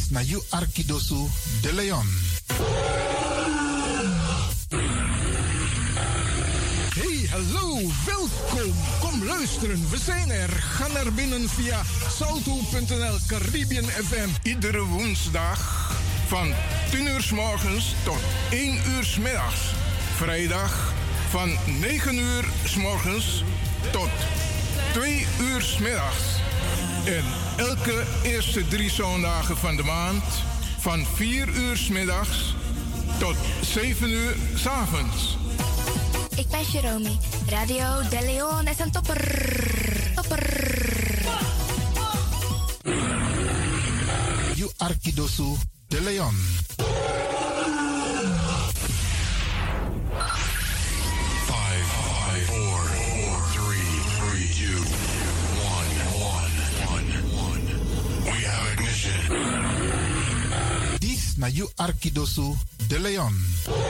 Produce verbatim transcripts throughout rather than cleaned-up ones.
na you Arkidosu de Leon. Hey, hallo, welkom. Kom luisteren, we zijn er. Ga naar binnen via salto punt n l Caribbean F M. Iedere woensdag van tien uur 's morgens tot één uur 's middags. Vrijdag van negen uur 's morgens tot twee uur 's middags. En elke eerste drie zondagen van de maand van vier uur 's middags tot zeven uur 's avonds. Ik ben Jerome. Radio De Leon is een topper. Topper. You Arkidosu de Leon. Five, five, four, four, three, three, two, one, one, one, one. We have ignition. This na you Arkidosu de Leon.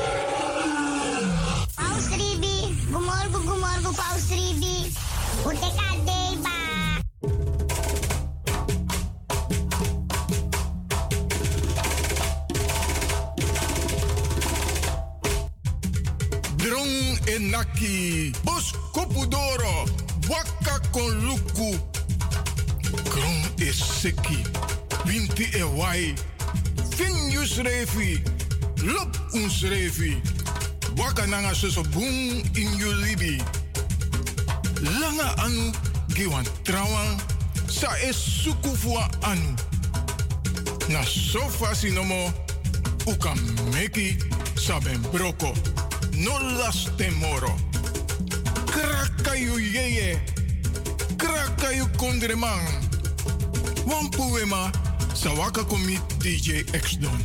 Paus Ribi, gumorgo, gumorgo, Paus Ribi. Uteka deba. Drong enaki, bos kopudoro, waka kon luku. Kron is seki, winti e wai. Finjus revi, lop uns revi. Waka nanga soso boom in you libi. Langa anu, giwan trawan, sa es sukufua anu. Na sofa sinomo, uka meki, saben broko. No las temoro. Krakayu yeye. Krakayu kondreman. Wampuema. Sawaka komi D J X-Don.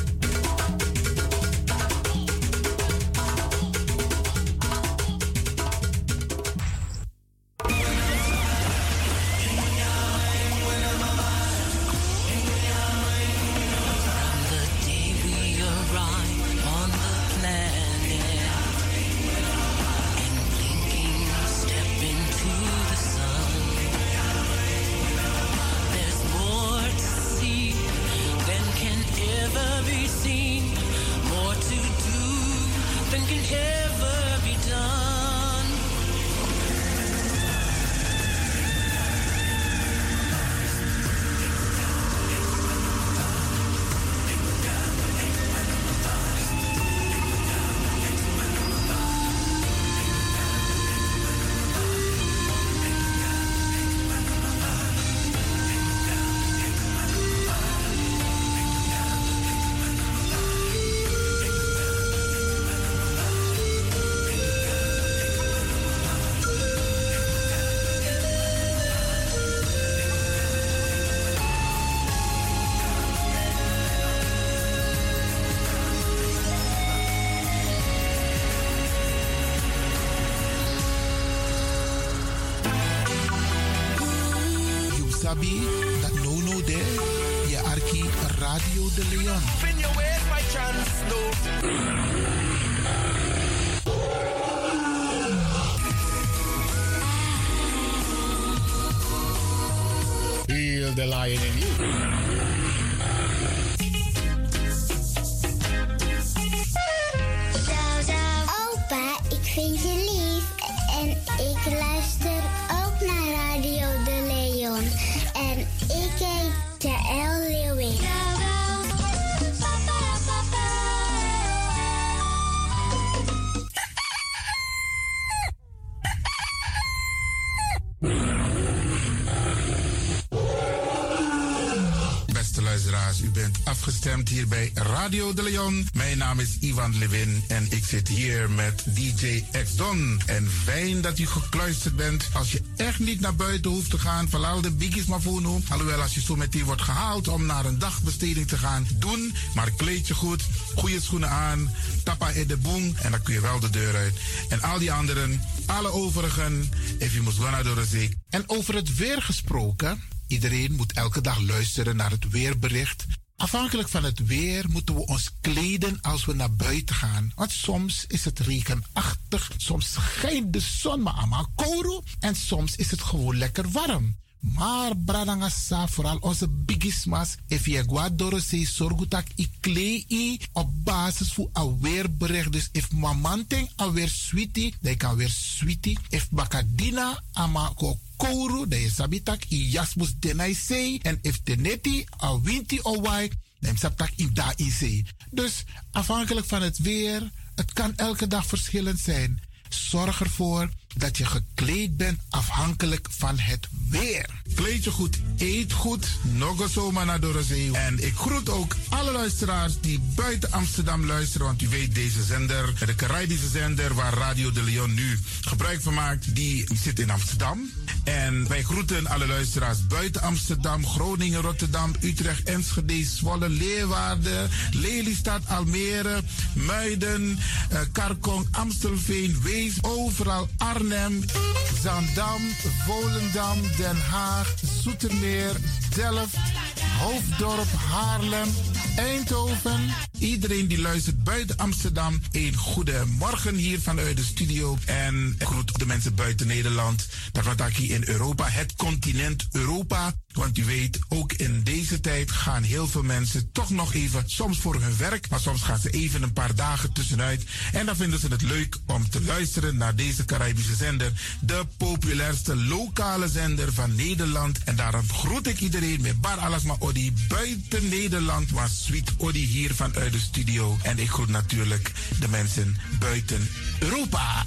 Sabi dat no no there, je Arki Radio de Leon. Fin your ways my chance, no. Feel the lion in you. Opa, ik vind je lief en ik luister ook naar Radio De Leon. En ik heet Jaël Leeuwin. Beste luisteraars, u bent afgestemd hier bij Radio de Leon. Mijn naam is Ivan Levin en ik zit hier met D J X-Don. En fijn dat u gekluisterd bent. Als je echt niet naar buiten hoeft te gaan, verlaal de biggies maar voor nu. Alhoewel, als je zo meteen wordt gehaald om naar een dagbesteding te gaan, doen. Maar kleed je goed, goede schoenen aan, tappa in de boom en dan kun je wel de deur uit. En al die anderen, alle overigen, if you must go naar de zee. En over het weer gesproken, iedereen moet elke dag luisteren naar het weerbericht. Afhankelijk van het weer moeten we ons kleden als we naar buiten gaan. Want soms is het regenachtig, soms schijnt de zon maar allemaal kouro en soms is het gewoon lekker warm. Maar bradangasa, vooral onze bigismas, if je guadoro se sorgutak i klei op basis voor aweerbericht. Dus if mamanteng aweer sweetie, dan kan weer sweetie. If bakadina ama ko kouru, dan je sabitak i jasmus denai sei. En if teneti a winti owai, dan sabtak in da in sei. Dus afhankelijk van het weer, het kan elke dag verschillend zijn. Zorg ervoor dat je gekleed bent afhankelijk van het weer. Kleed je goed, eet goed, nog zomaar naar Dorozee. En ik groet ook alle luisteraars die buiten Amsterdam luisteren. Want u weet, deze zender, de Caribische zender waar Radio de Leon nu gebruik van maakt, die zit in Amsterdam. En wij groeten alle luisteraars buiten Amsterdam, Groningen, Rotterdam, Utrecht, Enschede, Zwolle, Leeuwarden, Lelystad, Almere, Muiden, uh, Karkong, Amstelveen, Wees, overal Arnhem, Zaandam, Volendam, Den Haag, Zoetermeer, Delft, Hoofddorp, Haarlem, Eindhoven. Iedereen die luistert buiten Amsterdam, een goede morgen hier vanuit de studio. En ik groet de mensen buiten Nederland. Dat hier in Europa, het continent Europa. Want u weet, ook in deze tijd gaan heel veel mensen toch nog even, soms voor hun werk, maar soms gaan ze even een paar dagen tussenuit. En dan vinden ze het leuk om te luisteren naar deze Caribische zender. De populairste lokale zender van Nederland. En daarom groet ik iedereen met bar alasma odi buiten Nederland, maar sweet odi hier vanuit de studio. En ik groet natuurlijk de mensen buiten Europa.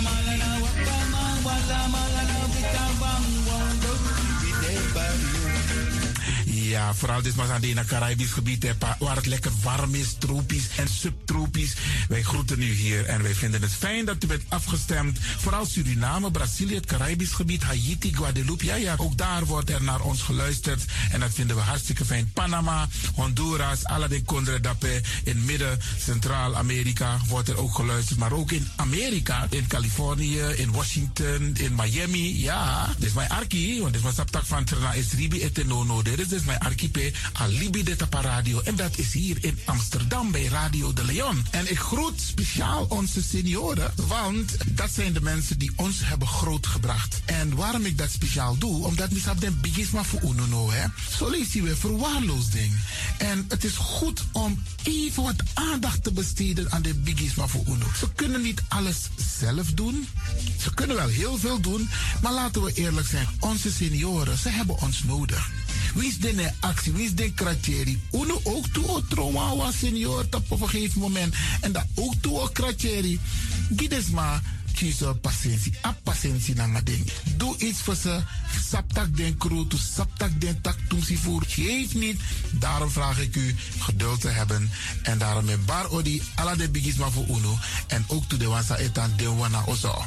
Ja, vooral dit maar aan het Caribisch gebied, hè, waar het lekker warm is, tropisch en subtropisch. Wij groeten u hier en wij vinden het fijn dat u bent afgestemd. Vooral Suriname, Brazilië, het Caribisch gebied, Haiti, Guadeloupe. Ja, ja, ook daar wordt er naar ons geluisterd. En dat vinden we hartstikke fijn. Panama, Honduras, Aladdin Condre Dapé. In midden, Centraal-Amerika wordt er ook geluisterd. Maar ook in Amerika, in Californië, in Washington, in Miami. Ja, dit is mijn arki, want dit is mijn saptak van Trana Esribi etenono. Dit is dus mijn archipel Alibi de Tapa Radio. En dat is hier in Amsterdam bij Radio de Leon. En ik groet speciaal onze senioren, want dat zijn de mensen die ons hebben grootgebracht. En waarom ik dat speciaal doe, omdat we hebben den bigisma voor uno, hè. Zo lees je weer verwaarloosding. En het is goed om even wat aandacht te besteden aan de bigisma voor uno. Ze kunnen niet alles zelf doen. Ze kunnen wel heel veel doen, maar laten we eerlijk zijn, onze senioren, ze hebben ons nodig. Wie is de actie, wie is de kratjeri? Uno ook toe o trauma was senior op een gegeven moment. En dat ook toe o kratjeri. Gides maar kies patiëntie. A patiëntie na ding. Doe iets voor ze. Saptak den crew, to saptak den tak toemsi voer. Geef niet. Daarom vraag ik u geduld te hebben. En daarom met bar odi ala de bigisma voor uno. En ook toe de wansa etan de wana ozo.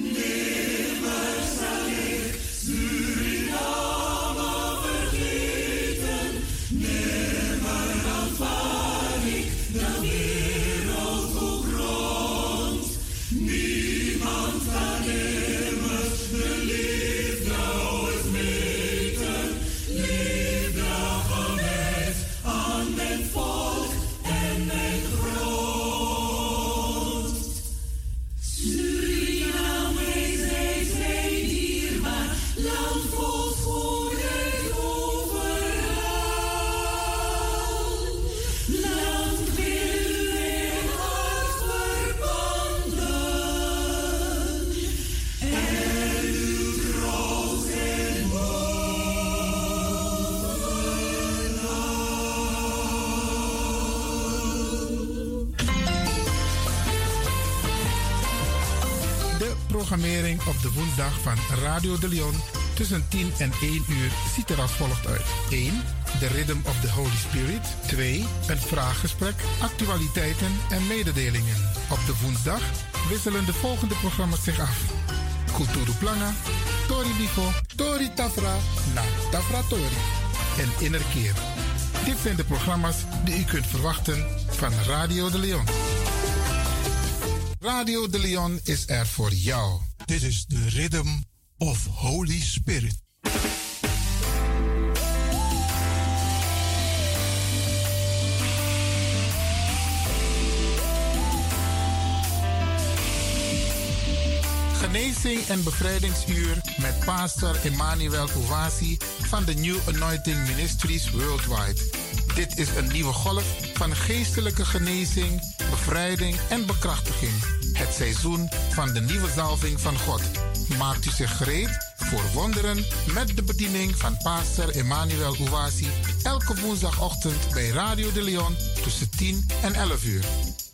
Programmering op de woensdag van Radio de Leon tussen tien en één uur ziet er als volgt uit. één. The Rhythm of the Holy Spirit. twee. Een vraaggesprek, actualiteiten en mededelingen. Op de woensdag wisselen de volgende programma's zich af. Kulturu Planga, Tori Bifo, Tori Tafra, na Tafra Tori en Innerkeer. Dit zijn de programma's die u kunt verwachten van Radio de Leon. Radio de Leon is er voor jou. Dit is de Rhythm of Holy Spirit. Genezing en bevrijdingsuur met pastor Emmanuel Owasi van de New Anointing Ministries Worldwide. Dit is een nieuwe golf van geestelijke genezing, bevrijding en bekrachtiging. Het seizoen van de nieuwe zalving van God. Maakt u zich gereed voor wonderen met de bediening van pastor Emmanuel Owasi elke woensdagochtend bij Radio de Leon tussen tien en elf uur.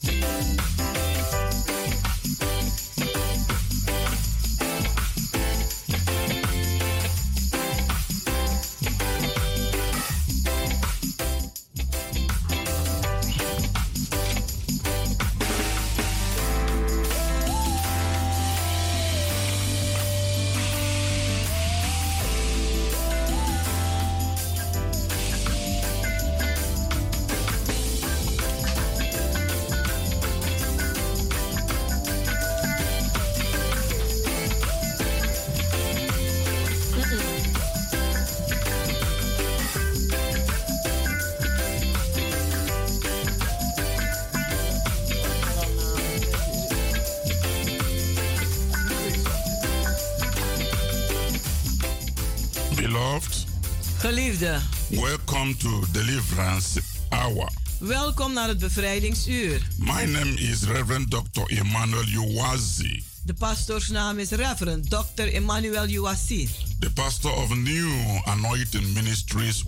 Geliefde, welcome to Deliverance Hour. Welkom naar het bevrijdingsuur. My name is Reverend doctor Emmanuel Owasi. De pastoorsnaam is Reverend doctor Emmanuel Owasi. The pastor of New Anointing Ministries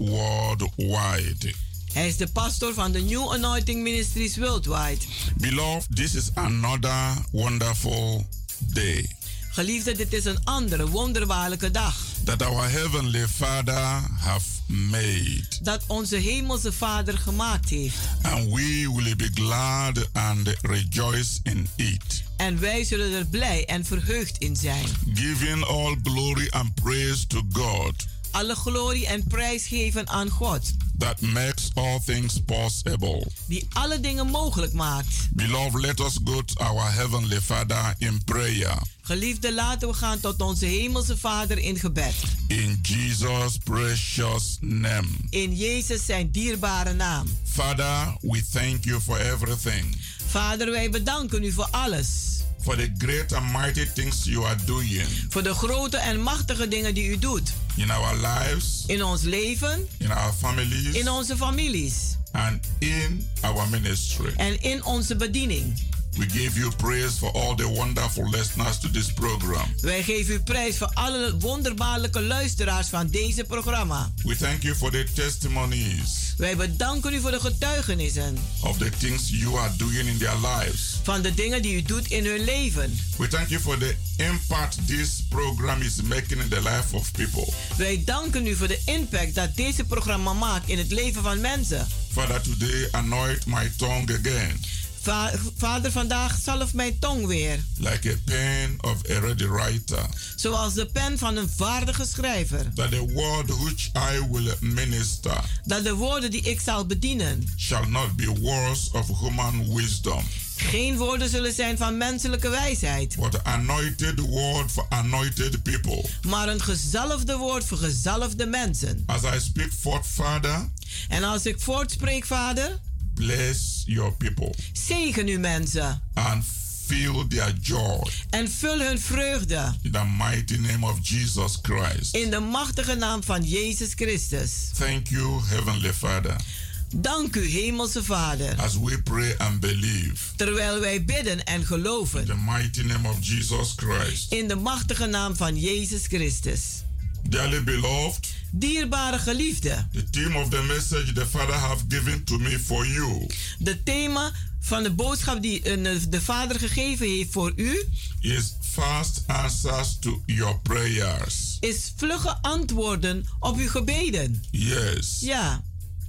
Worldwide. Hij is de pastor van de New Anointing Ministries Worldwide. Beloved, this is another wonderful day. Geliefde, dit is een andere wonderbaarlijke dag. That our Heavenly Father have made. Dat onze hemelse Vader gemaakt heeft. And we will be glad and rejoice in it. En wij zullen er blij en verheugd in zijn. Giving all glory and praise to God. Alle glorie en prijs geven aan God. That makes all things possible. Die alle dingen mogelijk maakt. Beloved, let us go to our Heavenly Father in prayer. Geliefde, laten we gaan tot onze hemelse Vader in gebed. In Jesus' precious name. In Jezus zijn dierbare naam. Father, we thank you for everything. Vader, wij bedanken u voor alles. For the great and mighty things you are doing. Voor de grote en machtige dingen die u doet. In our lives. In ons leven. In our families. In onze families. And in our ministry. En in onze bediening. We give you praise for all the wonderful listeners to this program. Wij geven u prijs voor alle wonderbaarlijke luisteraars van deze programma. We thank you for the testimonies. Wij bedanken u voor de getuigenissen. Of the things you are doing in their lives. Van de dingen die u doet in hun leven. We thank you for the impact this program is making in the life of people. Wij danken u voor de impact dat deze programma maakt in het leven van mensen. Father, today anoint my tongue again. Va- Vader, vandaag zalf mijn tong weer. Like a pen of a ready writer. Zoals de pen van een vaardige schrijver. That the word which I will minister. Dat de woorden die ik zal bedienen. Shall not be words of human wisdom. Geen woorden zullen zijn van menselijke wijsheid. But anointed word for anointed people. Maar een gezalfde woord voor gezalfde mensen. As I speak forth, Father. En als ik voortspreek, Vader. Bless your people. Zegen uw mensen. And fill their joy. En vul hun vreugde. In the mighty name of Jesus Christ. In de machtige naam van Jezus Christus. Thank you, Heavenly Father. Dank u, hemelse Vader. As we pray and believe. Terwijl wij bidden en geloven. In the mighty name of Jesus Christ. In de machtige naam van Jezus Christus. Dearly beloved. Dierbare geliefde. The theme of the message the Father have given to me for you. De thema van de boodschap die de Vader gegeven heeft voor u. Is fast answers to your prayers. Is vlugge antwoorden op uw gebeden. Yes. Ja.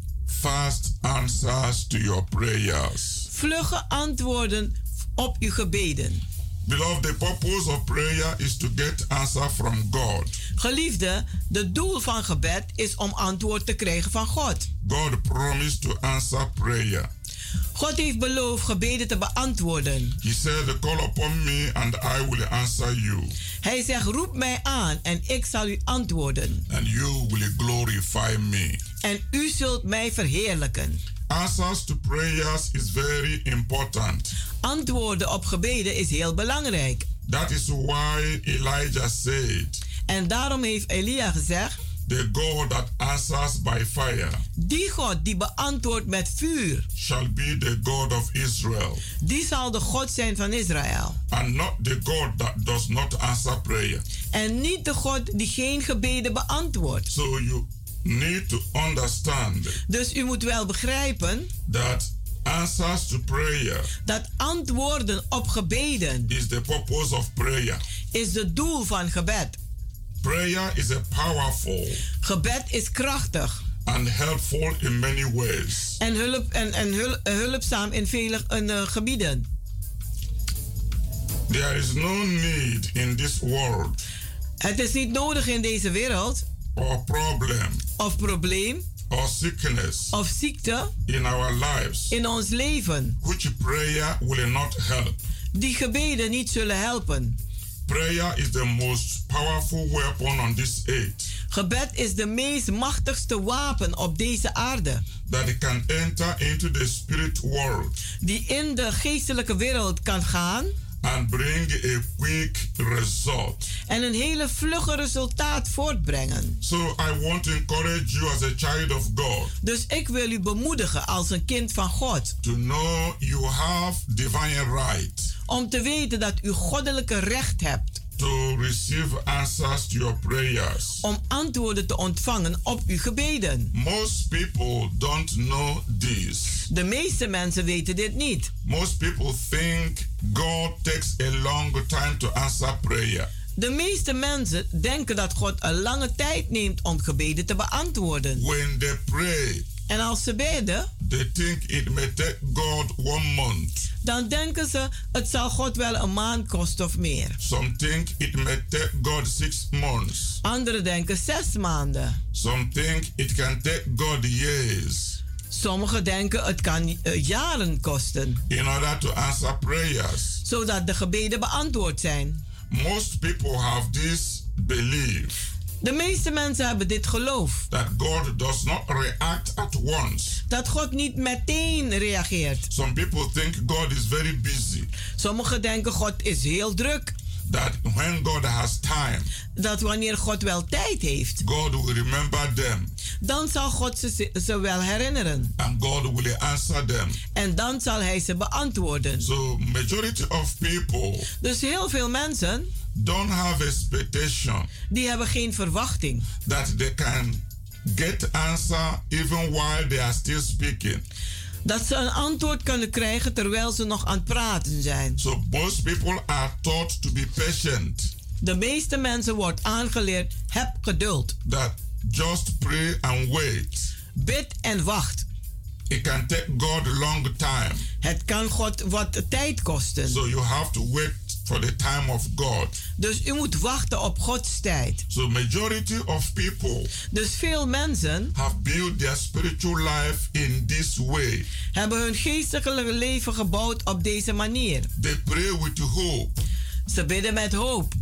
Fast answers to your prayers. Vlugge antwoorden op uw gebeden. Beloved, the purpose of prayer is to get answer from God. Geliefde, de doel van gebed is om antwoord te krijgen van God. God promised to answer prayer. God heeft beloofd gebeden te beantwoorden. He said, call upon me and I will answer you. Hij zegt, roep mij aan en ik zal u antwoorden. And you will glorify me. En u zult mij verheerlijken. Answers to prayers is very important. Antwoorden op gebeden is heel belangrijk. That is why Elijah said, En daarom heeft Elia gezegd, the God that answers by fire die God die beantwoordt met vuur, shall be the God of Israel, die zal de God zijn van Israël. and not the God that does not answer prayer. En niet de God die geen gebeden beantwoordt. So you need to understand Dus u moet wel begrijpen that answers to prayer dat antwoorden op gebeden is the purpose of prayer. is het doel van gebed. Prayer is a powerful Gebed is krachtig and helpful in many ways. en, hulp, en, en hul, hulpzaam in vele uh, gebieden. There is no need in this world Het is niet nodig in deze wereld or problem of probleem or sickness of ziekte in our lives in ons leven which prayer will not help. die gebeden niet zullen helpen. Prayer is the most powerful weapon on this earth Gebed is de meest machtigste wapen op deze aarde that can enter into the spirit world die in de geestelijke wereld kan gaan and bring a quick result. en een hele vlugge resultaat voortbrengen. So I want to encourage you as a child of God Dus ik wil u bemoedigen als een kind van God to know you have divine right om te weten dat u goddelijke recht hebt to receive answers to your prayers. om antwoorden te ontvangen op uw gebeden. Most people don't know this. De meeste mensen weten dit niet. Most people think God takes a long time to answer prayer. De meeste mensen denken dat God een lange tijd neemt om gebeden te beantwoorden. When they pray, En als ze bidden, they think it may take God one month. dan denken ze het zal God wel een maand kosten of meer. Some think it may take God six months. Anderen denken zes maanden. Some think it can take God years Sommigen denken het kan uh, jaren kosten, in order to answer prayers. zodat de gebeden beantwoord zijn. Most people have this belief De meeste mensen hebben dit geloof. that God does not react at once. Dat God niet meteen reageert. Some people think God is very busy. Sommigen denken God is heel druk. That when God has time, Dat wanneer God wel tijd heeft, God will remember them dan zal God ze, ze wel herinneren. and God will answer them. En dan zal hij ze beantwoorden. So majority of people Dus heel veel mensen, don't have expectation die hebben geen verwachting that they can get answer even while they are still speaking. dat ze een antwoord kunnen krijgen terwijl ze nog aan het praten zijn. So most people are taught to be patient. De meeste mensen wordt aangeleerd, heb geduld. That just pray and wait. Bid en wacht. It can take God a long time. Het kan God wat tijd kosten. So you have to wait for the time of God. Dus u moet wachten op Gods tijd. So majority of people Dus veel mensen have built their spiritual life in this way. hebben hun geestelijke leven gebouwd op deze manier. They pray with hope. Ze bidden met hoop.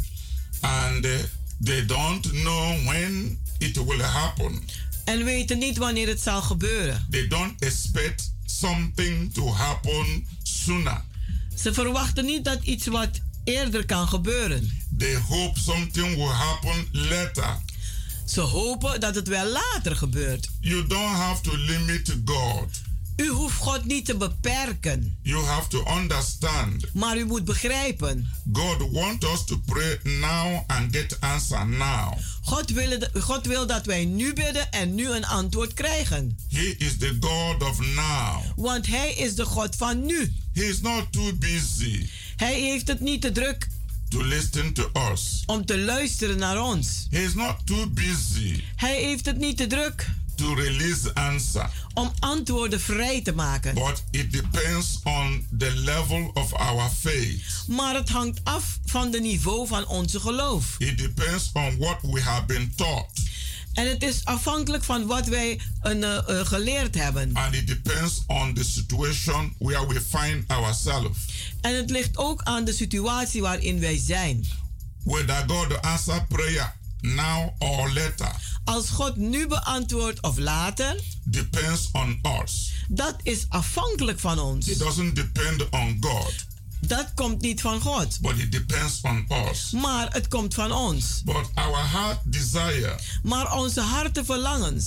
And uh, they don't know when it will happen. En weten niet wanneer het zal gebeuren. They don't expect something to happen sooner. Ze verwachten niet dat iets wat eerder kan gebeuren. They hope something will happen later. Ze hopen dat het wel later gebeurt. You don't have to limit God. U hoeft God niet te beperken. You have to understand. Maar u moet begrijpen. God wants us to pray now and get answer now. God wil, God wil dat wij nu bidden en nu een antwoord krijgen. He is the God of now. Want hij is de God van nu. He is not too busy Hij heeft het niet te druk to listen to us. om te luisteren naar ons. He is not too busy Hij heeft het niet te druk to release answer. om antwoorden vrij te maken. But it depends on the level of our faith. Maar het hangt af van het niveau van onze geloof. It depends on what we have been taught. En het is afhankelijk van wat wij uh, uh, geleerd hebben. And it depends on the situation where we find ourselves. En het ligt ook aan de situatie waarin wij zijn. Whether God answer prayer now or later. Als God nu beantwoordt of later, depends on us. Dat is afhankelijk van ons. It doesn't depend on God. Dat komt niet van God. But it depends on us. Maar het komt van ons. But our heart desire Maar onze hartenverlangens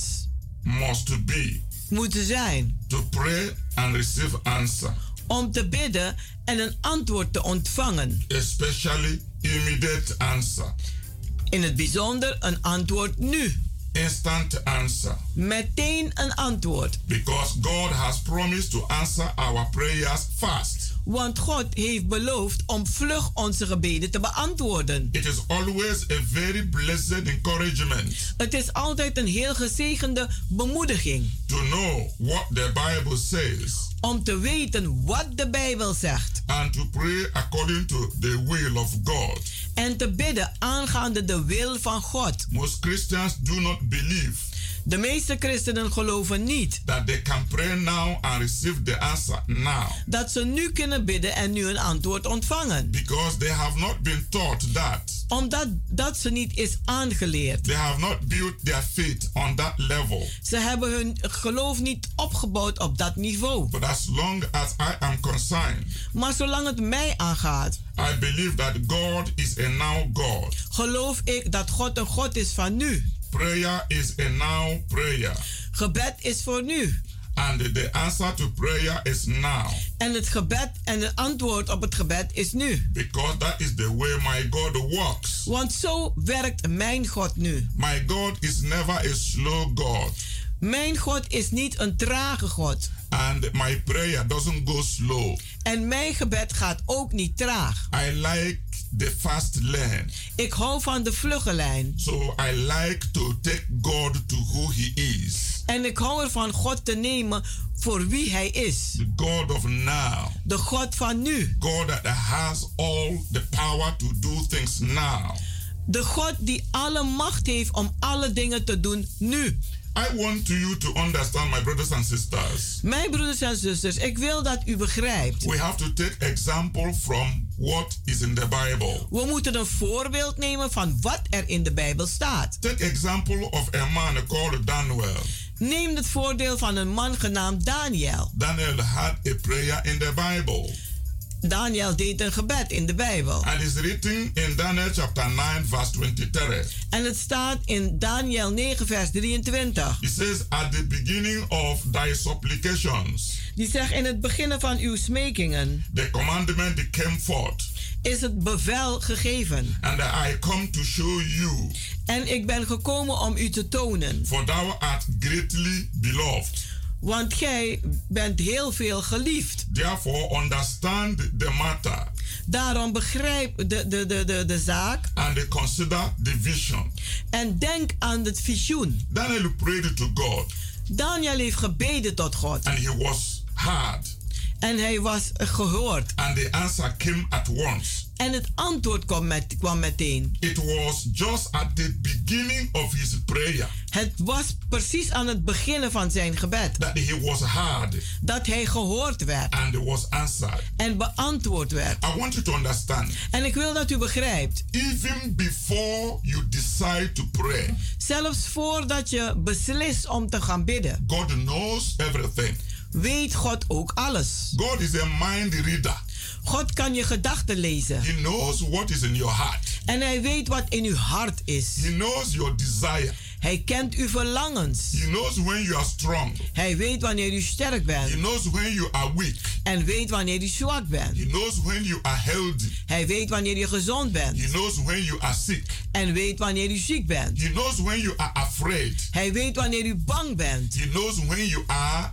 must be moeten zijn to pray and receive answer. Om te bidden en een antwoord te ontvangen. Especially immediate answer. In het bijzonder een antwoord nu. Instant answer. Meteen een antwoord. Because God has promised to answer our prayers fast. Want God heeft beloofd om vlug onze gebeden te beantwoorden. It is always a very blessed encouragement. Het is altijd een heel gezegende bemoediging. To know what the Bible says. Om te weten wat de Bijbel zegt. And to pray according to the will of God. En te bidden aangaande de wil van God. Most Christians do not believe. De meeste christenen geloven niet that they can pray now and receive the answer now. Dat ze nu kunnen bidden en nu een antwoord ontvangen. Because they have not been taught that. Omdat dat ze niet is aangeleerd. They have not built their faith on that level. Ze hebben hun geloof niet opgebouwd op dat niveau. But as long as I am concerned, maar zolang het mij aangaat, I believe that God is a now God. Geloof ik dat God een God is van nu. Prayer is a now prayer. Gebed is voor nu. And the answer to prayer is now. En het gebed en het antwoord op het gebed is nu. Because that is the way my God works. Want zo werkt mijn God nu. My God is never a slow God. Mijn God is niet een trage God. And my prayer doesn't go slow. En mijn gebed gaat ook niet traag. I like the fast lane. Ik hou van de vlugge lijn. So I like to take God to who he is. En ik hou ervan God te nemen voor wie hij is. The God of now. De God van nu. God that has all the power to do things now. De God die alle macht heeft om alle dingen te doen nu. I want you to understand, my brothers and sisters. Mijn broeders en zusters, ik wil dat u begrijpt. We have to take example from what is in the Bible. We moeten een voorbeeld nemen van wat er in de Bijbel staat. Take example of a man called Daniel. Neem het voordeel van een man genaamd Daniel. Daniel had a prayer in the Bible. Daniel deed een gebed in de Bijbel. And it's written in Daniel chapter nine verse twenty-three. En het staat in Daniel negen vers drieëntwintig. It says at the beginning of thy supplications. Die zegt in het begin van uw smekingen. The commandment came forth. Is het bevel gegeven. And I come to show you. En ik ben gekomen om u te tonen. For thou art greatly beloved. Want gij bent heel veel geliefd. Therefore understand the matter. Daarom begrijp de, de, de, de, de zaak. And consider the vision. En denk aan het visioen. Daniel prayed to God. Daniel heeft gebeden tot God. And he was heard. En hij was gehoord. And the answer came at once. En het antwoord kwam, met, kwam meteen. It was just at the beginning of his prayer. Het was precies aan het beginnen van zijn gebed. That he was heard. Dat hij gehoord werd. And was answered. En beantwoord werd. I want you to understand. En ik wil dat u begrijpt. Even before you decide to pray. Zelfs voordat je beslist om te gaan bidden. God knows everything. Weet God ook alles. God is a mind reader. God kan je gedachten lezen. He knows what is in your heart. En hij weet wat in uw hart is. He knows your desire. Hij kent uw verlangens. He knows when you are strong. Hij weet wanneer u sterk bent. He knows when you are weak. En weet wanneer u zwak bent. He knows when you are healthy. Hij weet wanneer je gezond bent. He knows when you are sick. En weet wanneer u ziek bent. He knows when you are afraid. Hij weet wanneer u bang bent. He knows when you are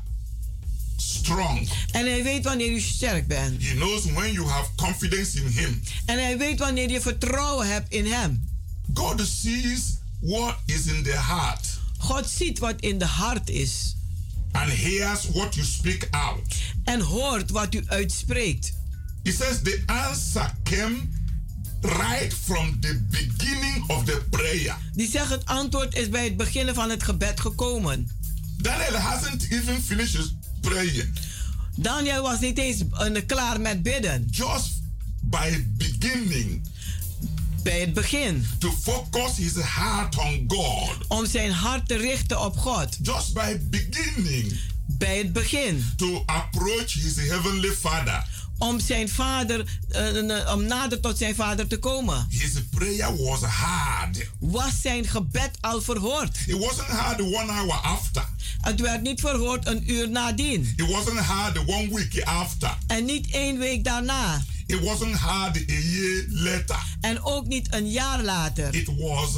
strong. En hij weet wanneer u sterk bent. He knows when you have confidence in him. En hij weet wanneer je vertrouwen hebt in hem. God sees what is in the heart. God ziet wat in de hart is. And hears what you speak out. En hoort wat u uitspreekt. He says the answer came right from the beginning of the prayer. Die zegt het antwoord is bij het beginnen van het gebed gekomen. Daniel hasn't even finished praying. Daniel was niet eens uh, klaar met bidden. Just by beginning. Bij het begin. To focus his heart on God. Om zijn hart te richten op God. Just by beginning. bij het begin. To approach his heavenly Father. Om zijn vader, uh, om nader tot zijn vader te komen. His prayer was hard. Was zijn gebed al verhoord? It wasn't hard one hour after. Het werd niet verhoord een uur nadien. It wasn't hard one week after. En niet één week daarna. It wasn't hard a year later. En ook niet een jaar later. It was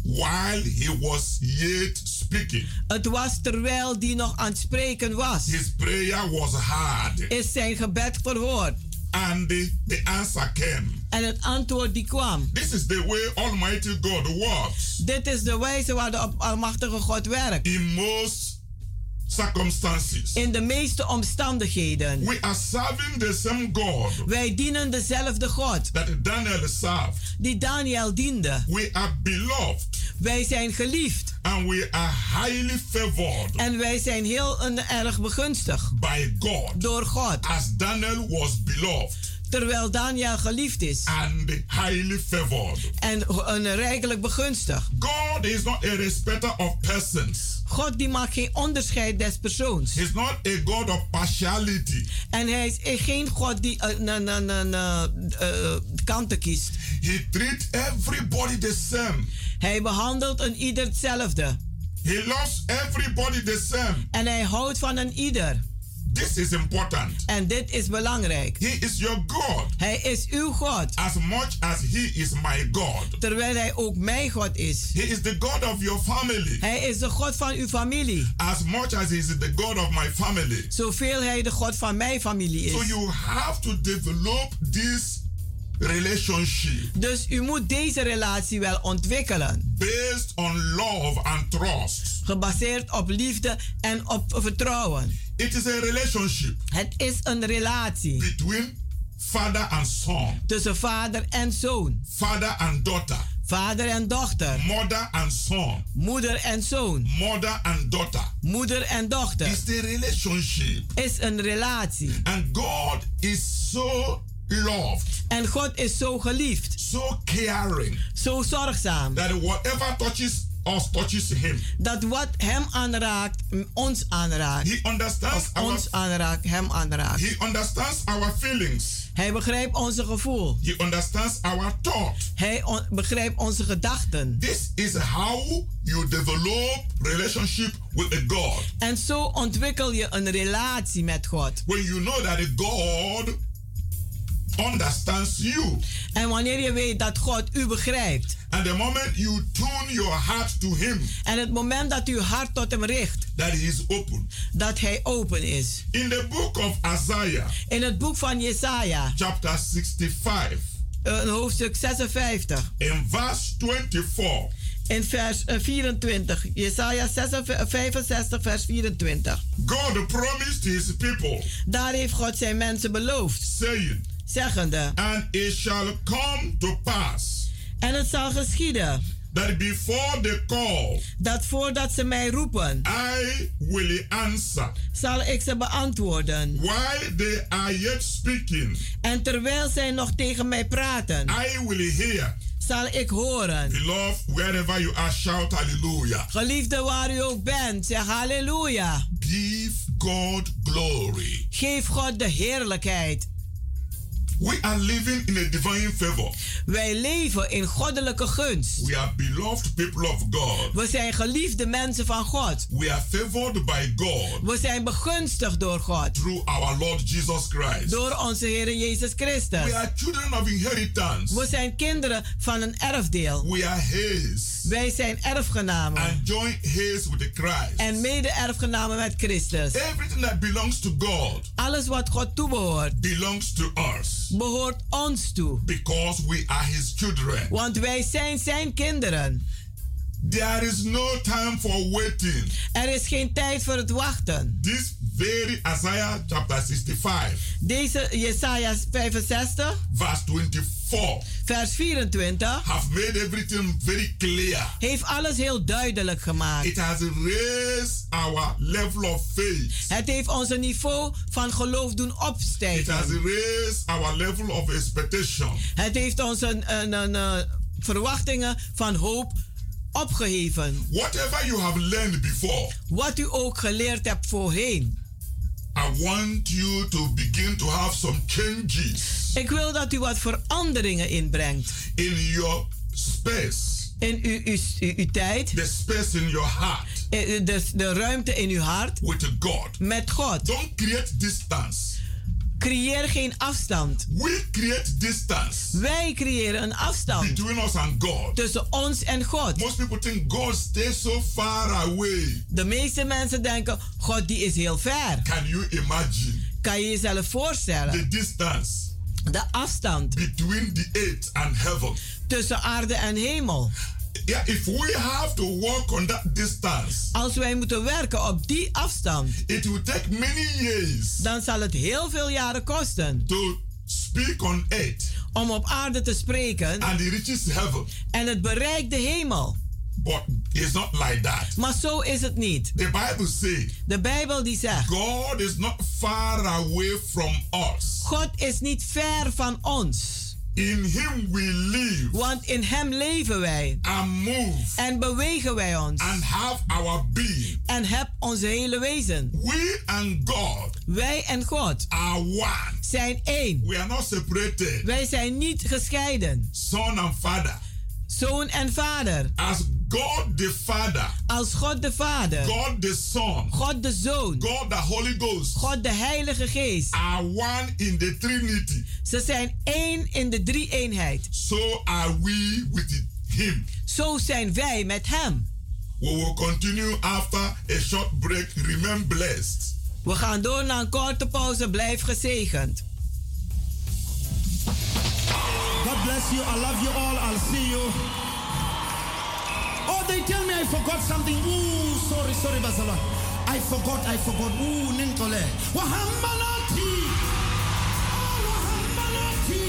while he was yet speaking. Het was terwijl die nog aan het spreken was. His prayer was hard. Is zijn gebed verhoord. And the, the answer came. En het antwoord die kwam. This is the way Almighty God works. Dit is de wijze waar de Almachtige God werkt. In most circumstances. In de meeste omstandigheden. We are serving the same God. Wij dienen dezelfde God. That Daniel served. Die Daniel diende. We are beloved. Wij zijn geliefd. And we are highly favored. En wij zijn heel en erg begunstigd. By God. Door God. As Daniel was beloved. Terwijl Daniel geliefd is. And highly favored. En een rijkelijk begunstigd. God is not a respecter of persons. God die maakt geen onderscheid des persoons. He's not a God of partiality. En hij is geen God die uh, na, na, na, na, uh, kanten kiest. He treats everybody the same. Hij behandelt een ieder hetzelfde. He loves everybody the same. En hij houdt van een ieder. This is important. En dit is belangrijk. He is your God. Hij is uw God. As much as he is my God. Terwijl hij ook mijn God is. He is the God of your family. Hij is de God van uw familie. As much as he is the God of my family. Zoveel hij de God van mijn familie is. So you have to develop this relationship. Dus u moet deze relatie wel ontwikkelen. Based on love and trust. Gebaseerd op liefde en op vertrouwen. It is a relationship. Het is een relatie. Between father and son. Tussen vader en zoon. Father and daughter. Vader en dochter. Mother and son. Moeder en zoon. Mother and daughter. Moeder en dochter. It's a relationship. Is een relatie. And God is so loved. En God is zo geliefd. So caring. Zo zorgzaam. That whatever touches us touches him. Dat wat hem aanraakt, ons aanraakt. He understands of our, ons aanraakt, hem aanraakt. He understands our feelings. Hij begrijpt onze gevoel. He understands our thought. Hij on, begrijpt onze gedachten. This is how you develop relationship with a God. En zo ontwikkel je een relatie met God. When you know that a God understands you. En wanneer je weet dat God u begrijpt. And the moment you tune your heart to him. En het moment dat uw hart tot hem richt. That he is open. Dat hij open is. In the book of Isaiah. In het boek van Jesaja. Chapter sixty-five. Uh, hoofdstuk zesenvijftig. In verse twenty-four. In vers vierentwintig. Jesaja vijfenzestig vers vierentwintig. God promised his people. Daar heeft God zijn mensen beloofd. Saying. Zeggende. And it shall come to pass. En het zal geschieden. That before the call. Dat voordat ze mij roepen. I will answer. Zal ik ze beantwoorden. While they are yet speaking. En terwijl zij nog tegen mij praten. I will hear. Zal ik horen. Beloved, wherever you are, shout hallelujah. Geliefde, waar u ook bent, zeg halleluja. Give God glory. Geef God de heerlijkheid. We are living in a divine favor. Wij leven in goddelijke gunst. We are beloved people of God. We zijn geliefde mensen van God. We are favored by God. We zijn begunstigd door God. Through our Lord Jesus Christ. Door onze Heer Jezus Christus. We are children of inheritance. We zijn kinderen van een erfdeel. We are His. Wij zijn erfgenamen. And joint His with the Christ. En mede erfgenamen met Christus. Everything that belongs to God. Alles wat God toebehoort. Belongs to us. Behoort ons toe. Because we are his children. Want wij zijn zijn kinderen. There is no time for waiting. Er is geen tijd voor het wachten. This very Isaiah chapter sixty-five. Deze Jesaja vijfenzestig. Verse twenty-four. Vers vierentwintig. Have made everything very clear. Heeft alles heel duidelijk gemaakt. It has raised our level of faith. Het heeft onze niveau van geloof doen opstijgen. It has raised our level of expectation. Het heeft onze uh, uh, uh, verwachtingen van hoop opgeheven. Whatever you have learned before, wat u ook geleerd hebt voorheen. I want you to begin to have some changes. Ik wil dat u wat veranderingen inbrengt. In your space. In uw, uw, uw, uw tijd. The space in your heart. De, de, de ruimte in uw hart. With God. Met God. Don't create distance. Creëer geen afstand. We create distance. Wij creëren een afstand. Between us and God. Tussen ons en God. Most people think God stays so far away. De meeste mensen denken, God die is heel ver. Can you imagine? Kan je jezelf voorstellen? The distance. De afstand. Between the earth and heaven. Tussen aarde en hemel. Yeah, if we have to work on that distance, als wij moeten werken op die afstand, it will take many years. Dan zal het heel veel jaren kosten. To speak on earth. Om op aarde te spreken. And it reaches heaven. En het bereikt de hemel. But it's not like that. Maar zo is het niet. The Bible says. De Bijbel die zegt. God is not far away from us. God is niet ver van ons. In him we live. Want in hem leven wij. And move. En bewegen wij ons. And have our being. En heb onze hele wezen. We and God. Wij en God. Are one. Zijn één. We are not separated. Wij zijn niet gescheiden. Son and father. Zoon en vader. As God the Father. Als God de Vader. God the Son. God de Zoon. God the Holy Ghost. God de Heilige Geest. Are one in the Trinity. Ze zijn één in de drie-eenheid. So are we with him. Zo zijn wij met hem. We will continue after a short break. Remain blessed. We gaan door naar een korte pauze. Blijf gezegend. God bless you. I love you all. I'll see you. Oh, they tell me I forgot something. Ooh, sorry, sorry, Basala. I forgot, I forgot. Ooh, Nintole. Wahambalati. Oh, Wahambalati.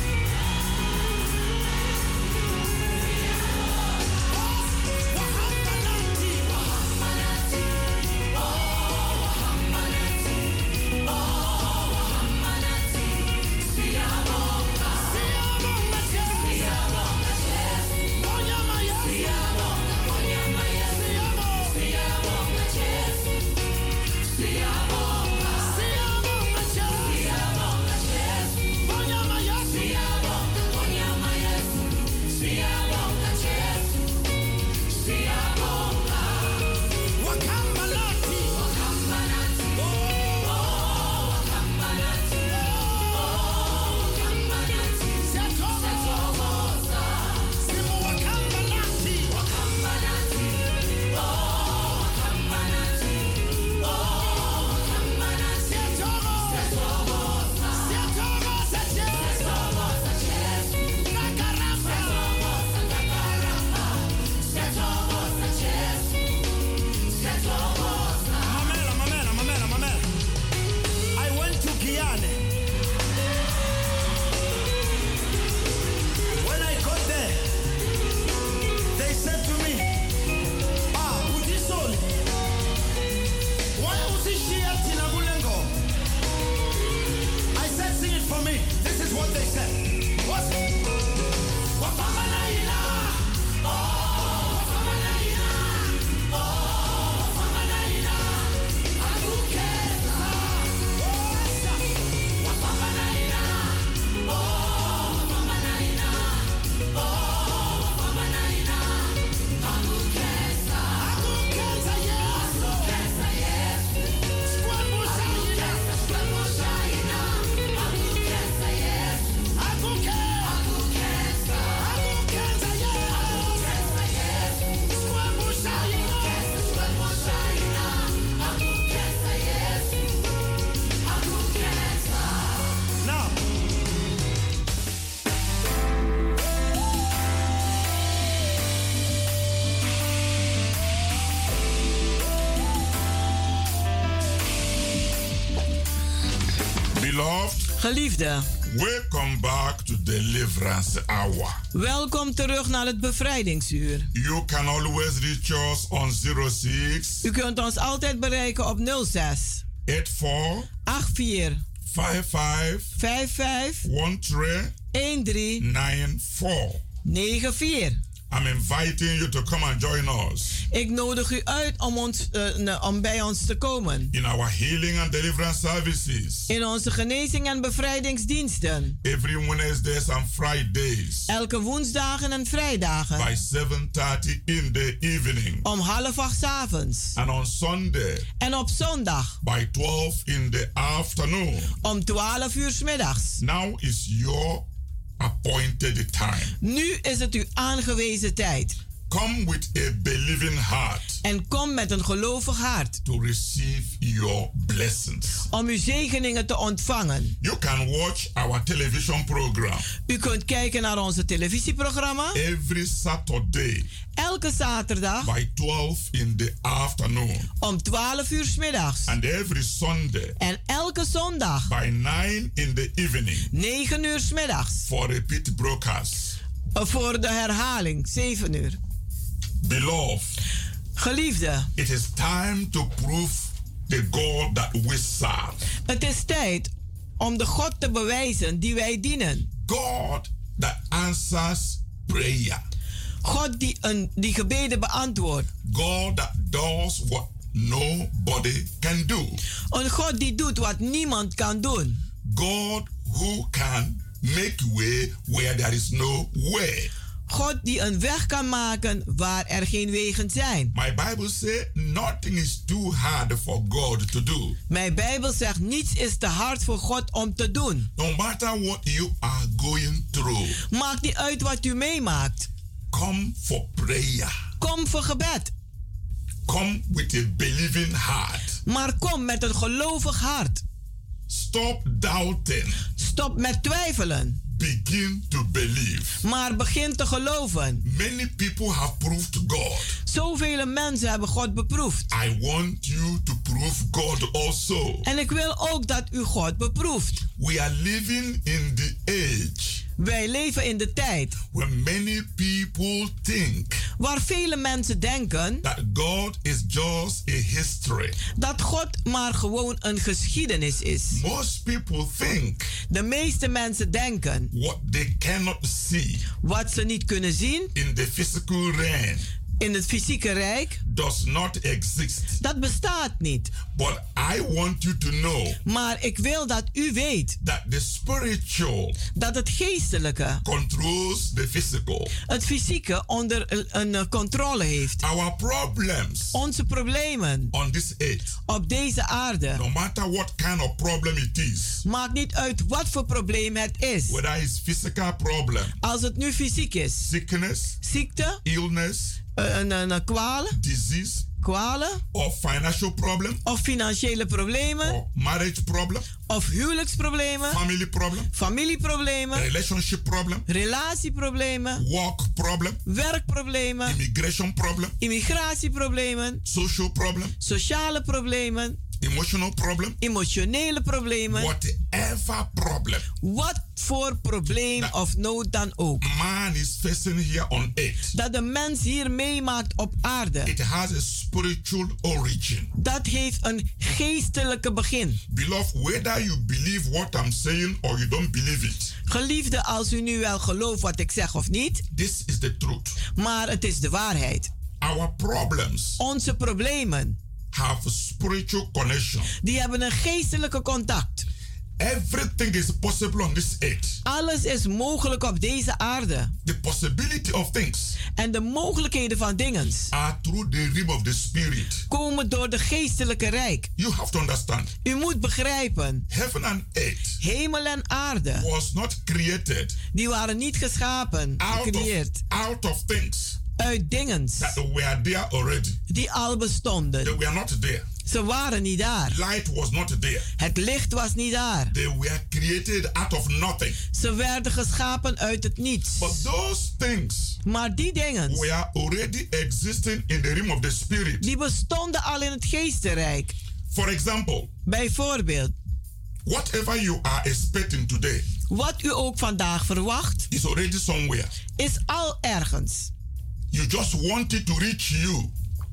Geliefde, welcome back to Deliverance Hour. Welkom terug naar het bevrijdingsuur. You can always reach us on zero six. U kunt ons altijd bereiken op nul zes acht vier vijf vier vijf vijf een drie nine four. negen vier. I'm inviting you to come and join us. Ik nodig u uit om, ons, uh, om bij ons te komen. In our healing and deliverance services. In onze genezing en bevrijdingsdiensten. Every Wednesdays and Fridays. Elke woensdagen en vrijdagen. By seven thirty in the evening. Om half acht 's avonds. And on Sunday. En op zondag. By twelve in the afternoon. Om twaalf uur 's middags. Now is your appointed time. Nu is het uw aangewezen tijd. Come with a believing heart. En kom met een gelovig hart. To receive your blessings. Om uw zegeningen te ontvangen. You can watch our television program. U kunt kijken naar onze televisieprogramma. Every Saturday. Elke zaterdag. By twelve in the afternoon. Om twaalf uur 's middags. And every Sunday. En elke zondag. By nine in the evening. negen uur 's middags. For repeat broadcast. Voor de herhaling. zeven uur. Beloved. Geliefde. It is time to prove the God that we serve. Het is tijd om de God te bewijzen die wij dienen. God that answers prayer. God die, een, die gebeden beantwoordt. God that does what nobody can do. Een God die doet wat niemand kan doen. God who can make way where there is no way. God die een weg kan maken waar er geen wegen zijn. My Bible says nothing is too hard for God to do. Mijn Bijbel zegt niets is te hard voor God om te doen. No matter what you are going through. Maakt niet uit wat u meemaakt. Come for prayer. Kom voor gebed. Come with a believing heart. Maar kom met een gelovig hart. Stop doubting. Stop met twijfelen. Begin to believe. Maar begin te geloven. Many people have proved God. Zoveel mensen hebben God beproefd. I want you to prove God also. En ik wil ook dat u God beproeft. We are living in the age. Wij leven in de tijd. When many people think. Waar vele mensen denken. That God is just a history. Dat God maar gewoon een geschiedenis is. Most people think. De meeste mensen denken. What they cannot see. Wat ze niet kunnen zien. In the physical realm. In het fysieke rijk. Does not exist. Dat bestaat niet. But I want you to know. Maar ik wil dat u weet. That the spiritual. Dat het geestelijke. Controls the physical. Het fysieke onder een controle heeft. Our problems. Onze problemen. On this earth. Op deze aarde. No matter what kind of problem it is. Maakt niet uit wat voor probleem het is. Whether it's physical problem. Als het nu fysiek is. Sickness. Ziekte. Illness. Een, een, een kwaal. Disease. Kwalen. Of financial problem. Of financiële problemen. Or marriage problem. Of huwelijksproblemen. Family problem. Familieproblemen. Relationship problem. Relatieproblemen. Work problem. Werkproblemen. Immigration problem. Immigratieproblemen. Social problem. Sociale problemen. Emotional problem. Emotionele problemen. Whatever problem. Wat voor probleem that of nood dan ook. Man is facing here on earth. Dat de mens hier meemaakt op aarde. It has a spiritual origin. Dat heeft een geestelijke begin. Beloved, whether you believe what I'm saying or you don't believe it. Geliefde, als u nu wel gelooft wat ik zeg of niet. This is the truth. Maar het is de waarheid. Our problems. Onze problemen. Have a spiritual connection. Die hebben een geestelijke contact. Everything is possible on this earth. Alles is mogelijk op deze aarde. The possibility of things. En de mogelijkheden van dingen. Are through the realm of the spirit. Komen door de geestelijke rijk. You have to understand. U moet begrijpen. Heaven and earth. Hemel en aarde. Was not created. Die waren niet geschapen. Gecreëerd. Out of, out of things. Uit dingen. That were there already. Die al bestonden. They were not there. Ze waren niet daar. Light was not there. Het licht was niet daar. They were created out of nothing. Ze werden geschapen uit het niets. But those things maar die dingen were already existing in the realm of the spirit. Die bestonden al in het geestenrijk. For example. Bijvoorbeeld. Whatever you are expecting today. Wat u ook vandaag verwacht. Is already somewhere. Is al ergens. You just want it to reach you.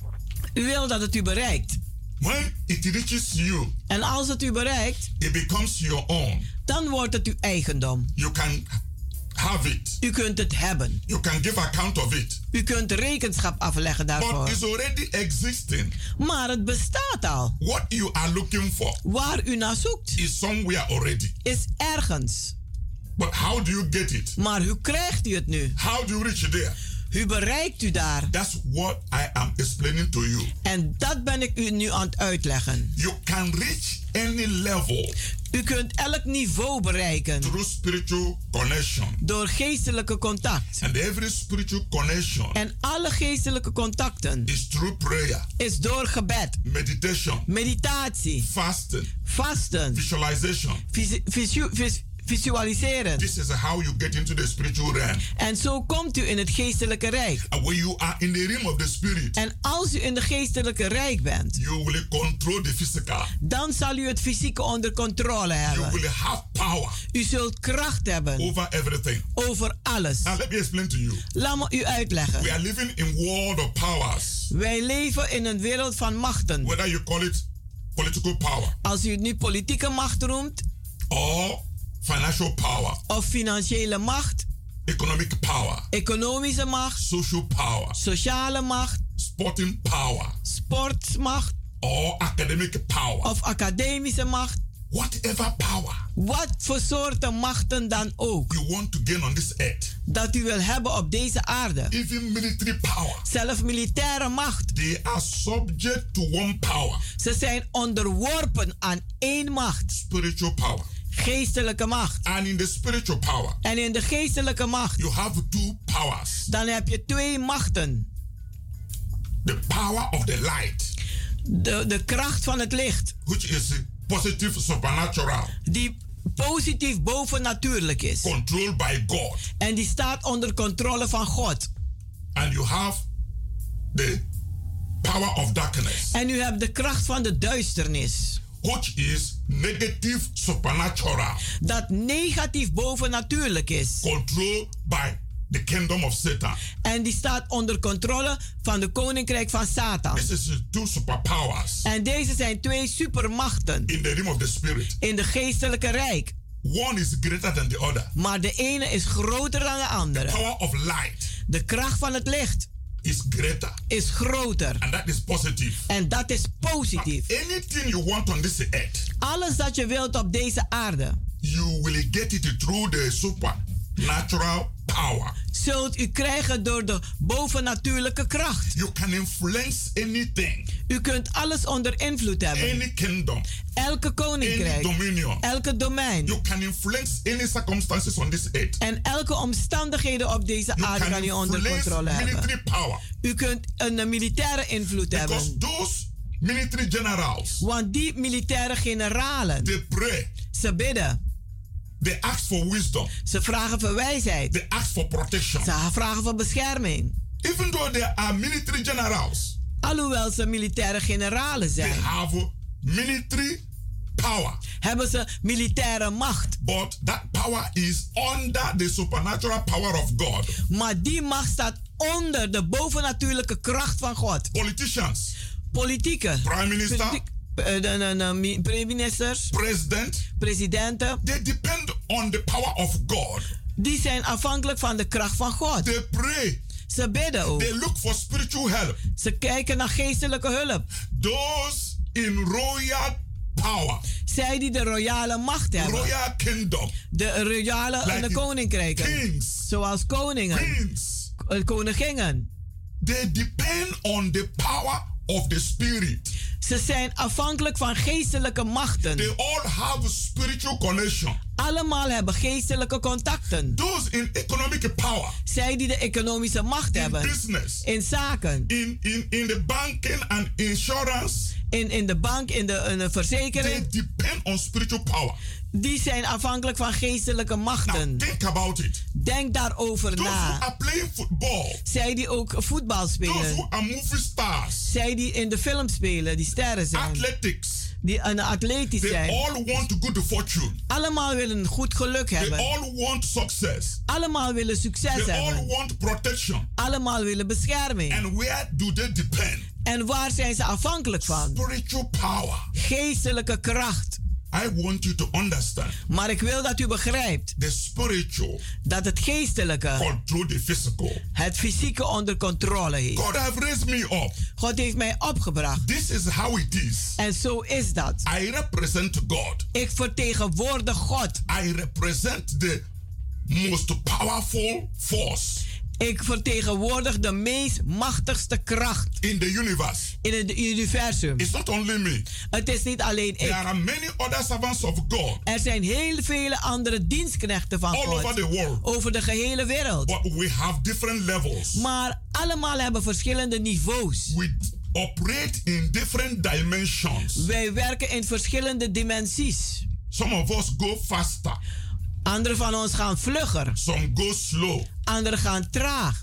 U wil dat het u bereikt. When it reaches you, en als het u bereikt, it becomes your own. Dan wordt het uw eigendom. You can have it. U kunt het hebben. You can give account of it. U kunt rekenschap afleggen daarvoor. But it's already existing. Maar het bestaat al. What you are looking for Waar u naar zoekt is somewhere already. is ergens. But how do you get it? Maar hoe krijgt u het nu? How do you reach there? Hoe bereikt u daar? That's what I am explaining to you. En dat ben ik u nu aan het uitleggen. You can reach any level. U kunt elk niveau bereiken. Through spiritual connection. Door geestelijke contact. And every spiritual connection. En alle geestelijke contacten. Is through prayer. Is door gebed. Meditation. Meditatie. Fasting. Vasten. Visualization. Visu, visu, vis, visualiseren. This is how you get into the spiritual realm. En zo komt u in het geestelijke rijk. And when you are in the realm of the spirit. En als u in de geestelijke rijk bent. You will control the physical. Dan zal u het fysieke onder controle hebben. You will have power. U zult kracht hebben. Over everything. Over alles. Now let me explain to you. Laat me u uitleggen. We are living in world of powers. Wij leven in een wereld van machten. Whether you call it political power. Als u het nu politieke macht noemt. Or financial power. Of financiële macht. Economic power. Economische macht. Social power. Sociale macht. Sporting power. Sportmacht. Or academic power. Of academische macht. Whatever power. Wat voor soorten machten dan ook. You want to gain on this earth. Dat u wil hebben op deze aarde. Even military power. Zelf militaire macht. They are subject to one power. Ze zijn onderworpen aan één macht. Spiritual power. Geestelijke macht. And in the spiritual power. En in de geestelijke macht. You have two powers. Dan heb je twee machten. The power of the light. De, de kracht van het licht. Which is positive supernatural. Die positief bovennatuurlijk is. Controlled by God. En die staat onder controle van God. And you have the power of darkness. En u hebt de kracht van de duisternis. Which is negative supernatural. Dat negatief bovennatuurlijk is. Controlled by the kingdom of Satan. En die staat onder controle van de koninkrijk van Satan. This is two superpowers. En deze zijn twee supermachten. In the realm of the spirit. In de geestelijke rijk. One is greater than the other. Maar de ene is groter dan de andere. The power of light. De kracht van het licht. Is greater. Is groter. And that is positive. En dat is positief. But anything you want on this earth. Alles dat je wilt op deze aarde. You will get it through the supernatural power. Zult u krijgen door de bovennatuurlijke kracht. You can influence anything. U kunt alles onder invloed hebben. Any kingdom. Elke koninkrijk. Any dominion. Elke domein. You can influence any circumstances on this earth. En elke omstandigheden op deze you aarde kan u onder controle hebben. Power. U kunt een militaire invloed Because hebben. Those military generals. Want die militaire generalen. They pray. Ze bidden. They ask for wisdom. Ze vragen voor wijsheid. They ask for protection. Ze vragen voor bescherming. Even though there are military generals. Alhoewel ze militaire generalen zijn. They have military power. Hebben ze militaire macht. But that power is under the supernatural power of God. Maar die macht staat onder de bovennatuurlijke kracht van God. Politicians. Politieke. Prime minister. Politiek, de, de, de, de ministers. President. Presidenten. They depend on the power of God. Die zijn afhankelijk van de kracht van God. They pray. Ze bidden ook. They look for spiritual help. Ze kijken naar geestelijke hulp. Those in royal power. Zij die de royale macht hebben. Royal kingdom. De royale like de koninkrijken. Kings. Zoals koningen. Queens. Koninginnen. They depend on the power of the spirit. Ze zijn afhankelijk van geestelijke machten. They all have spiritual connection. Allemaal hebben geestelijke contacten. Those in economic power. Zij die de economische macht in hebben. Business. In zaken. In, in, in the banking and insurance. In, in de bank, in de, in de verzekering. They depend on spiritual power. Die zijn afhankelijk van geestelijke machten. Now think about it. Denk daarover Those na. Who are playing football. Zij die ook voetbal spelen. Those who are movie stars. Zij die in de film spelen, die sterren zijn. Athletics. Die een atletisch They zijn. all want good fortune. Allemaal willen goed geluk hebben. They all want success. Allemaal willen succes They hebben. all want protection. Allemaal willen bescherming. And where do they depend? En waar zijn ze afhankelijk van? Spiritual power. Geestelijke kracht. I want you to understand. Maar ik wil dat u begrijpt. The spiritual. Dat het geestelijke. Control the physical. Het fysieke onder controle heeft. God have raised me up. God heeft mij opgebracht. This is how it is. En zo is dat. I represent God. Ik vertegenwoordig God. I represent the most powerful force. Ik vertegenwoordig de meest machtigste kracht. In the universe. In het universum. It's not only me. Het is niet alleen ik. There are many other servants of God. Er zijn heel vele andere dienstknechten van All God. over the world. Over de gehele wereld. But we have different levels. Maar allemaal hebben verschillende niveaus. We operate in different dimensions. Wij werken in verschillende dimensies. Some of us go faster. Anderen van ons gaan vlugger. Some go slow. Anderen gaan traag.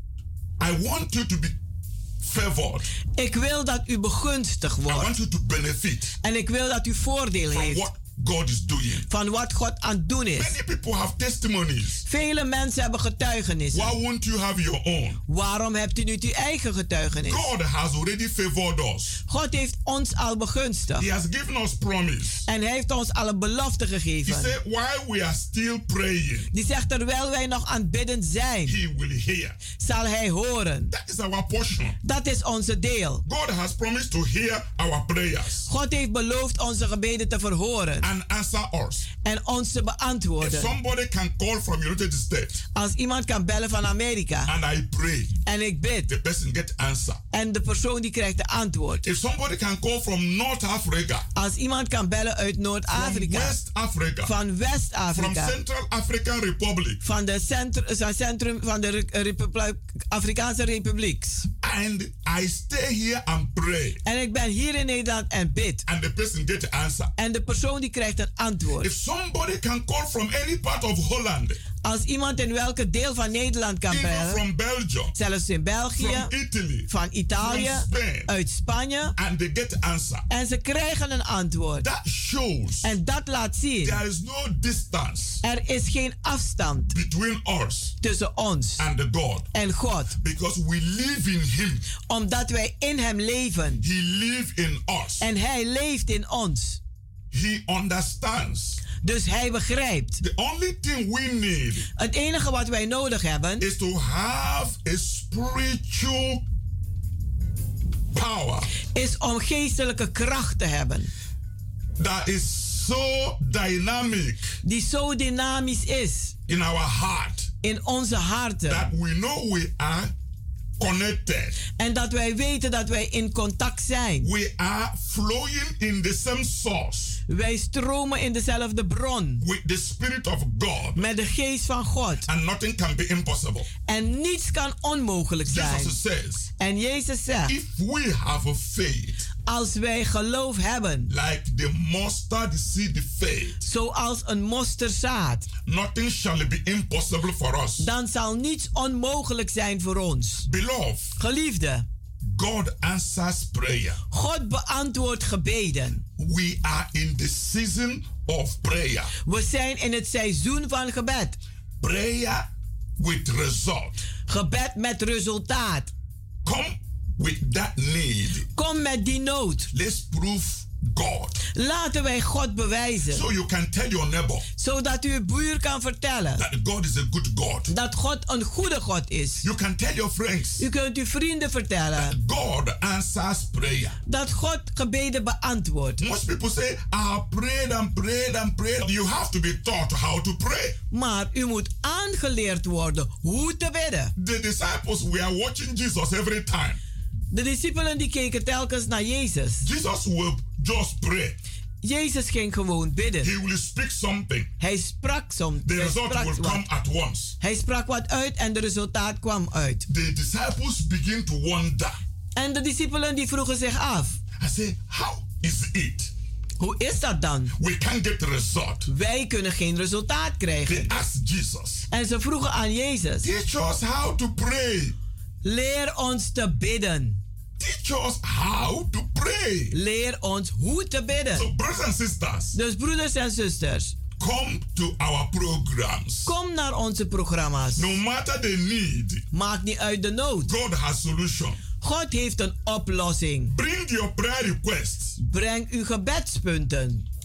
I want you to be favored. Ik wil dat u begunstigd wordt. I want you to benefit. En ik wil dat u voordeel from heeft. What God is doing. Van wat God aan het doen is. Many people have testimonies. Vele mensen hebben getuigenissen. Why won't you have your own? Waarom hebt u niet uw eigen getuigenis? God has already favored us. God heeft ons al begunstigd. He has given us promise. En hij heeft ons al een belofte gegeven. He said, while we are still praying, die zegt, terwijl wij nog aan het bidden zijn, he will hear. Zal hij horen. That is our portion. Dat is onze deel. God has promised to hear our prayers. God heeft beloofd onze gebeden te verhoren. And answer us. En ons te beantwoorden. If somebody can call from United States. Als iemand kan bellen van Amerika. And I pray. En ik bid. The person get answer. En de persoon die krijgt de antwoord. If somebody can call from North Africa. Als iemand kan bellen uit Noord-Afrika. From West Africa. Van West-Afrika. From Central African Republic. Van de centrum, centrum van de Republiek, Afrikaanse Republiek. And I stay here and pray. En ik ben hier in Nederland en bid. And the person get the answer. En de persoon die krijgt een antwoord. If somebody can call from any part of Holland. Als iemand in welke deel van Nederland kan bellen. From Belgium. Zelfs in België. From Italy. Van Italië. From Spain. Uit Spanje. And they get the answer. En ze krijgen een antwoord. That shows. En dat laat zien. There is no distance. Er is geen afstand. Between us. Tussen ons. And the God. En God. Because we live in Him. Omdat wij in hem leven. He lives in us. En hij leeft in ons. He understands. Dus hij begrijpt. The only thing we need. Het enige wat wij nodig hebben. Is to have a spiritual power. Is om geestelijke kracht te hebben. That is so dynamic. Die zo dynamisch is. In our heart. In onze harten. That we know we are connected. En dat wij weten dat wij in contact zijn. We are flowing in the same source. Wij stromen in dezelfde bron. With the Spirit of God. Met de geest van God. And nothing can be impossible. En niets kan onmogelijk zijn. Jesus says. En Jezus zegt. If we have a faith. Als wij geloof hebben. Like the mustard seed faith. Zoals een mosterdzaad. Nothing shall be impossible for us. Dan zal niets onmogelijk zijn voor ons. Beloved. Geliefde. God answers prayer. God beantwoordt gebeden. We are in the season of prayer. We zijn in het seizoen van gebed. Prayer with result. Gebed met resultaat. Come with that need. Kom met die nood. Let's prove God. Laten wij God bewijzen. So you can tell your neighbor. Zodat uw buur kan vertellen. That God is a good God. Dat God een goede God is. You can tell your friends. U kunt uw vrienden vertellen. That God answers prayer. Dat God gebeden beantwoordt. Most people say, I prayed and prayed and prayed. You have to be taught how to pray. Maar u moet aangeleerd worden hoe te bidden. The disciples were watching Jesus every time. De discipelen die keken telkens naar Jezus. Jesus will just pray. Jezus ging gewoon bidden. He will speak something. Hij sprak soms. The result will wat. come at once. Hij sprak wat uit en de resultaat kwam uit. The disciples begin to wonder. En de discipelen die vroegen zich af. I say, how is it? Hoe is dat dan? We can't get the result. Wij kunnen geen resultaat krijgen. They asked Jesus. En ze vroegen aan Jezus. Teach us how to pray. Leer ons te bidden. Teach us how to pray. Leer ons hoe te bidden. So brothers and sisters. Dus broeders en zusters. Come to our programs. Kom naar onze programma's. No matter the need. Maakt niet uit de nood. God has solution. God heeft een oplossing. Bring your prayer requests. Breng uw gebedspunten.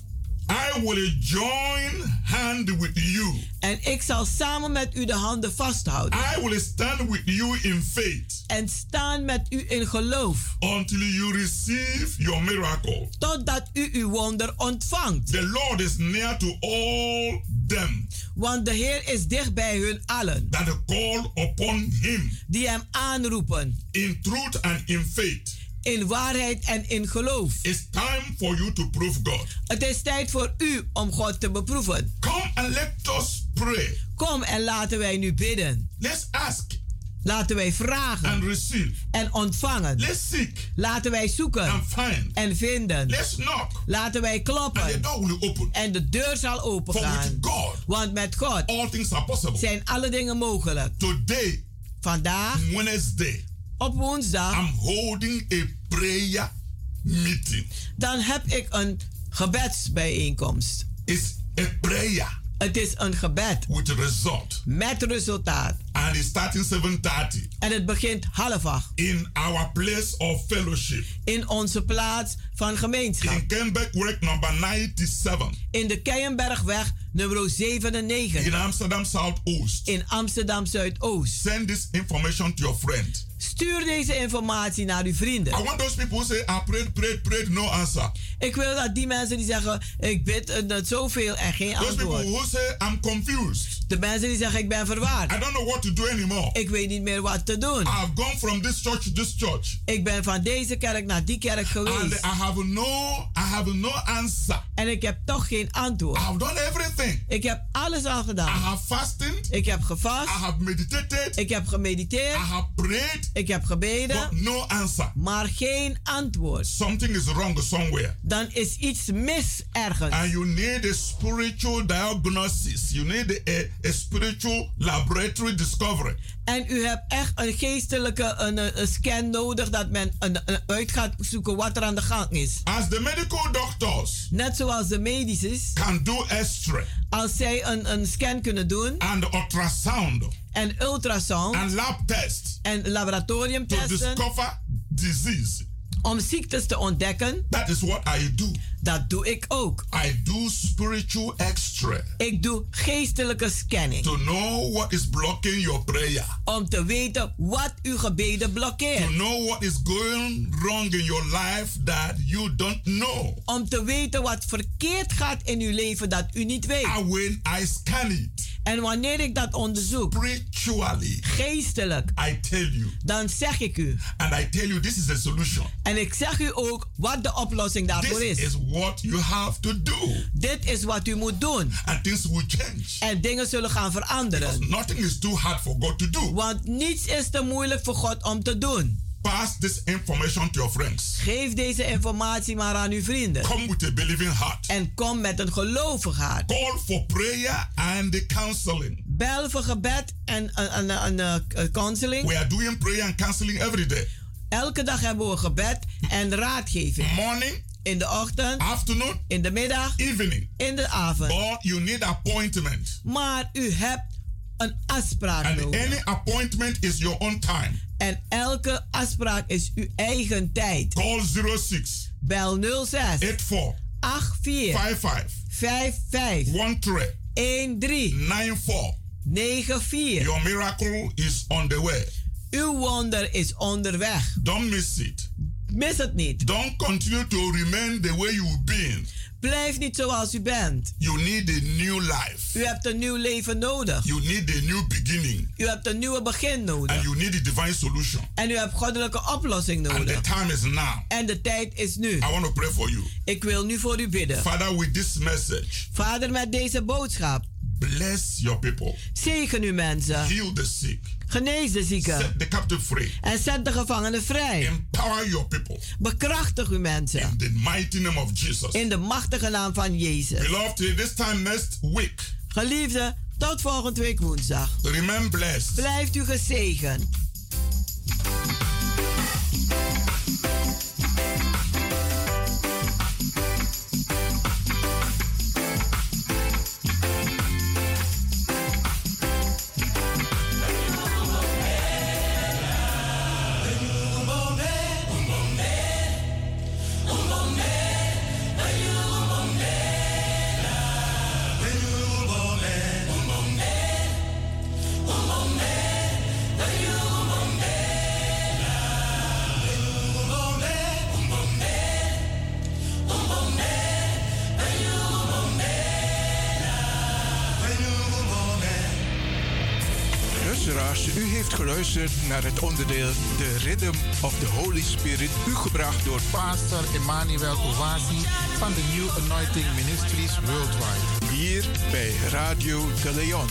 I will join hand with you. En ik zal samen met u de handen vasthouden. I will stand with you in faith. En staan met u in geloof. Until you receive your miracle. Totdat u uw wonder ontvangt. The Lord is near to all them. Want de Heer is dicht bij hun allen. That call upon him. Die hem aanroepen. In truth and in faith. In waarheid en in geloof. It's time for you to prove God. Het is tijd voor u om God te beproeven. Come and let us pray. Kom en laten wij nu bidden. Let's ask. Laten wij vragen. And receive. En ontvangen. Let's seek. Laten wij zoeken. And find. En vinden. Let's knock. Laten wij kloppen. And the door will open. En de deur zal opengaan. For with God, want met God all things are possible. Zijn alle dingen mogelijk. Today. Vandaag. Wednesday. Op woensdag. I'm holding a prayer meeting. Dan heb ik een gebedsbijeenkomst. It's a prayer. Het is een gebed. With result. Met resultaat. And it's starting seven thirty. En het begint half acht. In our place of fellowship. In onze plaats van gemeenschap. In Kenbergweg number ninety-seven. In de Keienbergweg nummer zevenennegentig. In Amsterdam Zuidoost. In Amsterdam Zuidoost. Send this information to your friend. Stuur deze informatie naar uw vrienden. I want those people who say, I prayed, prayed, prayed, no answer. Ik wil dat die mensen die zeggen, ik bid uh, zoveel en geen those antwoord. Those people who say, I'm confused. De mensen die zeggen, ik ben verwaard. I don't know what to do anymore. Ik weet niet meer wat te doen. I've gone from this church to this church. Ik ben van deze kerk naar die kerk geweest. And I have no, I have no answer. En ik heb toch geen antwoord. I've done everything. Ik heb alles al gedaan. I have fasted. Ik heb gevast. I have meditated. Ik heb gemediteerd. I have prayed. Ik heb gebeden. But no answer. Maar geen antwoord. Something is wrong somewhere. Dan is iets mis ergens. And you need a spiritual diagnosis. You need a, a spiritual laboratory discovery. En u hebt echt een geestelijke een, een scan nodig dat men een, een uit gaat zoeken wat er aan de gang is. As the medical doctors. Net zoals de medici. Can do X-ray. Als zij een, een scan kunnen doen. And ultrasound. En ultrasound. And lab test. En laboratoriumtesten. To discover disease. Om ziektes te ontdekken. That is what I do. Dat doe ik ook. I do spiritual X-ray. Ik doe geestelijke scanning. To know what is blocking your prayer. Om te weten wat uw gebeden blokkeert. To know what is going wrong in your life that you don't know. Om te weten wat verkeerd gaat in uw leven dat u niet weet. And when I scan it. En wanneer ik dat onderzoek, spiritually, geestelijk, I tell you, dan zeg ik u. And I tell you this is the solution. En ik zeg u ook wat de oplossing daarvoor this is. This is what you have to do. Dit is wat u moet doen. And things will change. En dingen zullen gaan veranderen. Because nothing is too hard for God to do. Want niets is te moeilijk voor God om te doen. Pass this information to your friends. Geef deze informatie maar aan uw vrienden. Come with a believing heart. En kom met een gelovig hart. Call for prayer and counseling. Bel voor gebed en een counseling. We are doing prayer and counseling every day. Elke dag hebben we gebed en raadgeving. Morning. In de ochtend. Afternoon. In de middag. Evening. In de avond. But you need appointment. Maar u hebt een afspraak and nodig. Any appointment is your own time. En elke afspraak is uw eigen tijd. Call zero six. Bel nul zes. eight four. acht vier. five five. vijf vijf. one three. een drie. nine four. negen vier. Your miracle is on the way. Uw wonder is onderweg. Don't miss it. Mis het niet. Don't continue to remain the way you've been. Blijf niet zoals u bent. You need a new life. U hebt een nieuw leven nodig. You need a new beginning. U hebt een nieuwe begin nodig. And you need a divine solution. En u hebt goddelijke oplossing nodig. And the time is now. En de tijd is nu. I want to pray for you. Ik wil nu voor u bidden. Father, with this message. Vader, met deze boodschap. Bless your people. Zegen uw mensen. Heal the sick. Genees de zieken. Set the captive free. En zet de gevangenen vrij. Empower your people. Bekrachtig uw mensen. In the mighty name of Jesus. In de machtige naam van Jezus. Beloved, this time next week. Geliefde, tot volgende week woensdag. Remain blessed. Blijft u gezegend. luisteraars, u heeft geluisterd naar het onderdeel The Rhythm of the Holy Spirit, u gebracht door Pastor Emmanuel Owasi van de New Anointing Ministries Worldwide. hier bij Radio De Leon.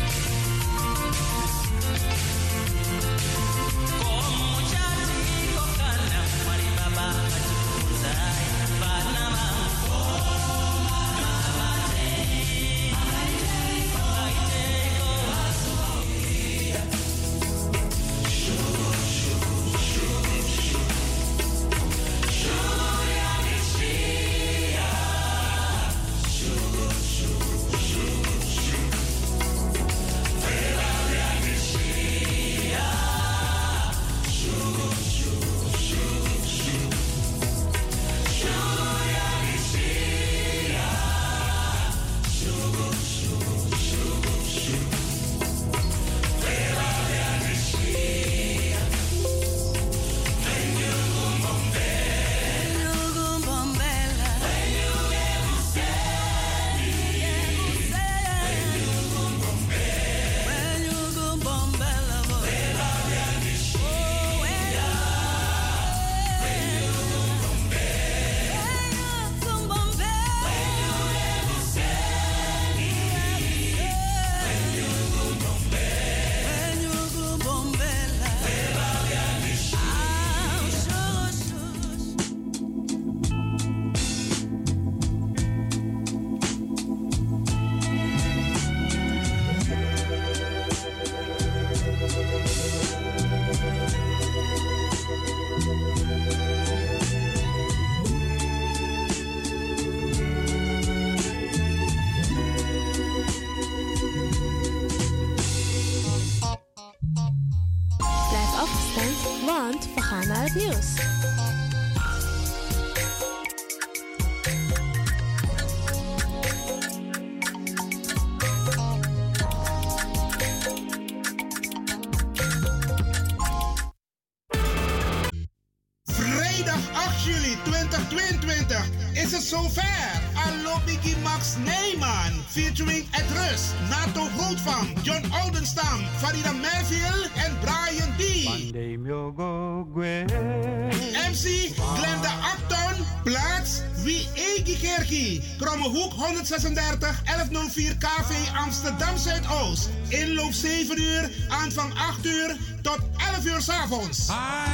want we gaan naar het nieuws. Vrijdag acht juli tweeduizend tweeëntwintig is het zover. Allo Biggie Max Neyman featuring Ed Rus, Nato Grootvang, John Oudenstam, Farida Merville en Brian D. M C Glenda Acton, plaats Wie Egi Kerkie, Krommehoek honderdzesendertig, elfhonderdvier K V Amsterdam Zuidoost. Inloop zeven uur, aanvang acht uur tot elf uur 's avonds.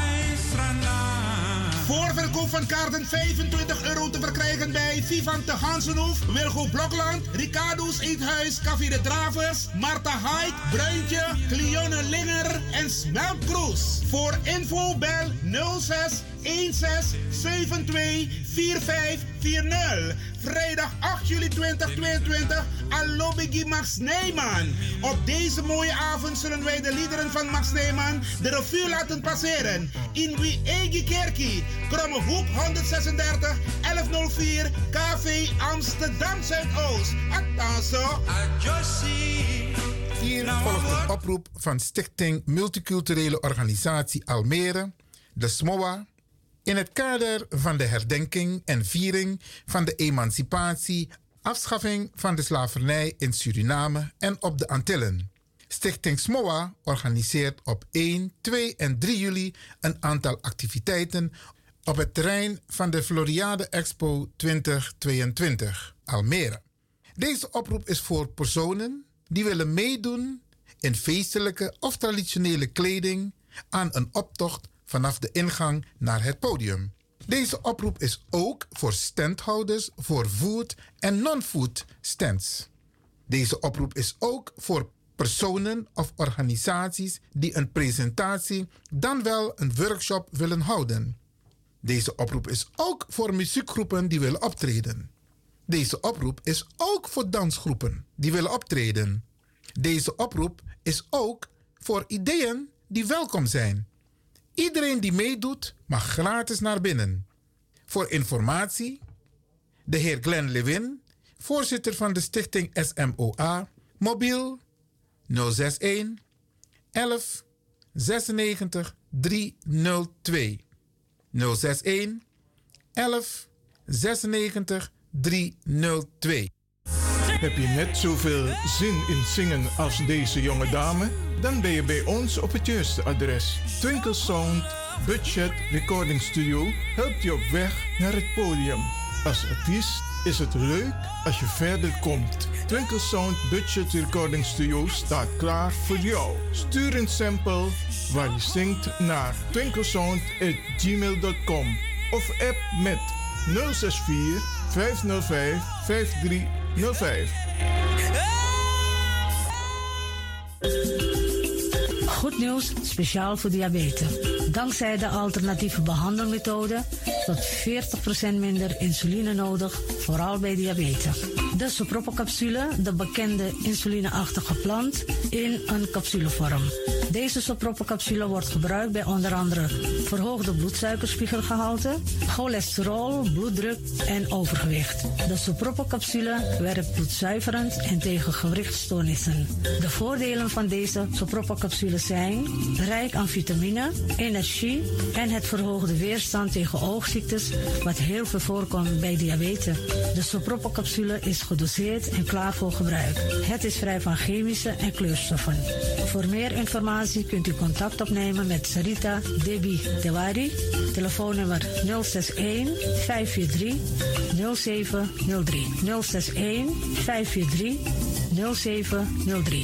Voorverkoop van kaarten vijfentwintig euro te verkrijgen bij Vivan te Gansenhoef, Wilgo Blokland, Ricardo's Eethuis, Café de Dravers, Marta Haik, Bruintje, Cleone Linger en Smelk Kroes. Voor info bel nul zes een zes zeven twee vier vijf vier nul. Vrijdag acht juli tweeduizend tweeëntwintig, Allo Biggie Max Neyman. Op deze mooie avond zullen wij de liederen van Max Neyman de revue laten passeren. In Wie Egi Kerkie, Krommehoek honderdzesendertig, elfhonderdvier K V Amsterdam Zuidoost. Attenzo. Hier volgt een oproep van Stichting Multiculturele Organisatie Almere, de S M O A, in het kader van de herdenking en viering van de emancipatie, afschaffing van de slavernij in Suriname en op de Antillen. Stichting S M O A organiseert op één, twee en drie juli een aantal activiteiten op het terrein van de Floriade Expo twintig tweeëntwintig, Almere. Deze oproep is voor personen die willen meedoen in feestelijke of traditionele kleding aan een optocht vanaf de ingang naar het podium. Deze oproep is ook voor standhouders voor food en non-food stands. Deze oproep is ook voor personen of organisaties die een presentatie dan wel een workshop willen houden. Deze oproep is ook voor muziekgroepen die willen optreden. Deze oproep is ook voor dansgroepen die willen optreden. Deze oproep is ook voor ideeën die welkom zijn. Iedereen die meedoet mag gratis naar binnen. Voor informatie, de heer Glenn Lewin, voorzitter van de stichting S M O A, mobiel nul zes een elf zesennegentig driehonderdtwee. nul zes een elf zesennegentig driehonderdtwee. Heb je net zoveel zin in zingen als deze jonge dame? Dan ben je bij ons op het juiste adres. Twinkle Sound Budget Recording Studio helpt je op weg naar het podium. Als artiest is het leuk als je verder komt. Twinkle Sound Budget Recording Studio staat klaar voor jou. Stuur een sample waar je zingt naar twinklesound at gmail dot com of app met nul zes vier vijf nul vijf vijf drie nul vijf. Goed nieuws, speciaal voor diabetes. Dankzij de alternatieve behandelmethode tot veertig procent minder insuline nodig, vooral bij diabetes. De Sopropocapsule, de bekende insulineachtige plant, in een capsulevorm. Deze Sopropocapsule wordt gebruikt bij onder andere verhoogde bloedsuikerspiegelgehalte, cholesterol, bloeddruk en overgewicht. De Sopropocapsule werkt bloedzuiverend en tegen gewrichtstoornissen. De voordelen van deze Sopropocapsule zijn rijk aan vitamine, energie en het verhoogde weerstand tegen oogziektes, wat heel veel voorkomt bij diabetes. De Sopropocapsule is gedoseerd en klaar voor gebruik. Het is vrij van chemische en kleurstoffen. Voor meer informatie kunt u contact opnemen met Sarita Debi Dewari. Telefoonnummer nul zes een vijf vier drie nul zeven nul drie. nul zes een vijf vier drie nul zeven nul drie.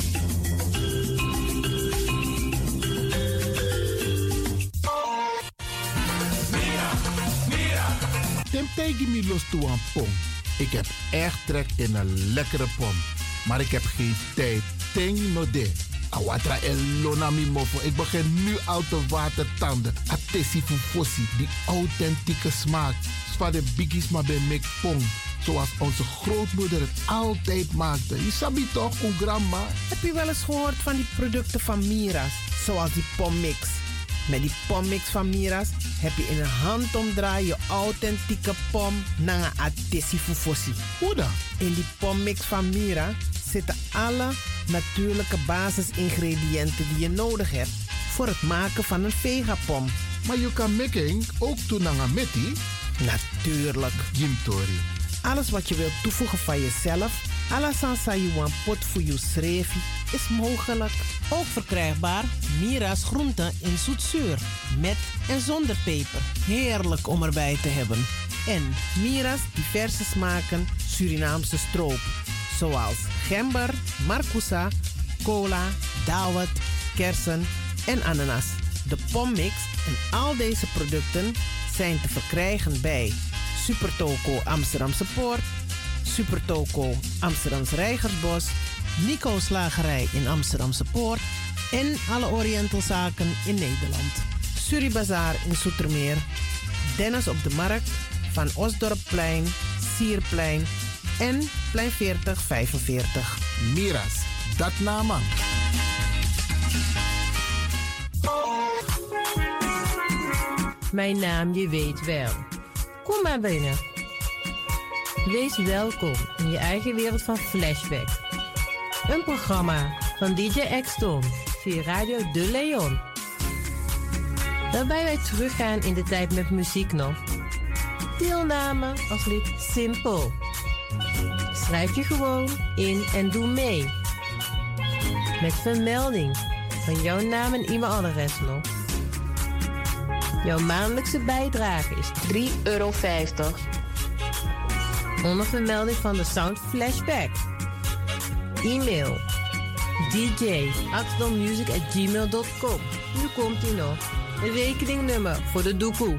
Temptegi mi los toe aan pom. Ik heb echt trek in een lekkere pom. Maar ik heb geen tijd. Ting no de. Awatra elona mi mofo. Ik begin nu al te watertanden. Atesi fufosi. Die authentieke smaak. Zwa de biggies maar bij mek pom. Zoals onze grootmoeder het altijd maakte. Je sabi toch, o grandma? Heb je wel eens gehoord van die producten van Mira's? Zoals die pommix. Met die pommix van Mira's heb je in een handomdraai je authentieke pom naar een atesi fufosi. Hoe dan? In die pommix van Mira zitten alle natuurlijke basisingrediënten die je nodig hebt voor het maken van een vegapom. Maar je kan making ook doen naar een metti? Natuurlijk. Jim Tori. Alles wat je wilt toevoegen van jezelf, alla sansa you want pot voor je schreef, is mogelijk. Ook verkrijgbaar Mira's groenten in zoetzuur, met en zonder peper. Heerlijk om erbij te hebben. En Mira's diverse smaken Surinaamse stroop, zoals gember, marcousa, cola, dawet, kersen en ananas. De pommix en al deze producten zijn te verkrijgen bij Supertoco Amsterdamse Poort, Supertoco Amsterdamse Reigersbos, Nico Slagerij in Amsterdamse Poort en alle Orientalzaken in Nederland. Suribazaar in Zoetermeer, Dennis op de Markt, Van Osdorpplein, Sierplein en Plein veertig vijfenveertig. Mira's, dat nama. Mijn naam, je weet wel. Kom maar binnen. Wees welkom in je eigen wereld van Flashback. Een programma van D J X-Don via Radio De Leon. Waarbij wij teruggaan in de tijd met muziek nog. Deelname als lid simpel. Schrijf je gewoon in en doe mee. Met vermelding van jouw naam en e-mailadres nog. Jouw maandelijkse bijdrage is drie euro vijftig. Onder vermelding van de Sound Flashback. E-mail d j axdon music at gmail dot com. Nu komt ie nog. Een rekeningnummer voor de doekoe.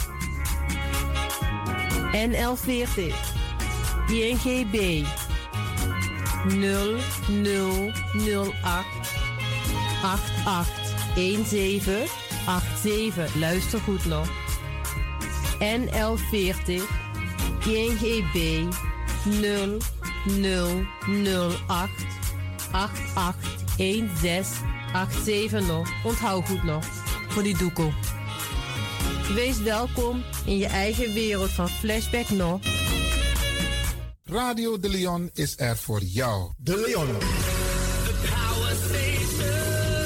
N L veertig I N G B nul nul nul acht acht acht een zeven acht zeven. Luister goed nog. N L veertig I N G B nul nul nul acht acht acht een zes acht zeven nog. Onthoud goed nog. Voor die doekoe. Wees welkom in je eigen wereld van Flashback nog. Radio De Leon is er voor jou. De Leon. The Power Station.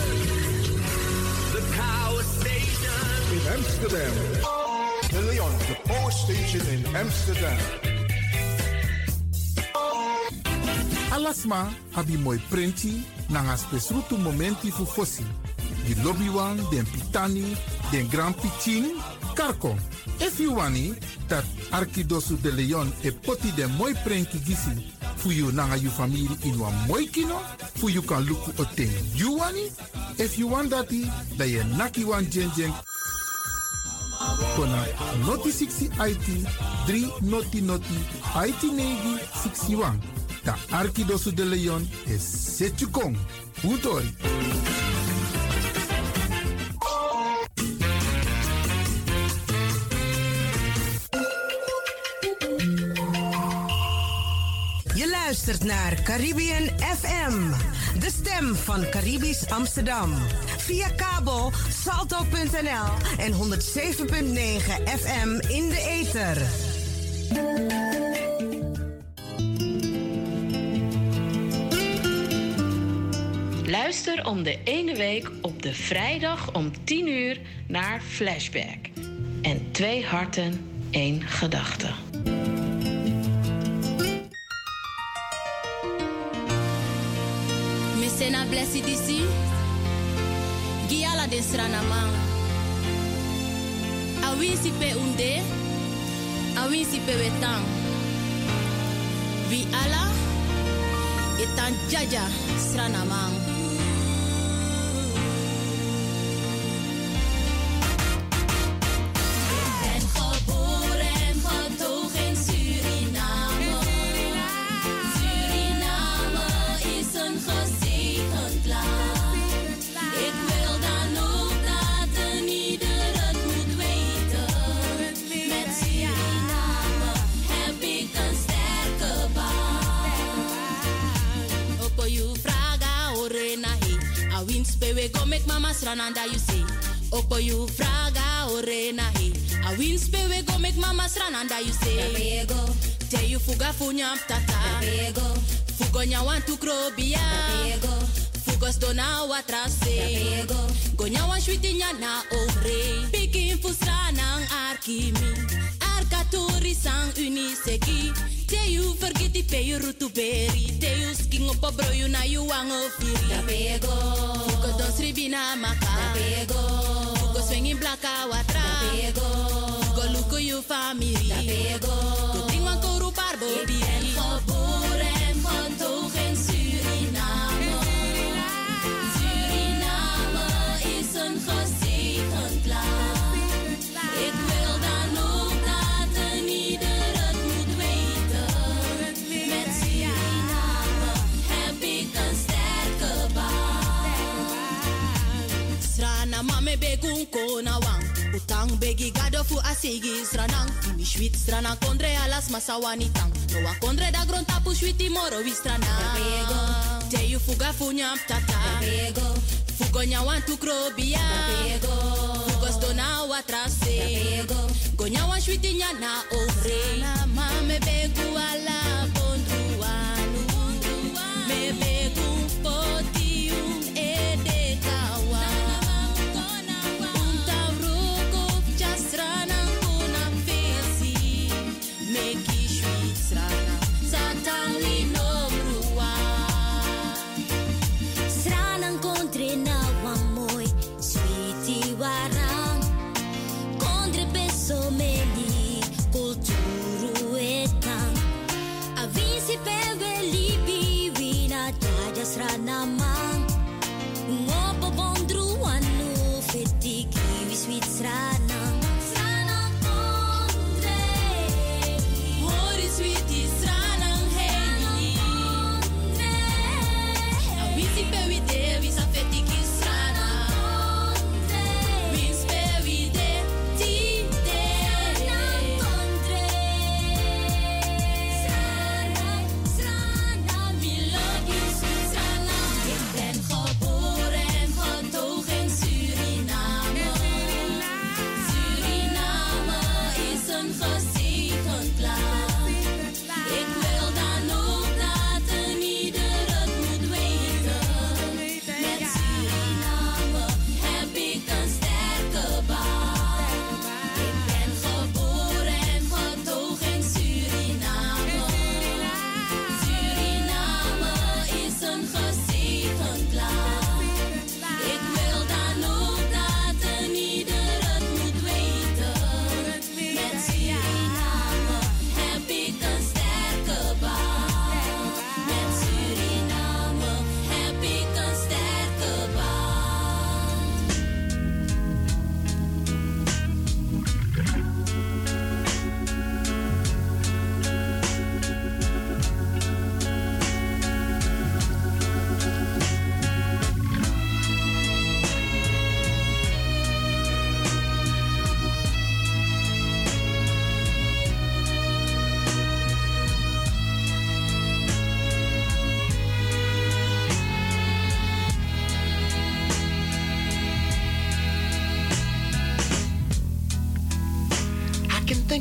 The Power Station. In Amsterdam. De Leon, the Power Station in Amsterdam. alasma abi mooi prenti nanga spesrutu momenti fu fosi. Di lobby wan, den pitani, den grand pitin, karko. If you wani, dat Arkidosu de Leon e poti den mooi prenki gisi fu you nanga you family in wan mooi kino, fu you kan luku o ten you wani. If you want dati, da ye naki wan jen jen. Kona noti sixty I T, three noti noti, I T negi sixty-one. Da Arkidosu de Leon is Setjukong. Utori. Je luistert naar Caribbean F M, de stem van Caribisch Amsterdam. Via kabel salto punt n l en honderd zeven punt negen F M in de ether. Luister om de ene week op de vrijdag om tien uur naar Flashback. En twee harten, één gedachte. Sena blessi disi Giala de sranama Awisi pe unde Awisi pe wetang Vi ala Etan jaja sranamang we go make mama srananda you say Opo you fraga orena he A wins pe we go make mama srananda you say Te you fuga funyam tata Fugo nya want to krobia Fugos dona watrase Go nya wan shwiti nya na ore Pikin fusranang arkimi Arkaturi sang uniseki Te you forget the pay you rutu beri Te you sking up a bro you na you wang ofiri Da pego Fugo don sribina maka Da pego Fugo swinging blaka watra Da pego Fugo luko you family Da pego Go ting wan koru parbo bi En geboren van toch in Suriname Suriname is een gezegend land Ik wil dan ook dat een ieder het moet weten Met Suriname heb ik een sterke band Srana mame begun kona wang Utang begi gado fu asigi sranang Mi shwit strana kondre alas masawani tang No a kondre da gron tapu shwiti moro wi strana Te you fuga funyam tata Fugo nya wan tu krobia Fugo stona watrase Go nya wan shwiti nya na ore Mame begu ala bondruanu Me begu potium ede kawa Unta roko jasrana kona fesi Meki shwit strana Satang lino brua Sranang kontre na wamoy Sweetie warang Kontre beso meli Kulturu etang Avisi pewe libi Wina jaja sranamang Ngopo bondru anu Feti kiwi sweet sranang Sranang kontre Hori sweetie sranang hei Avisi pewe de Wisa feti ki strana Wins pewe de Ti de Sranang kontre Sranang, sranang Mi love you sweet sranang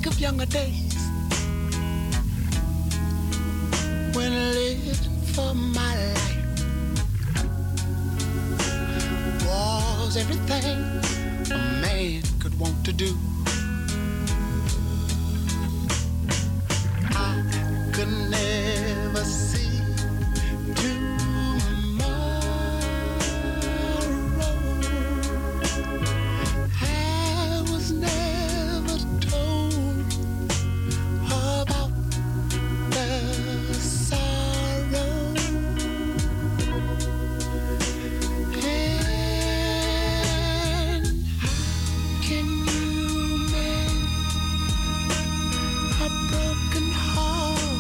think of younger days when I lived for my life was everything a man could want to do. I could never see tomorrow. I was never told about the sorrow. And how can you mend a broken heart?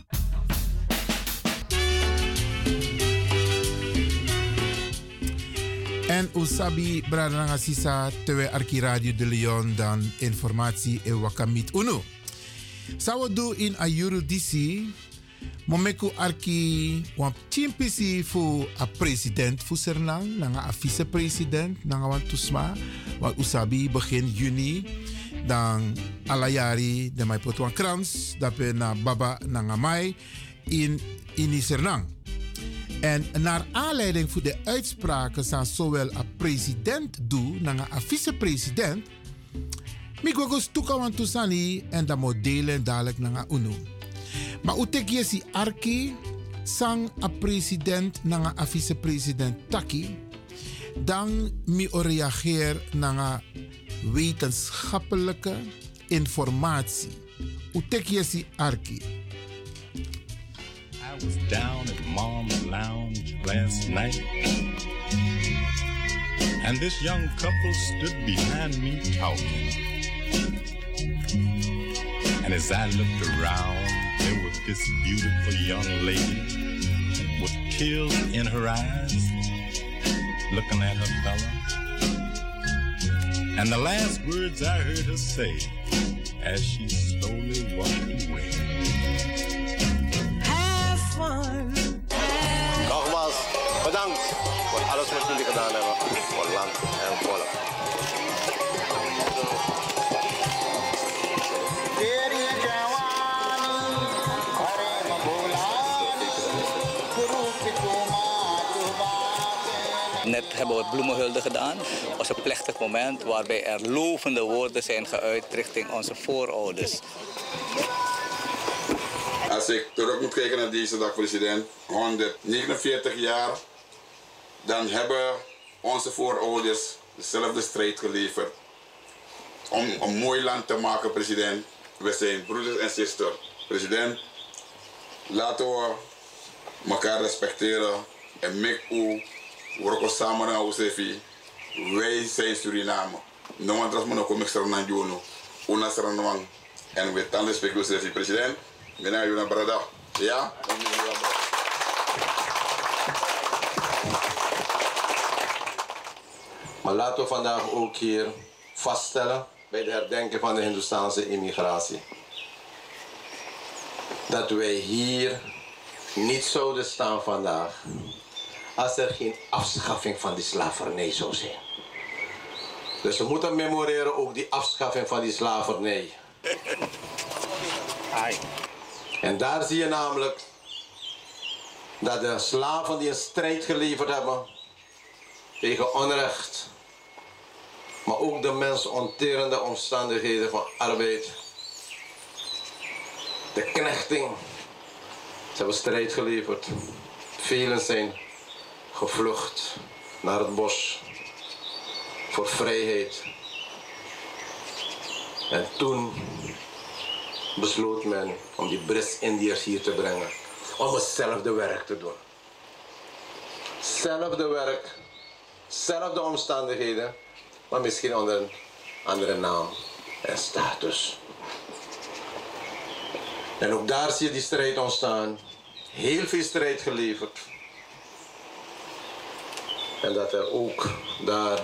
En Usabi Bradanga Sisa Tewe Arki Radio de Leon dan informatie e wakamit uno. Sawo do in Ayuru D C Momeku Arki wan chimpisi fu a president fu Sernang, nanga a vice-president, nanga wan tusma, wan Usabi begin juni, dan alayari de mai potwan krans, dape na baba nanga mai in in Sernang. En naar aanleiding voor de uitspraken van zowel een president doe, naar een vice-president, Migogos toekawan tusani en dat modellen dadelijk naar een uno. Maar utek je si arki, sang een president naar een vice-president taki, dan mi reageer naar wetenschappelijke informatie. Utek je si arki. I was down at Mom's Lounge last night, and this young couple stood behind me talking. And as I looked around, there was this beautiful young lady with tears in her eyes, looking at her fella. And the last words I heard her say as she slowly walked away. Nogmaals, bedankt voor alles wat jullie gedaan hebben voor land en volk. Net hebben we het bloemenhulde gedaan. Het was een plechtig moment waarbij er lovende woorden zijn geuit richting onze voorouders. Als ik terug moet kijken naar deze dag, president, honderdnegenenveertig jaar, dan hebben onze voorouders dezelfde strijd geleverd om een mooi land te maken, president. We zijn broeders en zusters. President, laten we elkaar respecteren en met u werken samen naar Osefi. Wij zijn Suriname. No one trust me no come extra na juno. Una seranwang. En we tanden respect Osefi, president. Mina yuna brada. Ja? Maar laten we vandaag ook hier vaststellen bij de herdenking van de Hindoestaanse immigratie dat wij hier niet zouden staan vandaag als er geen afschaffing van die slavernij zou zijn. Dus we moeten memoreren ook die afschaffing van die slavernij. En daar zie je namelijk dat de slaven die een strijd geleverd hebben tegen onrecht, maar ook de mensonterende omstandigheden van arbeid, de knechting, ze hebben strijd geleverd. Velen zijn gevlucht naar het bos voor vrijheid. En toen besloot men om die Brits-Indiërs hier te brengen, om hetzelfde werk te doen. Hetzelfde werk, zelfde omstandigheden, maar misschien onder een andere naam en status. En ook daar zie je die strijd ontstaan. Heel veel strijd geleverd. En dat er ook daar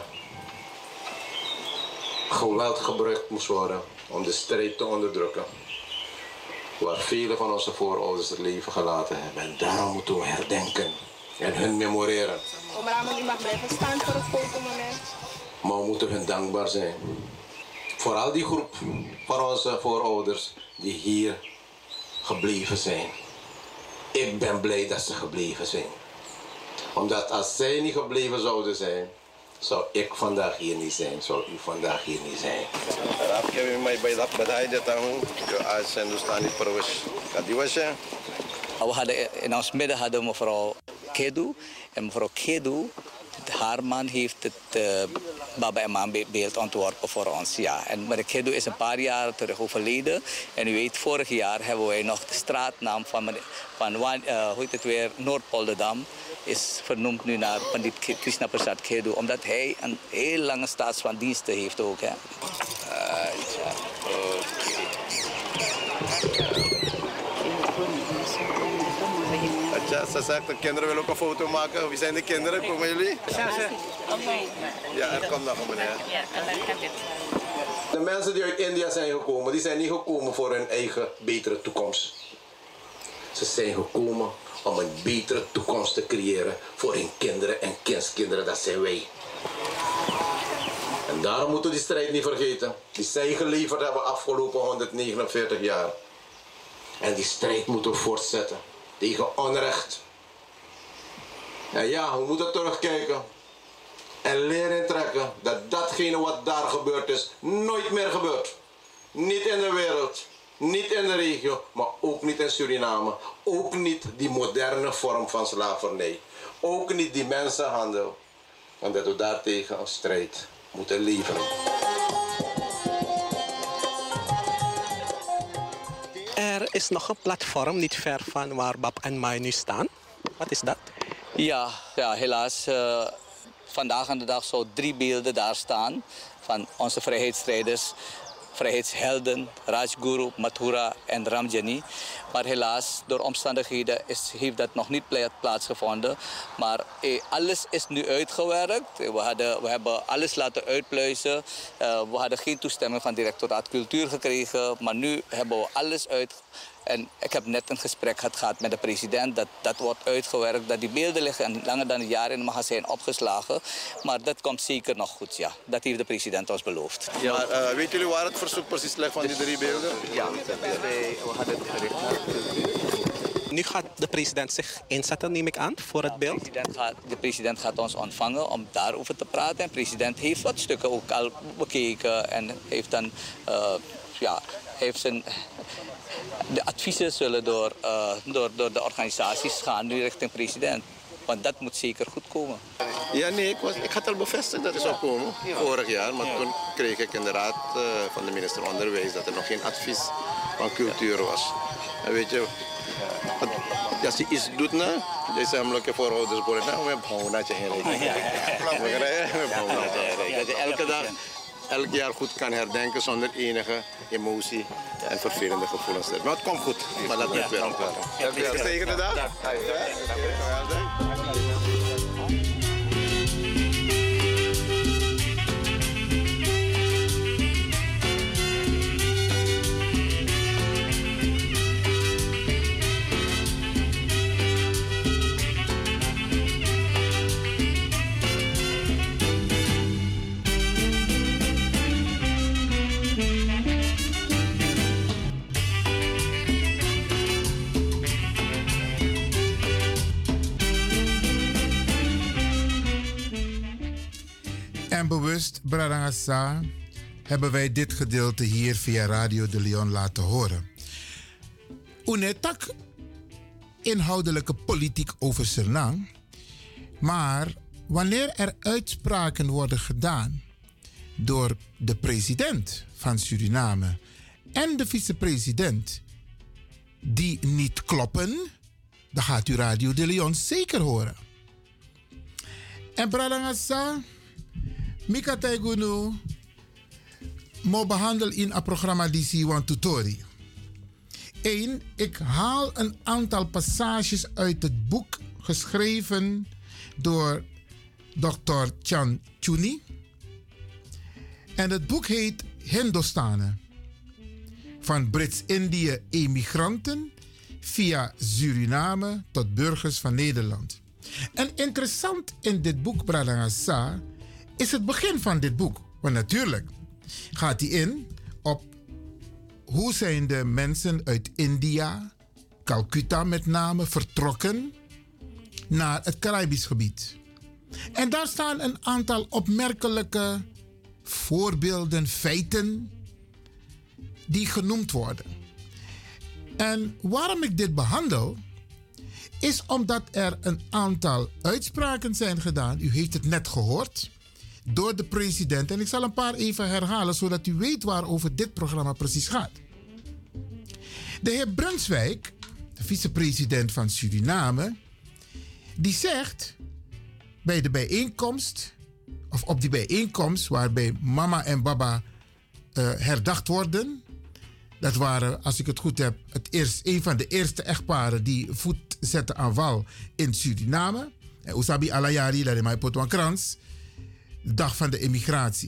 geweld gebruikt moest worden om de strijd te onderdrukken. Waar vele van onze voorouders het leven gelaten hebben. En daarom moeten we herdenken en hun memoreren. Om Ramon, u mag blijven staan voor een fotomoment. Maar we moeten hun dankbaar zijn vooral die groep van onze voorouders die hier gebleven zijn. Ik ben blij dat ze gebleven zijn. Omdat als zij niet gebleven zouden zijn, zou ik vandaag hier niet zijn, zou u vandaag hier niet zijn. We hadden in ons midden hadden we mevrouw Kedu. En mevrouw Kedu, haar man heeft het uh, Baba en Mama beeld ontworpen voor ons. Ja. En mevrouw Kedu is een paar jaar terug overleden. En u weet, vorig jaar hebben wij nog de straatnaam van, van uh, hoe heet het weer, Noord-Polderdam is vernoemd nu naar Pandit Krishna Prasad Kedu, omdat hij een heel lange staats van diensten heeft ook. Hè. Uh, ja. Atja, ze zegt, de kinderen willen ook een foto maken. Wie zijn de kinderen? Komen jullie? Ja, er komt nog een meneer. De mensen die uit India zijn gekomen, die zijn niet gekomen voor hun eigen betere toekomst. Ze zijn gekomen om een betere toekomst te creëren voor hun kinderen en kindskinderen, dat zijn wij. En daarom moeten we die strijd niet vergeten. Die zij geleverd hebben afgelopen honderdnegenenveertig jaar. En die strijd moeten we voortzetten tegen onrecht. En ja, we moeten terugkijken en leren trekken dat datgene wat daar gebeurd is, nooit meer gebeurt. Niet in de wereld, niet in de regio, maar ook niet in Suriname. Ook niet die moderne vorm van slavernij. Ook niet die mensenhandel. En dat we daartegen een strijd moeten leveren. Er is nog een platform niet ver van waar Bab en Mai nu staan. Wat is dat? Ja, ja helaas. Uh, vandaag aan de dag zo drie beelden daar staan van onze vrijheidsstrijders. Vrijheidshelden, Rajguru, Mathura en Ramjani. Maar helaas, door omstandigheden is, heeft dat nog niet plaatsgevonden. Maar eh, alles is nu uitgewerkt. We, hadden, we hebben alles laten uitpluizen. Uh, we hadden geen toestemming van het directoraat cultuur gekregen. Maar nu hebben we alles uit. En ik heb net een gesprek gehad met de president. Dat, dat wordt uitgewerkt. Dat die beelden liggen langer dan een jaar in het magazijn opgeslagen. Maar dat komt zeker nog goed, ja. Dat heeft de president ons beloofd. Ja, maar uh, weten jullie waar het verzoek precies ligt van die drie beelden? Ja, we hadden het gericht. Nu gaat de president zich inzetten, neem ik aan, voor het beeld? De president gaat, de president gaat ons ontvangen om daarover te praten. En de president heeft wat stukken ook al bekeken. En heeft dan, uh, ja, heeft zijn... De adviezen zullen door, uh, door, door de organisaties gaan nu richting president. Want dat moet zeker goed komen. Ja, nee, ik, was, ik had al bevestigd dat het zou komen, vorig jaar. Maar toen kreeg ik in de raad uh, van de minister Onderwijs dat er nog geen advies van cultuur was. En weet je, als je iets doet, nou, je zegt namelijk voor ouders worden, nou, we hebben dat je Dat je elke dag, elk jaar goed kan herdenken zonder enige emotie en vervelende gevoelens. Maar het komt goed, maar dat moet weer opkomen. Gezegende dag. En bewust, Bradangasa, hebben wij dit gedeelte hier via Radio de Leon laten horen. Unetak inhoudelijke politiek over Suriname, maar wanneer er uitspraken worden gedaan door de president van Suriname en de vicepresident die niet kloppen, dan gaat u Radio de Leon zeker horen. En Bradangasa, Mika Taigunu, mo behandel in het programma D C one Tutori. Eén, ik haal een aantal passages uit het boek geschreven door dokter Chan Chuni. En het boek heet Hindostanen. Van Brits-Indië emigranten via Suriname tot burgers van Nederland. En interessant in dit boek, Bradangasa, is het begin van dit boek. Want natuurlijk, gaat hij in op hoe zijn de mensen uit India, Calcutta met name, vertrokken naar het Caribisch gebied. En daar staan een aantal opmerkelijke voorbeelden, feiten die genoemd worden. En waarom ik dit behandel, is omdat er een aantal uitspraken zijn gedaan. U heeft het net gehoord, door de president. En ik zal een paar even herhalen, zodat u weet waarover dit programma precies gaat. De heer Brunswijk, de vicepresident van Suriname, die zegt bij de bijeenkomst, of op die bijeenkomst waarbij mama en baba uh, herdacht worden. Dat waren, als ik het goed heb, het eerst, een van de eerste echtparen die voet zetten aan wal in Suriname. En Usabi Alayari, dat is mijn potwankrans, de dag van de immigratie.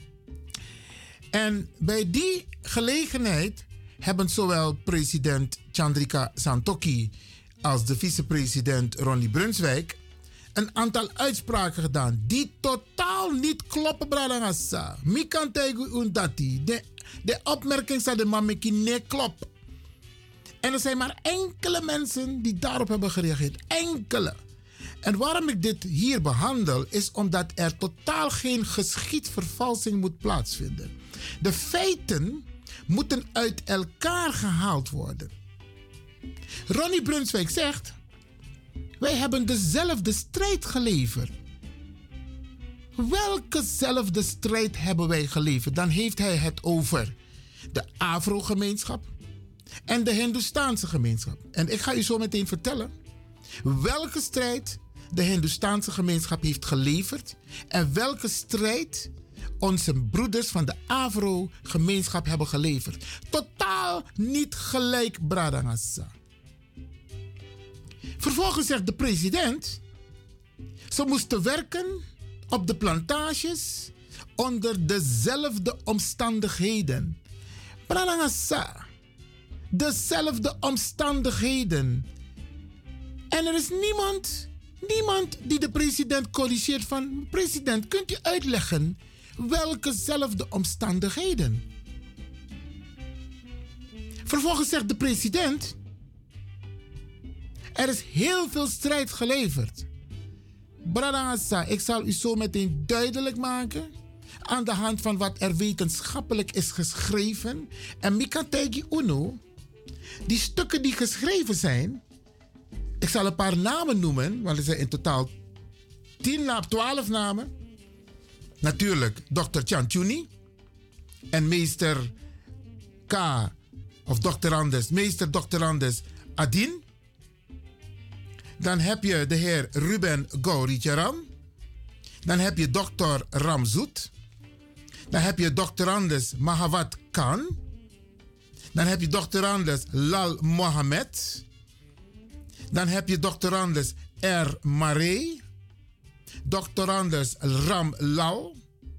En bij die gelegenheid hebben zowel president Chandrika Santokhi als de vicepresident Ronnie Brunswijk een aantal uitspraken gedaan die totaal niet kloppen, Bradangasa. Mi kan tegen undati. De, de opmerking van de mameki nee klopt. En er zijn maar enkele mensen die daarop hebben gereageerd. Enkele. En waarom ik dit hier behandel, is omdat er totaal geen geschiedvervalsing moet plaatsvinden. De feiten moeten uit elkaar gehaald worden. Ronnie Brunswijk zegt: wij hebben dezelfde strijd geleverd. Welkezelfde strijd hebben wij geleverd? Dan heeft hij het over de Afro-gemeenschap en de Hindoestaanse gemeenschap. En ik ga u zo meteen vertellen welke strijd de Hindoestaanse gemeenschap heeft geleverd en welke strijd onze broeders van de Afro-gemeenschap hebben geleverd. Totaal niet gelijk, Bradangasa. Vervolgens zegt de president: ze moesten werken op de plantages onder dezelfde omstandigheden. Bradangasa. Dezelfde omstandigheden. En er is niemand, niemand die de president corrigeert van: president, kunt u uitleggen welkezelfde omstandigheden? Vervolgens zegt de president: er is heel veel strijd geleverd. Bradangasa, ik zal u zo meteen duidelijk maken aan de hand van wat er wetenschappelijk is geschreven. En Mikategi Uno, die stukken die geschreven zijn, ik zal een paar namen noemen, want er zijn in totaal tien, twaalf namen. Natuurlijk dokter Chanchuni en meester K, of doctorandus, meester doctorandus Adin. Dan heb je de heer Ruben Gauricharam. Dan heb je dokter Ramzoet. Dan heb je doctorandus Mahawat Khan. Dan heb je doctorandus Lal Mohammed. Dan heb je doctorandus R. Maré. Doctorandus Ram Lal.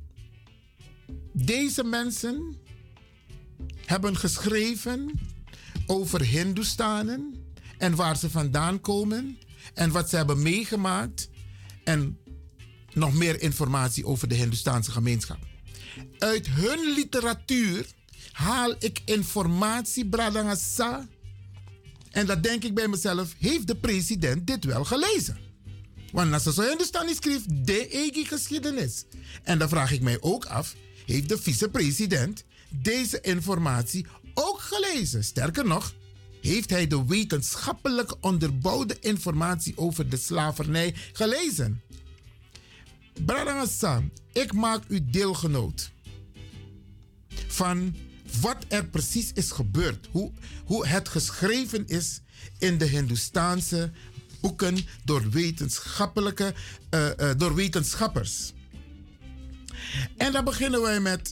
Deze mensen hebben geschreven over Hindoestanen en waar ze vandaan komen en wat ze hebben meegemaakt en nog meer informatie over de Hindoestaanse gemeenschap. Uit hun literatuur haal ik informatie, Bradangasa. En dat denk ik bij mezelf, heeft de president dit wel gelezen? Want als ze zo Hindoestani schrijft, de eigen geschiedenis. En dan vraag ik mij ook af, heeft de vicepresident deze informatie ook gelezen? Sterker nog, heeft hij de wetenschappelijk onderbouwde informatie over de slavernij gelezen? Bradangasa, ik maak u deelgenoot van wat er precies is gebeurd. Hoe, hoe het geschreven is in de Hindoestaanse boeken door, wetenschappelijke, uh, uh, door wetenschappers. En dan beginnen wij met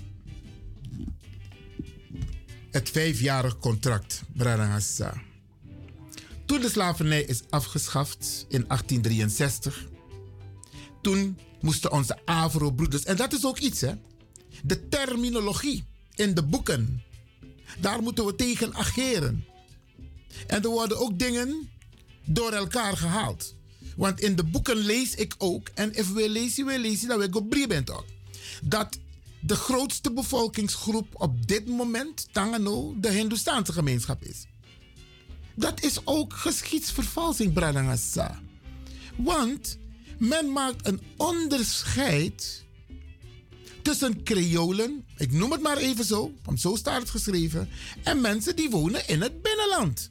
het vijfjarig contract, Bradangasa. Toen de slavernij is afgeschaft in achttien drieënzestig, toen moesten onze Afro-broeders, en dat is ook iets, hè, de terminologie in de boeken, daar moeten we tegen ageren. En er worden ook dingen door elkaar gehaald. Want in de boeken lees ik ook, en if we lezen, we lezen, dat we go bent ook, dat de grootste bevolkingsgroep op dit moment, Tangano, de Hindoestaanse gemeenschap is. Dat is ook geschiedsvervalsing, Bradangasa. Want men maakt een onderscheid tussen Creolen, ik noem het maar even zo, want zo staat het geschreven, en mensen die wonen in het binnenland.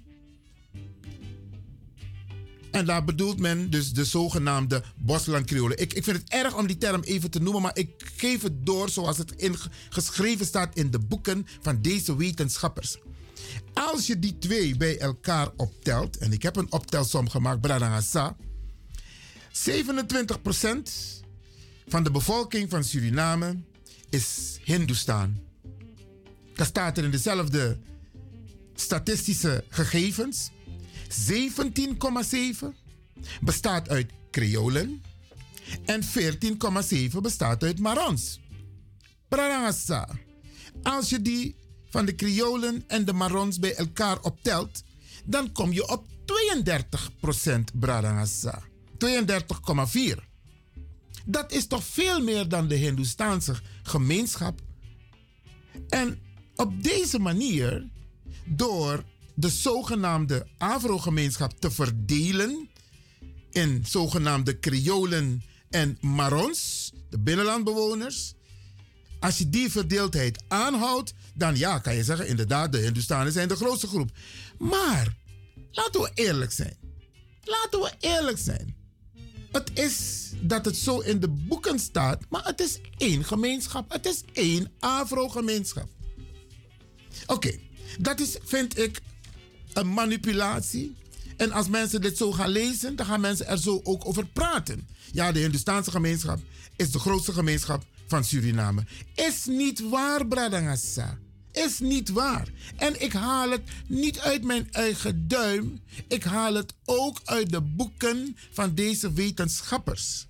En daar bedoelt men dus de zogenaamde Bosland-Creolen. Ik, ik vind het erg om die term even te noemen, maar ik geef het door zoals het in, geschreven staat in de boeken van deze wetenschappers. Als je die twee bij elkaar optelt, en ik heb een optelsom gemaakt, Bradangasa, zevenentwintig procent van de bevolking van Suriname is Hindoestaan. Dat staat er in dezelfde statistische gegevens. zeventien komma zeven bestaat uit Creolen en veertien komma zeven bestaat uit Marons. Bradangasa, als je die van de Creolen en de Marons bij elkaar optelt, dan kom je op tweeëndertig procent Bradangasa. tweeëndertig komma vier. Dat is toch veel meer dan de Hindoestaanse gemeenschap. En op deze manier, door de zogenaamde Afro-gemeenschap te verdelen in zogenaamde Creolen en Marons, de binnenlandbewoners, als je die verdeeldheid aanhoudt, dan ja, kan je zeggen, inderdaad, de Hindoestanen zijn de grootste groep. Maar, laten we eerlijk zijn. Laten we eerlijk zijn. Het is dat het zo in de boeken staat, maar het is één gemeenschap. Het is één Afro-gemeenschap. Oké, okay, dat is, vind ik, een manipulatie. En als mensen dit zo gaan lezen, dan gaan mensen er zo ook over praten. Ja, de Hindoestaanse gemeenschap is de grootste gemeenschap van Suriname. Is niet waar, Bradangasa. Is niet waar. En ik haal het niet uit mijn eigen duim. Ik haal het ook uit de boeken van deze wetenschappers.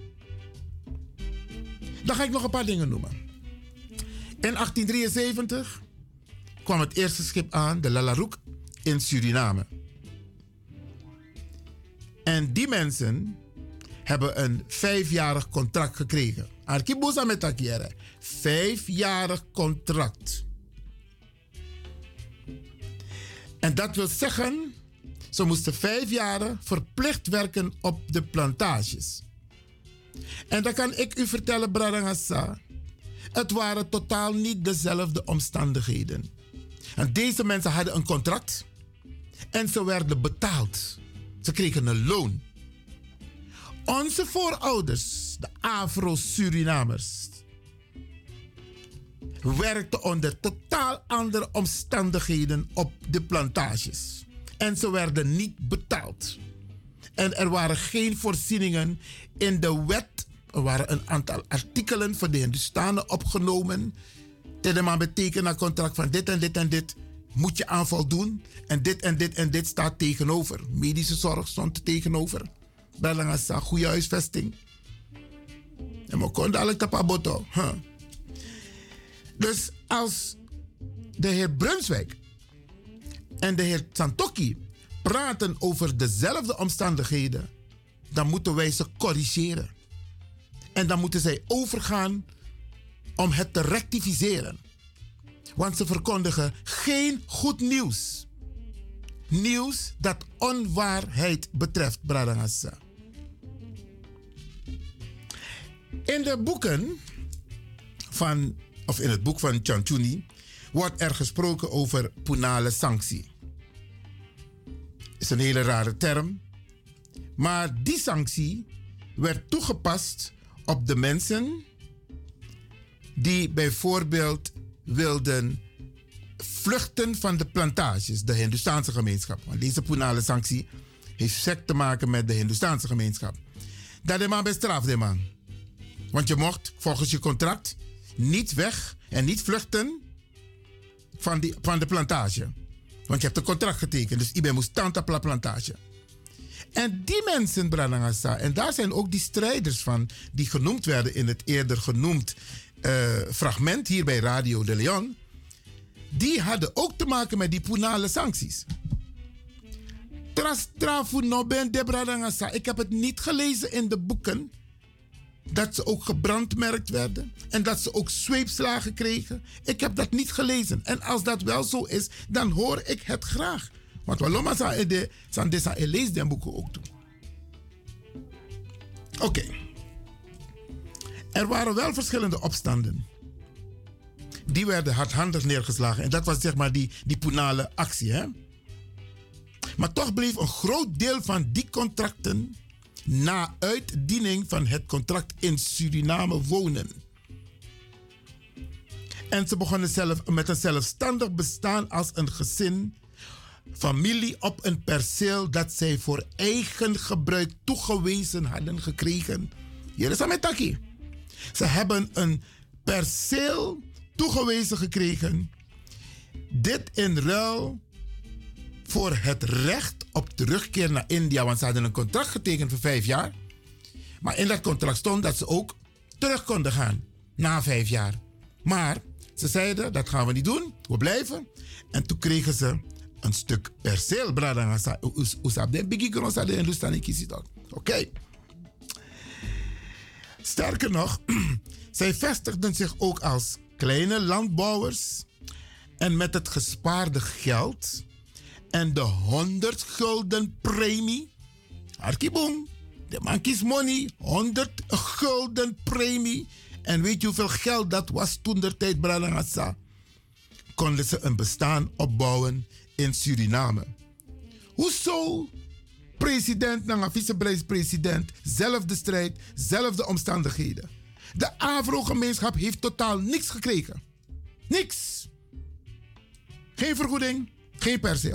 Dan ga ik nog een paar dingen noemen. In achttien drieënzeventig kwam het eerste schip aan, de Lalaroek, in Suriname. En die mensen hebben een vijfjarig contract gekregen. Arkibusa met Takiere. Vijfjarig contract. En dat wil zeggen, ze moesten vijf jaren verplicht werken op de plantages. En dan kan ik u vertellen, Bradangasa, het waren totaal niet dezelfde omstandigheden. En deze mensen hadden een contract en ze werden betaald. Ze kregen een loon. Onze voorouders, de Afro-Surinamers, werkten onder totaal andere omstandigheden op de plantages. En ze werden niet betaald. En er waren geen voorzieningen in de wet. Er waren een aantal artikelen voor de Hindoestanen opgenomen. Dat betekent een contract van dit en dit en dit moet je aan voldoen. En dit en dit en dit staat tegenover. Medische zorg stond er tegenover. Belangasa, goede huisvesting. En we konden alle tapaboto. Huh. Dus als de heer Brunswijk en de heer Santokki praten over dezelfde omstandigheden, dan moeten wij ze corrigeren. En dan moeten zij overgaan om het te rectificeren. Want ze verkondigen geen goed nieuws. Nieuws dat onwaarheid betreft, Bradangasa. In de boeken van, of in het boek van Chantuni, wordt er gesproken over punale sanctie. Is een hele rare term. Maar die sanctie werd toegepast op de mensen die bijvoorbeeld wilden vluchten van de plantages, de Hindoestaanse gemeenschap. Want deze punale sanctie heeft sec te maken met de Hindoestaanse gemeenschap. Dat is maar bestraft, de man. Want je mocht volgens je contract niet weg en niet vluchten van, die, van de plantage. Want je hebt een contract getekend, dus ik ben moest tante op de plantage. En die mensen, Bradangasa, en daar zijn ook die strijders van, die genoemd werden in het eerder genoemd uh, fragment hier bij Radio de Leon, die hadden ook te maken met die punale sancties. Trastrafu no ben de Bradangasa. Ik heb het niet gelezen in de boeken, dat ze ook gebrandmerkt werden en dat ze ook zweepslagen kregen. Ik heb dat niet gelezen. En als dat wel zo is, dan hoor ik het graag. Want waarom zou je deze lees den boeken ook doen? Oké. Okay. Er waren wel verschillende opstanden. Die werden hardhandig neergeslagen. En dat was zeg maar die, die Punale actie. Hè? Maar toch bleef een groot deel van die contracten na uitdiening van het contract in Suriname wonen. En ze begonnen zelf met een zelfstandig bestaan als een gezin, familie op een perceel dat zij voor eigen gebruik toegewezen hadden gekregen. Hier is Ametaki. Ze hebben een perceel toegewezen gekregen. Dit in ruil voor het recht op terugkeer naar India. Want ze hadden een contract getekend voor vijf jaar. Maar in dat contract stond dat ze ook terug konden gaan na vijf jaar. Maar ze zeiden, dat gaan we niet doen. We blijven. En toen kregen ze een stuk perceel. Oké. Sterker nog, zij vestigden zich ook als kleine landbouwers. En met het gespaarde geld en de honderd gulden premie. Arkiboom, de man kies money, honderd gulden premie. En weet je hoeveel geld dat was toen der tijd, Bradangasa? Konden ze een bestaan opbouwen in Suriname. Hoezo? President en vicepresident, zelfde strijd, zelfde omstandigheden. De Afro-gemeenschap heeft totaal niks gekregen. Niks. Geen vergoeding, geen perceel.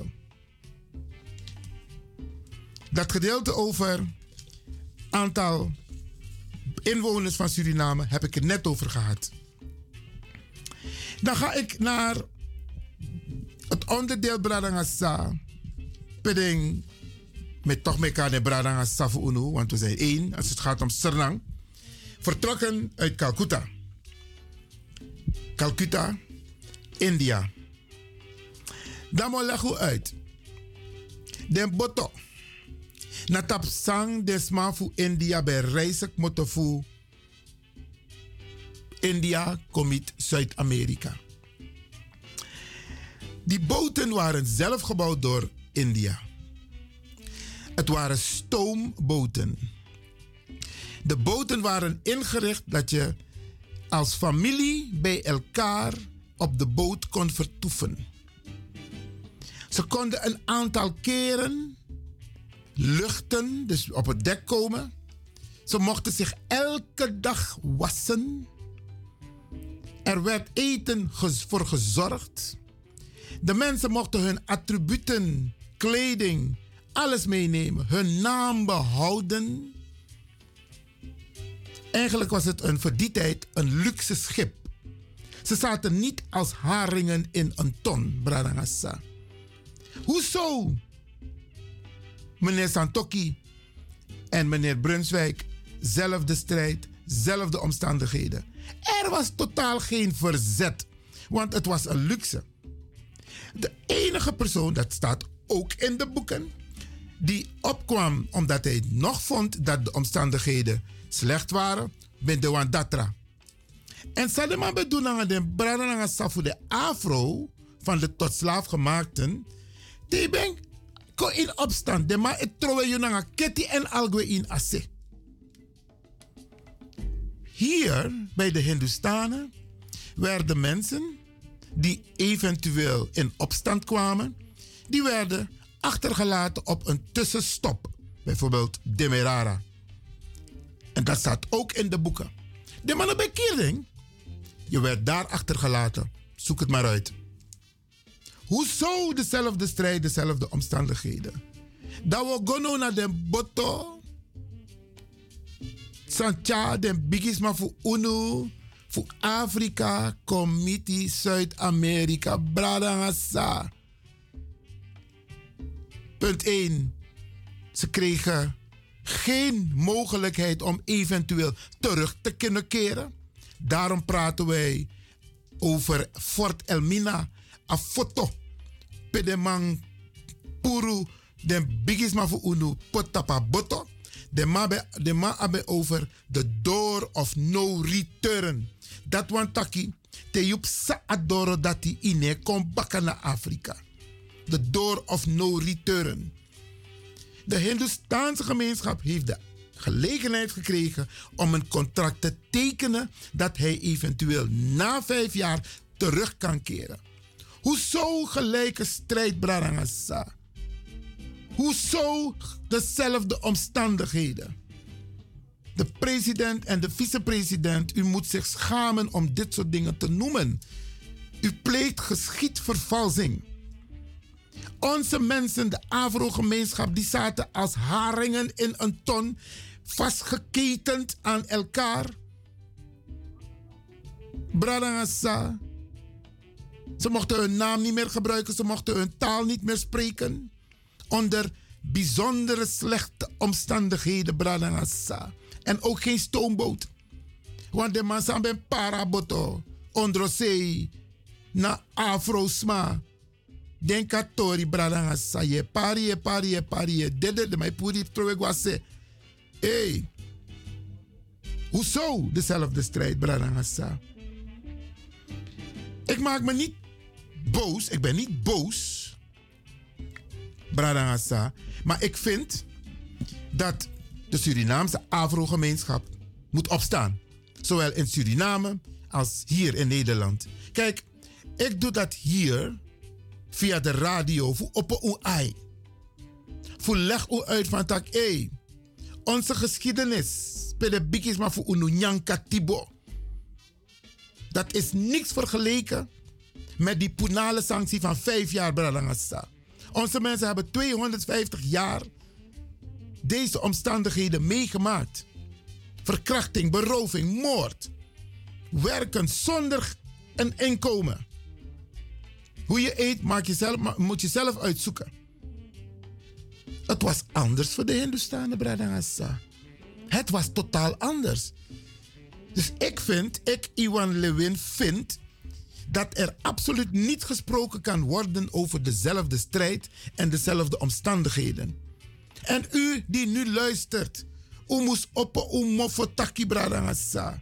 Dat gedeelte over aantal inwoners van Suriname heb ik het net over gehad. Dan ga ik naar het onderdeel Bradangasa. Peding met toch mekaar de Bradangasa voor Uno, want we zijn één als het gaat om Sernang. Vertrokken uit Calcutta. Calcutta, India. Dan moet ik uit. Den boto. Na tapsang desma fu India bij reisek motofu. India komit Zuid-Amerika. Die boten waren zelf gebouwd door India. Het waren stoomboten. De boten waren ingericht dat je als familie bij elkaar op de boot kon vertoeven. Ze konden een aantal keren luchten, dus op het dek komen. Ze mochten zich elke dag wassen. Er werd eten voor gezorgd. De mensen mochten hun attributen, kleding, alles meenemen. Hun naam behouden. Eigenlijk was het een, voor die tijd een luxe schip. Ze zaten niet als haringen in een ton, Bradangasa. Hoezo? Meneer Santoki en meneer Brunswijk, zelfde strijd, zelfde omstandigheden. Er was totaal geen verzet, want het was een luxe. De enige persoon, dat staat ook in de boeken, die opkwam omdat hij nog vond dat de omstandigheden slecht waren, ben de Wandatra. En Sadema bedoelen de Bradanga Safu de Afro van de tot slaaf gemaakten, die ben ko in opstand. De ma het trouwe junanga keti en algwe in asse. Hier bij de Hindustanen werden mensen die eventueel in opstand kwamen, die werden achtergelaten op een tussenstop. Bijvoorbeeld Demerara. En dat staat ook in de boeken. De mannen bij Kierding, je werd daar achtergelaten. Zoek het maar uit. Hoezo dezelfde strijd, dezelfde omstandigheden? Dat we gaan naar de boto. Sancha, de bigisma voor UNO, voor Afrika, Committee, Zuid-Amerika, Bradangasa. Punt één. Ze kregen geen mogelijkheid om eventueel terug te kunnen keren. Daarom praten wij over Fort Elmina, een foto. Pedemang Puru, de bigisma voor Unu, Potapa Boto. De ma be, de ma abe over the door of no return. Dat wan taki te yup sa adoro dati ine kom bakken naar Afrika. The door of no return. De Hindoestaanse gemeenschap heeft de gelegenheid gekregen om een contract te tekenen dat hij eventueel na vijf jaar terug kan keren. Hoezo gelijke strijd, Brarangasa? Hoezo dezelfde omstandigheden? De president en de vicepresident, u moet zich schamen om dit soort dingen te noemen. U pleegt geschiedvervalsing. Onze mensen, de Afro-gemeenschap, die zaten als haringen in een ton, vastgeketend aan elkaar. Bradangasa. Ze mochten hun naam niet meer gebruiken, ze mochten hun taal niet meer spreken. Onder bijzondere slechte omstandigheden, Bradangasa. En ook geen stoomboot. Want de mensen hebben paraboto, onder zee, na Afro-sma. Den katori Bradangasa, je pari, je pari, je pari, je dede, de mij puri trowegwase. Hey, hoezo dezelfde strijd, Bradangasa? Ik maak me niet boos, ik ben niet boos, Bradangasa, maar ik vind dat de Surinaamse Afro-gemeenschap moet opstaan. Zowel in Suriname als hier in Nederland. Kijk, ik doe dat hier via de radio voor op een ai. Voor leg u uit van tak, hey, onze geschiedenis, spele bikis maar voor Ununyanka Tibo. Dat is niks vergeleken met die penale sanctie van vijf jaar, Bradangasa. Onze mensen hebben tweehonderdvijftig jaar deze omstandigheden meegemaakt. Verkrachting, beroving, moord. Werken zonder een inkomen. Hoe je eet maak je zelf, moet je zelf uitzoeken. Het was anders voor de Hindoestanen, Bradangasa. Het was totaal anders. Dus ik vind, ik Iwan Lewin vind, dat er absoluut niet gesproken kan worden over dezelfde strijd en dezelfde omstandigheden. En u die nu luistert, u moest op u mofo taki Bradangasa.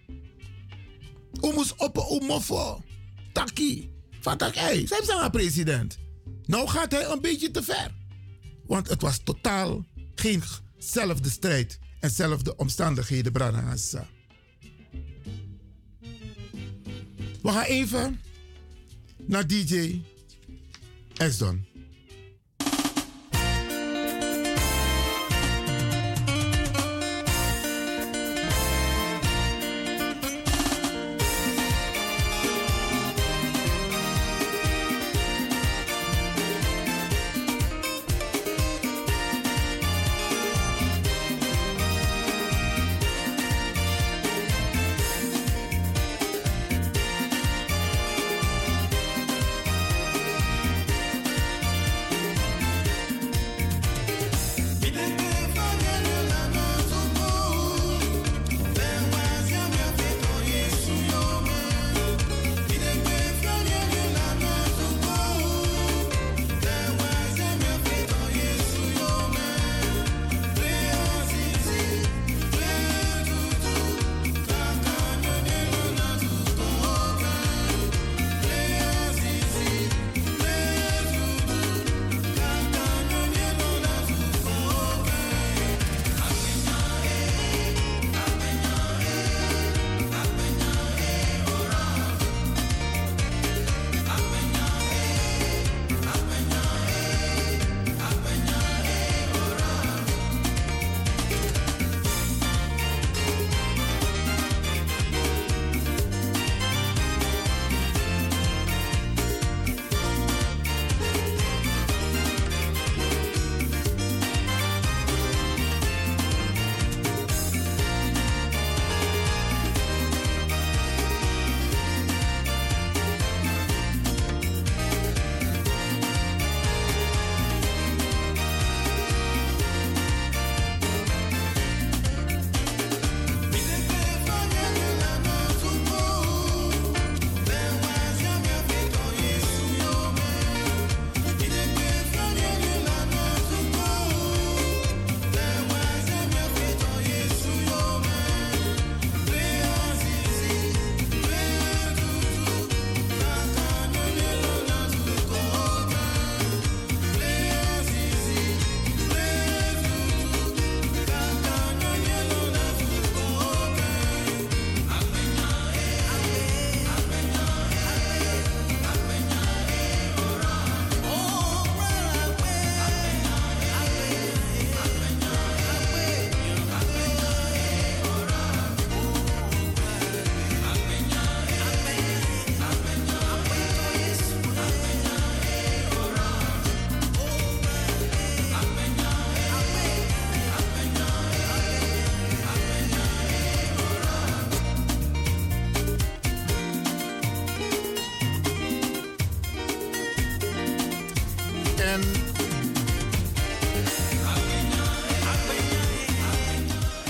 U moest op u mofo taki. Van tak, hey, zij zijn president. Nou gaat hij een beetje te ver. Want het was totaal geenzelfde strijd en zelfde omstandigheden, Bradangasa. We gaan even naar D J X-Don.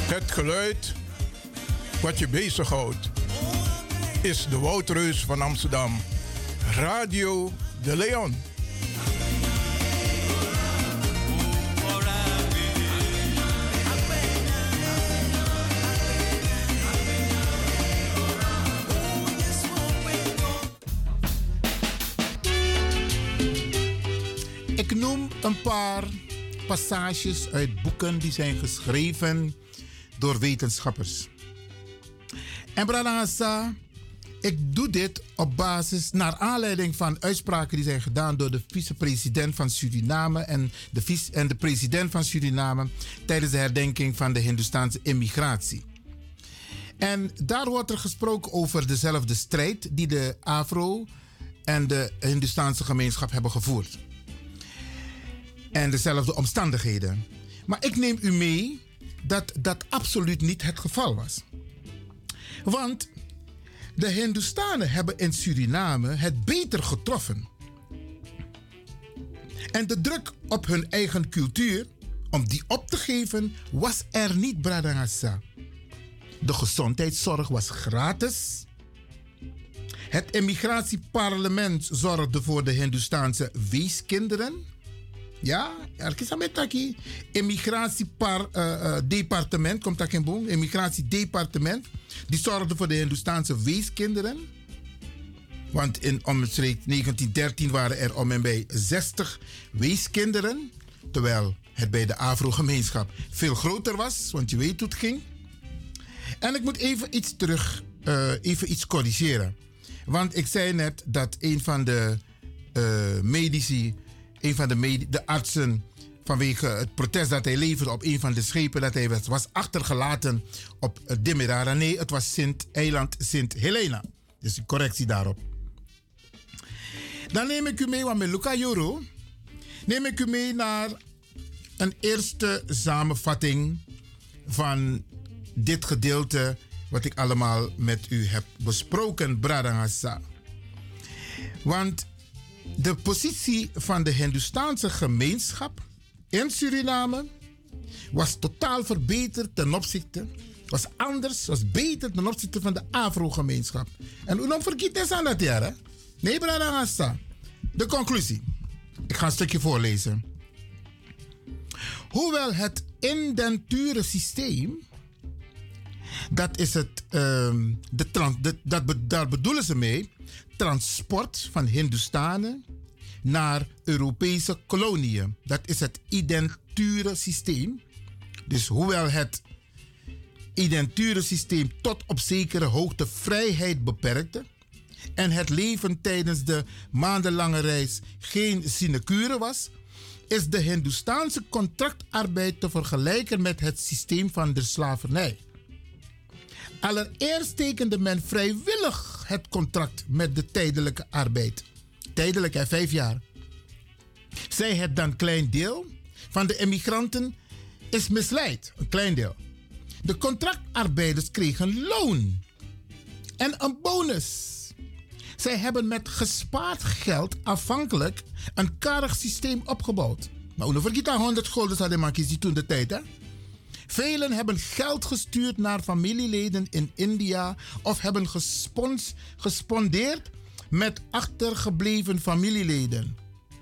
Het geluid wat je bezighoudt is de Woudreus van Amsterdam. Radio de Leon. Ik noem een paar passages uit boeken die zijn geschreven door wetenschappers. En Bradangasa, ik doe dit op basis, naar aanleiding van uitspraken die zijn gedaan door de vicepresident van Suriname en de, vice, en de president van Suriname tijdens de herdenking van de Hindoestaanse immigratie. En daar wordt er gesproken over dezelfde strijd die de Afro en de Hindoestaanse gemeenschap hebben gevoerd. En dezelfde omstandigheden. Maar ik neem u mee dat dat absoluut niet het geval was. Want de Hindoestanen hebben in Suriname het beter getroffen. En de druk op hun eigen cultuur, om die op te geven, was er niet, Bradangasa. De gezondheidszorg was gratis. Het immigratieparlement zorgde voor de Hindoestaanse weeskinderen. Ja, er is een taki. Immigratiedepartement, komt dat in boom? Immigratiedepartement. Die zorgde voor de Hindoestaanse weeskinderen. Want in omstreeks negentien dertien waren er om en bij zestig weeskinderen. Terwijl het bij de Afro-gemeenschap veel groter was, want je weet hoe het ging. En ik moet even iets terug, uh, even iets corrigeren. Want ik zei net dat een van de uh, medici, een van de, med- de artsen, vanwege het protest dat hij leverde op een van de schepen dat hij was, was achtergelaten op uh, Demerara. Nee, het was Sint, eiland Sint Helena. Dus een correctie daarop. Dan neem ik u mee, want met Luca Joro, neem ik u mee naar een eerste samenvatting van dit gedeelte wat ik allemaal met u heb besproken, Bradangasa. Want de positie van de Hindoestaanse gemeenschap in Suriname was totaal verbeterd ten opzichte, was anders, was beter ten opzichte van de Afro-gemeenschap. En u nog vergeet eens aan dat jaar, hè? Nee, Bradangasa. De conclusie. Ik ga een stukje voorlezen. Hoewel het indenturensysteem, dat is het, um, de trans, de, dat, daar bedoelen ze mee, transport van Hindoestanen naar Europese koloniën. Dat is het identurensysteem. Dus hoewel het identurensysteem tot op zekere hoogte vrijheid beperkte en het leven tijdens de maandenlange reis geen sinecure was, is de Hindoestaanse contractarbeid te vergelijken met het systeem van de slavernij. Allereerst tekende men vrijwillig het contract met de tijdelijke arbeid. Tijdelijk, hè, vijf jaar. Zij het dan klein deel van de immigranten is misleid. Een klein deel. De contractarbeiders kregen loon en een bonus. Zij hebben met gespaard geld afhankelijk een karig systeem opgebouwd. Maar hoe vergeet dat honderd gulden hadden makjes die toen de tijd, hè? Velen hebben geld gestuurd naar familieleden in India of hebben gespons, gespondeerd met achtergebleven familieleden.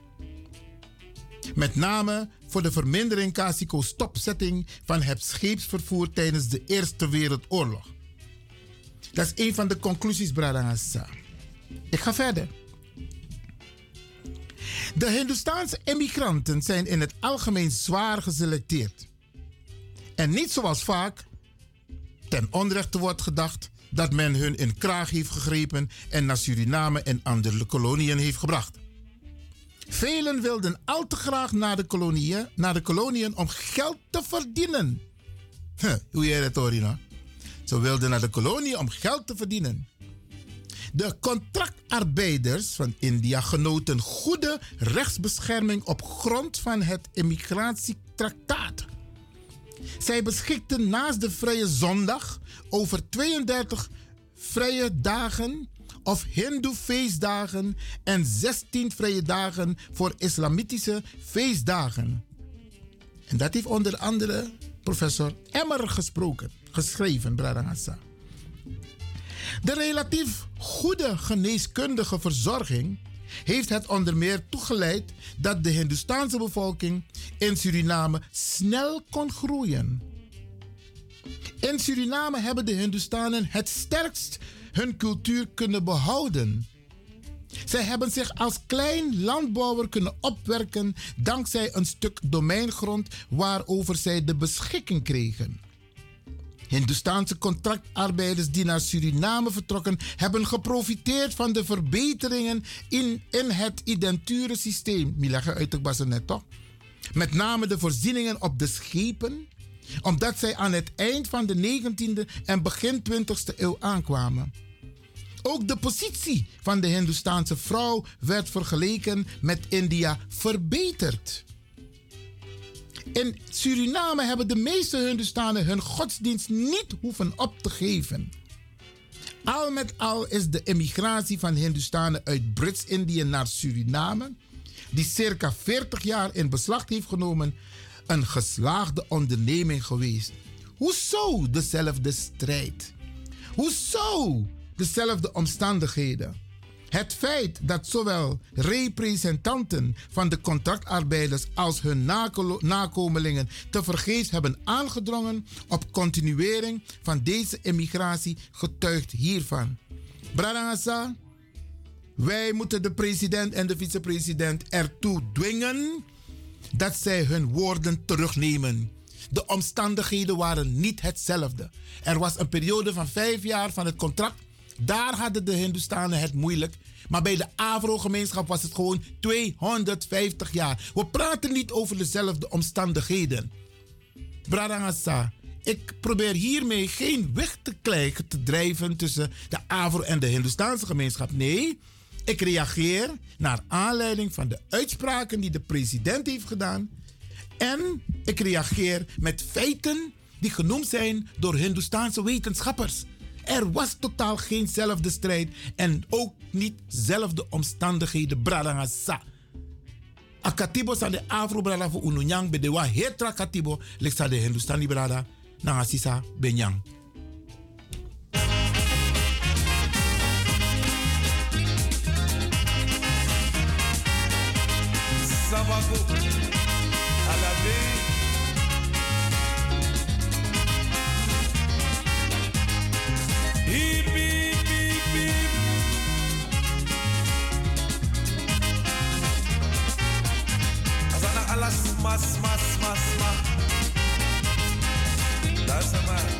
Met name voor de vermindering Casico stopzetting van het scheepsvervoer tijdens de Eerste Wereldoorlog. Dat is een van de conclusies, Bradangasa. Ik ga verder. De Hindoestaanse immigranten zijn in het algemeen zwaar geselecteerd. En niet zoals vaak ten onrechte wordt gedacht dat men hun in kraag heeft gegrepen en naar Suriname en andere koloniën heeft gebracht. Velen wilden al te graag naar de koloniën, naar de koloniën om geld te verdienen. Huh, hoe jij dat hoort, nou? Ze wilden naar de koloniën om geld te verdienen. De contractarbeiders van India genoten goede rechtsbescherming op grond van het immigratietractaat. Zij beschikten naast de vrije zondag over tweeëndertig vrije dagen of hindoe feestdagen en zestien vrije dagen voor islamitische feestdagen. En dat heeft onder andere professor Emmer gesproken, geschreven, Bradangasa. De relatief goede geneeskundige verzorging heeft het onder meer toegeleid dat de Hindoestaanse bevolking in Suriname snel kon groeien. In Suriname hebben de Hindoestanen het sterkst hun cultuur kunnen behouden. Zij hebben zich als klein landbouwer kunnen opwerken dankzij een stuk domeingrond waarover zij de beschikking kregen. Hindoestaanse contractarbeiders die naar Suriname vertrokken hebben geprofiteerd van de verbeteringen in, in het identurensysteem. Milegge uit de bassen net toch? Met name de voorzieningen op de schepen, omdat zij aan het eind van de negentiende en begin twintigste eeuw aankwamen. Ook de positie van de Hindoestaanse vrouw werd vergeleken met India verbeterd. In Suriname hebben de meeste Hindoestanen hun godsdienst niet hoeven op te geven. Al met al is de emigratie van Hindoestanen uit Brits-Indië naar Suriname, die circa veertig jaar in beslag heeft genomen, een geslaagde onderneming geweest. Hoezo dezelfde strijd? Hoezo dezelfde omstandigheden? Het feit dat zowel representanten van de contractarbeiders als hun nako- nakomelingen tevergeefs hebben aangedrongen op continuering van deze emigratie getuigt hiervan. Bradangasa, wij moeten de president en de vicepresident ertoe dwingen dat zij hun woorden terugnemen. De omstandigheden waren niet hetzelfde. Er was een periode van vijf jaar van het contract. Daar hadden de Hindoestanen het moeilijk. Maar bij de Afro-gemeenschap was het gewoon tweehonderdvijftig jaar. We praten niet over dezelfde omstandigheden. Bradangasa, ik probeer hiermee geen weg te krijgen te drijven tussen de Afro- en de Hindoestaanse gemeenschap. Nee, ik reageer naar aanleiding van de uitspraken die de president heeft gedaan. En ik reageer met feiten die genoemd zijn door Hindoestaanse wetenschappers. Er was totaal geenzelfde strijd en ook niet zelfde omstandigheden. Bradangasa. Akatibo sa de Afro brada voor Ununyang bedewa hetra katibo leksa de Hindustani brada na sisa benyang. Sabago Alabe Hip hip hip hip Azana alas mas mas mas mas That's a man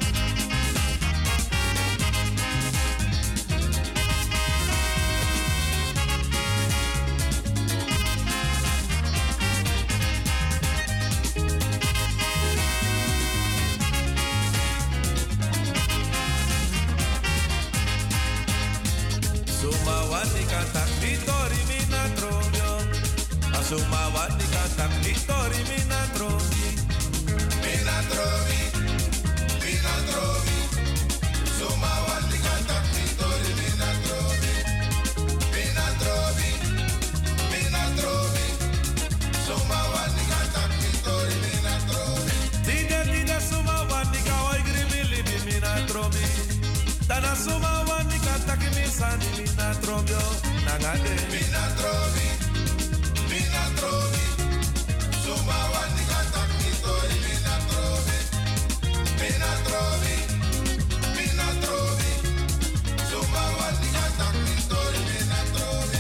Sumawati kata Vitori mina tromio Sumawati kata Vitori mina tromi Mina tromi Mina tromi Sumawati kata Vitori mina tromi Mina tromi Mina tromi Sumawati kata Vitori mina tromi Dida dida Sumawati kawai grimili mina tromi Dana Sumawati kata kimisani mina tromio Nagade mina tromi Mina tromi Sumawati kata Vitori mina tromi Mina tromi Mina tromi Sumawati kata Vitori mina tromi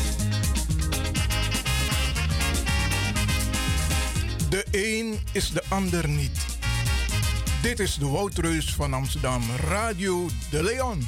De een is de ander niet. Dit is de Woutreus van Amsterdam, Radio De Leon.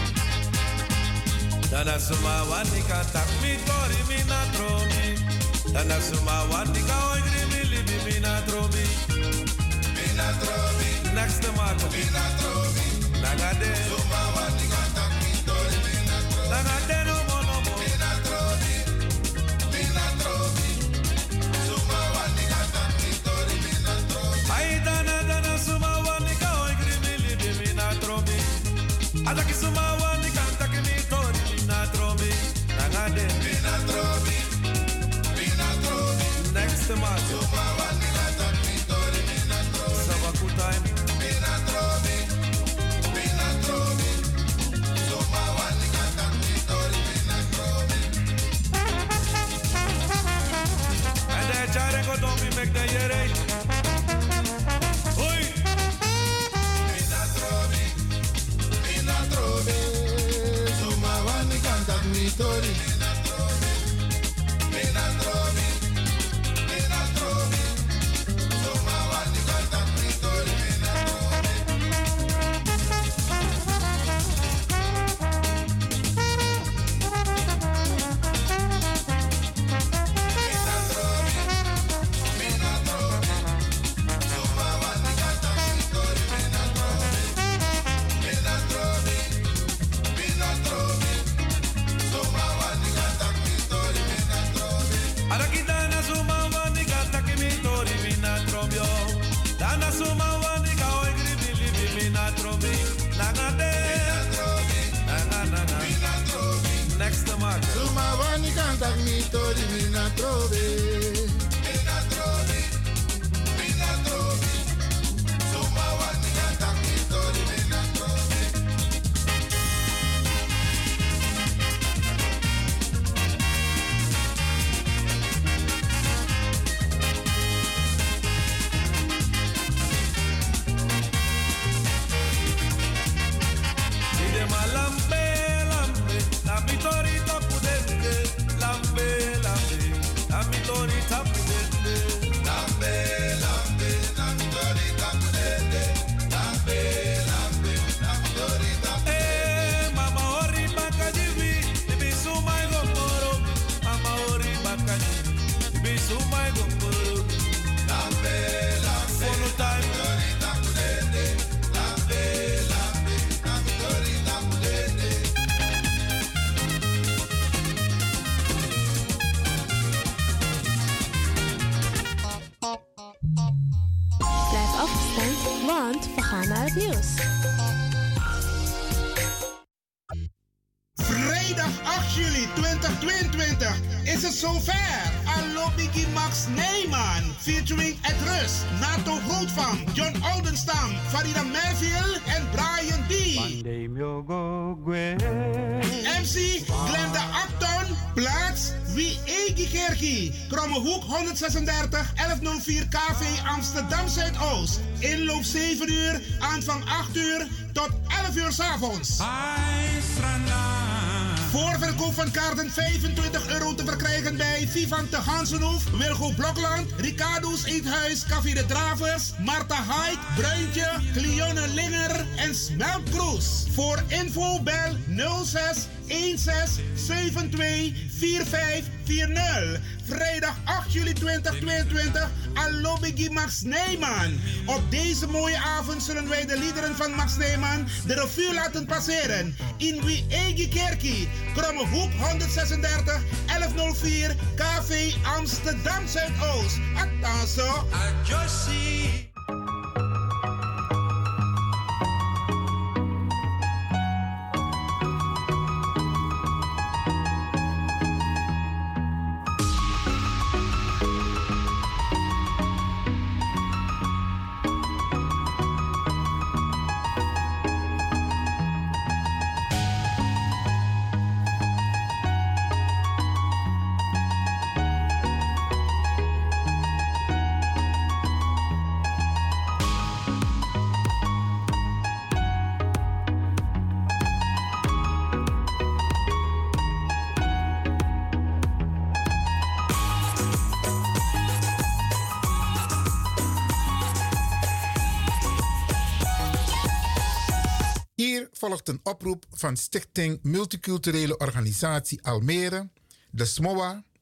Dana Sumawati kata Vitori mina tromi Dana suma watika oi grimi libi mina trobi. Mina trobi. Next to Marco. Mina trobi. Nagade. Suma watika tak mitori mina trobi. Nagade no mo no mo. Mina trobi. Mina trobi. Suma watika tak mitori mina trobi. Ai dana dana suma watika oi grimi libi mina trobi. Ataki suma watika tak mitori mina trobi. Nagade. Mina trobi. Next to my Suma Wanila tak mitori mina trobi. Sabakutai mina trobi. Mina trobi. Suma Wanila tak mitori mina trobi. And then Jare go don't be make the yere. Oi. Mina trobi. Mina trobi. Suma Wanila tak mitori mina trobi. Mina trobi. Suma wani kantak mitori mina trobe. Mina trobe. Mina trobe. Suma wani kantak mitori mina trobe. Ide malambe lambe na mitori tapudende. Lambe lambe na mitori tapudende. Lambe lambe na mitori tapudende. Lambe lambe na mitori tapudende. Eh mama ori bakajivi ibi sumai gomoro. Mama ori bakajivi ibi sumai gomoro. Lambe lambe fono time mitori tapudende. Lambe lambe na mitori tapudende. Blijf afgestemd, want we gaan naar het nieuws. Vrijdag acht juli tweeduizend tweeëntwintig is het zover. Allo Biggie Max Neyman featuring Ed Rus, Nato Grootvang, John Oldenstam, Farida Merville en Brian D. M C Glenda Acton, plaats Wie Egi Kerkie, Krommehoek honderdzesendertig, elfhonderdvier K V Amsterdam Zuidoost. Inloop zeven uur, aanvang acht uur tot elf uur 's avonds. Voorverkoop van kaarten vijfentwintig euro te verkrijgen bij Vivan te Gansenhoef, Wilgo Blokland, Ricardo's Eethuis, Café de Dravers, Marta Haik, Bruintje, Cleone Linger en Smeltkroes. Voor info bel nul zes een zes zeven twee vier vijf vier nul. Vrijdag acht juli tweeduizend tweeëntwintig, Allo Biggie Max Neyman. Op deze mooie avond zullen wij de liederen van Max Neyman de revue laten passeren. In Wie Egi Kerkie, Krommehoek honderdzesendertig, elfhonderdvier K V Amsterdam Zuidoost. Attenzo. Adjustie. volgt een oproep van Stichting Multiculturele Organisatie Almere, de S M O A,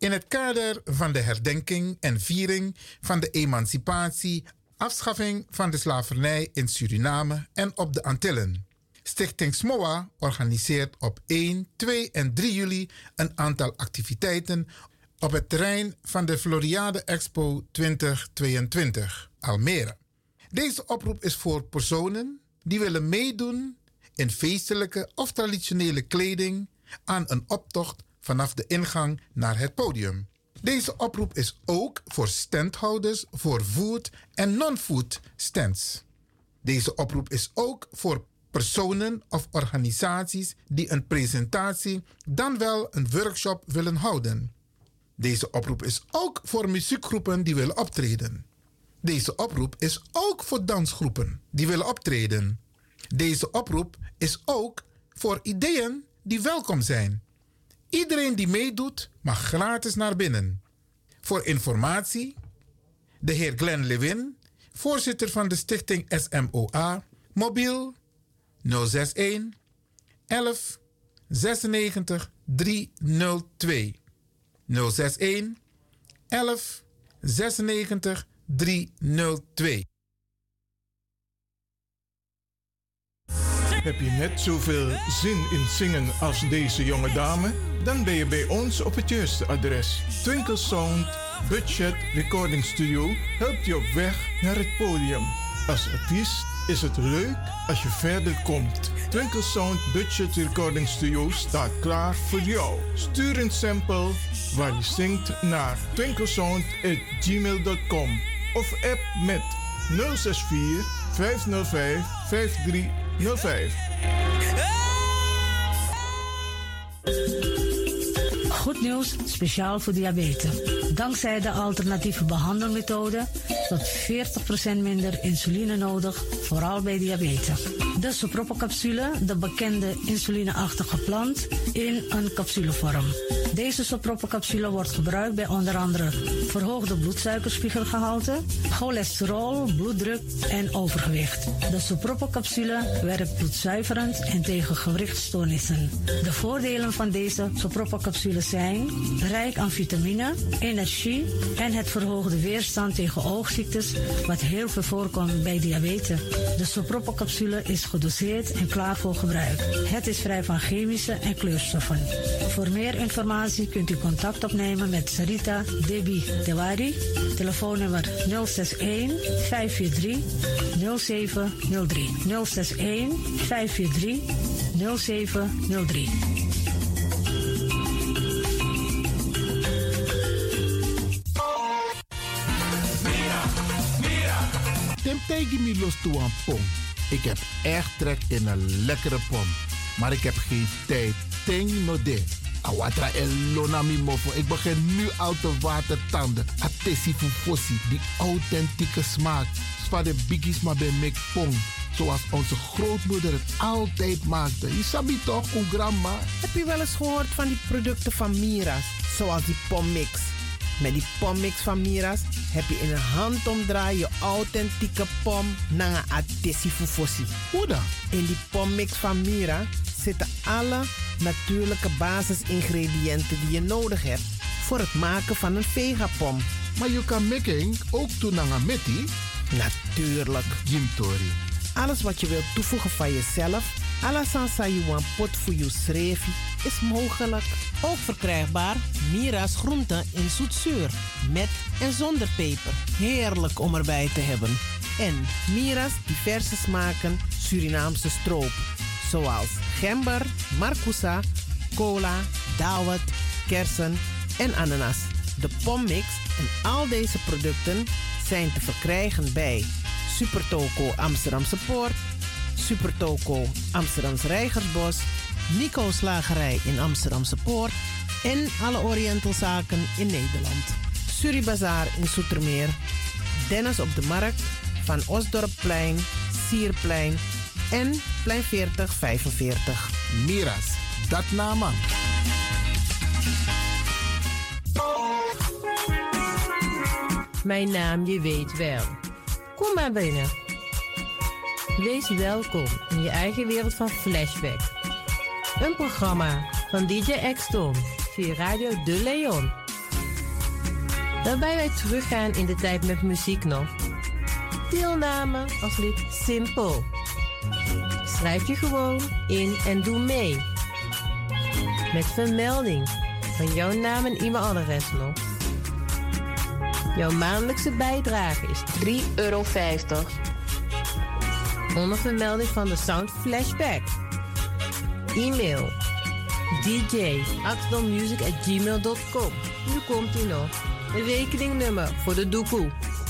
In het kader van de herdenking en viering van de emancipatie, afschaffing van de slavernij in Suriname en op de Antillen. Stichting S M O A organiseert op één, twee en drie juli een aantal activiteiten op het terrein van de Floriade Expo twintig tweeëntwintig, Almere. Deze oproep is voor personen die willen meedoen in feestelijke of traditionele kleding aan een optocht vanaf de ingang naar het podium. Deze oproep is ook voor standhouders voor food en non-food stands. Deze oproep is ook voor personen of organisaties die een presentatie dan wel een workshop willen houden. Deze oproep is ook voor muziekgroepen die willen optreden. Deze oproep is ook voor dansgroepen die willen optreden. Deze oproep is ook voor ideeën die welkom zijn. Iedereen die meedoet mag gratis naar binnen. Voor informatie, de heer Glenn Lewin, voorzitter van de stichting S M O A, mobiel nul zes een elf zesennegentig driehonderdtwee. nul zes een elf zesennegentig driehonderdtwee. Heb je net zoveel zin in zingen als deze jonge dame? Dan ben je bij ons op het juiste adres. Twinkle Sound Budget Recording Studio helpt je op weg naar het podium. Als artiest is het leuk als je verder komt. Twinkle Sound Budget Recording Studio staat klaar voor jou. Stuur een sample waar je zingt naar twinklesound at gmail dot com of app met nul zes vier vijf nul vijf vijf drie nul vijf. Goed nieuws, speciaal voor diabetes. Dankzij de alternatieve behandelmethode tot veertig procent minder insuline nodig, vooral bij diabetes. De Sopropo-capsule, de bekende insulineachtige plant, in een capsulevorm. Deze Sopropo-capsule wordt gebruikt bij onder andere verhoogde bloedsuikerspiegelgehalte, cholesterol, bloeddruk en overgewicht. De Sopropo-capsule werkt bloedzuiverend en tegen gewrichtstoornissen. De voordelen van deze Sopropo-capsule zijn rijk aan vitamine, energie en het verhoogde weerstand tegen oogziektes, wat heel veel voorkomt bij diabetes. De Sopropo-capsule is gedoseerd en klaar voor gebruik. Het is vrij van chemische en kleurstoffen. Voor meer informatie kunt u contact opnemen met Sarita Debi Dewari. Telefoonnummer nul zes een vijf vier drie nul zeven nul drie. nul zes een vijf vier drie nul zeven nul drie. Tim tegen me los toe aan pom. Ik heb echt trek in een lekkere pom. Maar ik heb geen tijd. Ting no de. Awatra elona mi mofo. Ik begin nu al te watertanden. Atesi fufosi. Die authentieke smaak. Zwa de biggies maar bij mek pom. Zoals onze grootmoeder het altijd maakte. Je sabi toch, o grandma? Heb je wel eens gehoord van die producten van Mira's? Zoals die pommix. Met die pommix van Mira's heb je in een handomdraai je authentieke pom naar een atesi fufosi. Hoe dan? In die pommix van Mira zitten alle natuurlijke basisingrediënten die je nodig hebt voor het maken van een vegapom. Maar je kan making ook doen aan een metti? Natuurlijk. Jim Tori. Alles wat je wilt toevoegen van jezelf, alla sansa you want pot voor je schreef, is mogelijk. Ook verkrijgbaar Mira's groenten in zoetzuur, met en zonder peper. Heerlijk om erbij te hebben. En Mira's diverse smaken Surinaamse stroop, zoals gember, marcousa, cola, dawet, kersen en ananas. De pommix en al deze producten zijn te verkrijgen bij Supertoco Amsterdamse Poort, Supertoco Amsterdamse Reigersbos, Nico's Slagerij in Amsterdamse Poort en alle Orientalzaken in Nederland. Suribazaar in Zoetermeer, Dennis op de Markt, Van Osdorpplein, Sierplein en Plein veertig vijfenveertig. Mira's, dat nama. Mijn naam, je weet wel. Kom maar binnen. Wees welkom in je eigen wereld van Flashback. Een programma van D J X-Ton via Radio De Leon. Waarbij wij teruggaan in de tijd met muziek nog. Deelname als lid simpel. Schrijf je gewoon in en doe mee. Met vermelding van jouw naam en e-mailadres nog. Jouw maandelijkse bijdrage is drie euro vijftig. Onder vermelding van de Sound Flashback. E-mail d j amsterdammusic at gmail dot com. Nu komt ie nog. Een rekeningnummer voor de doekoe.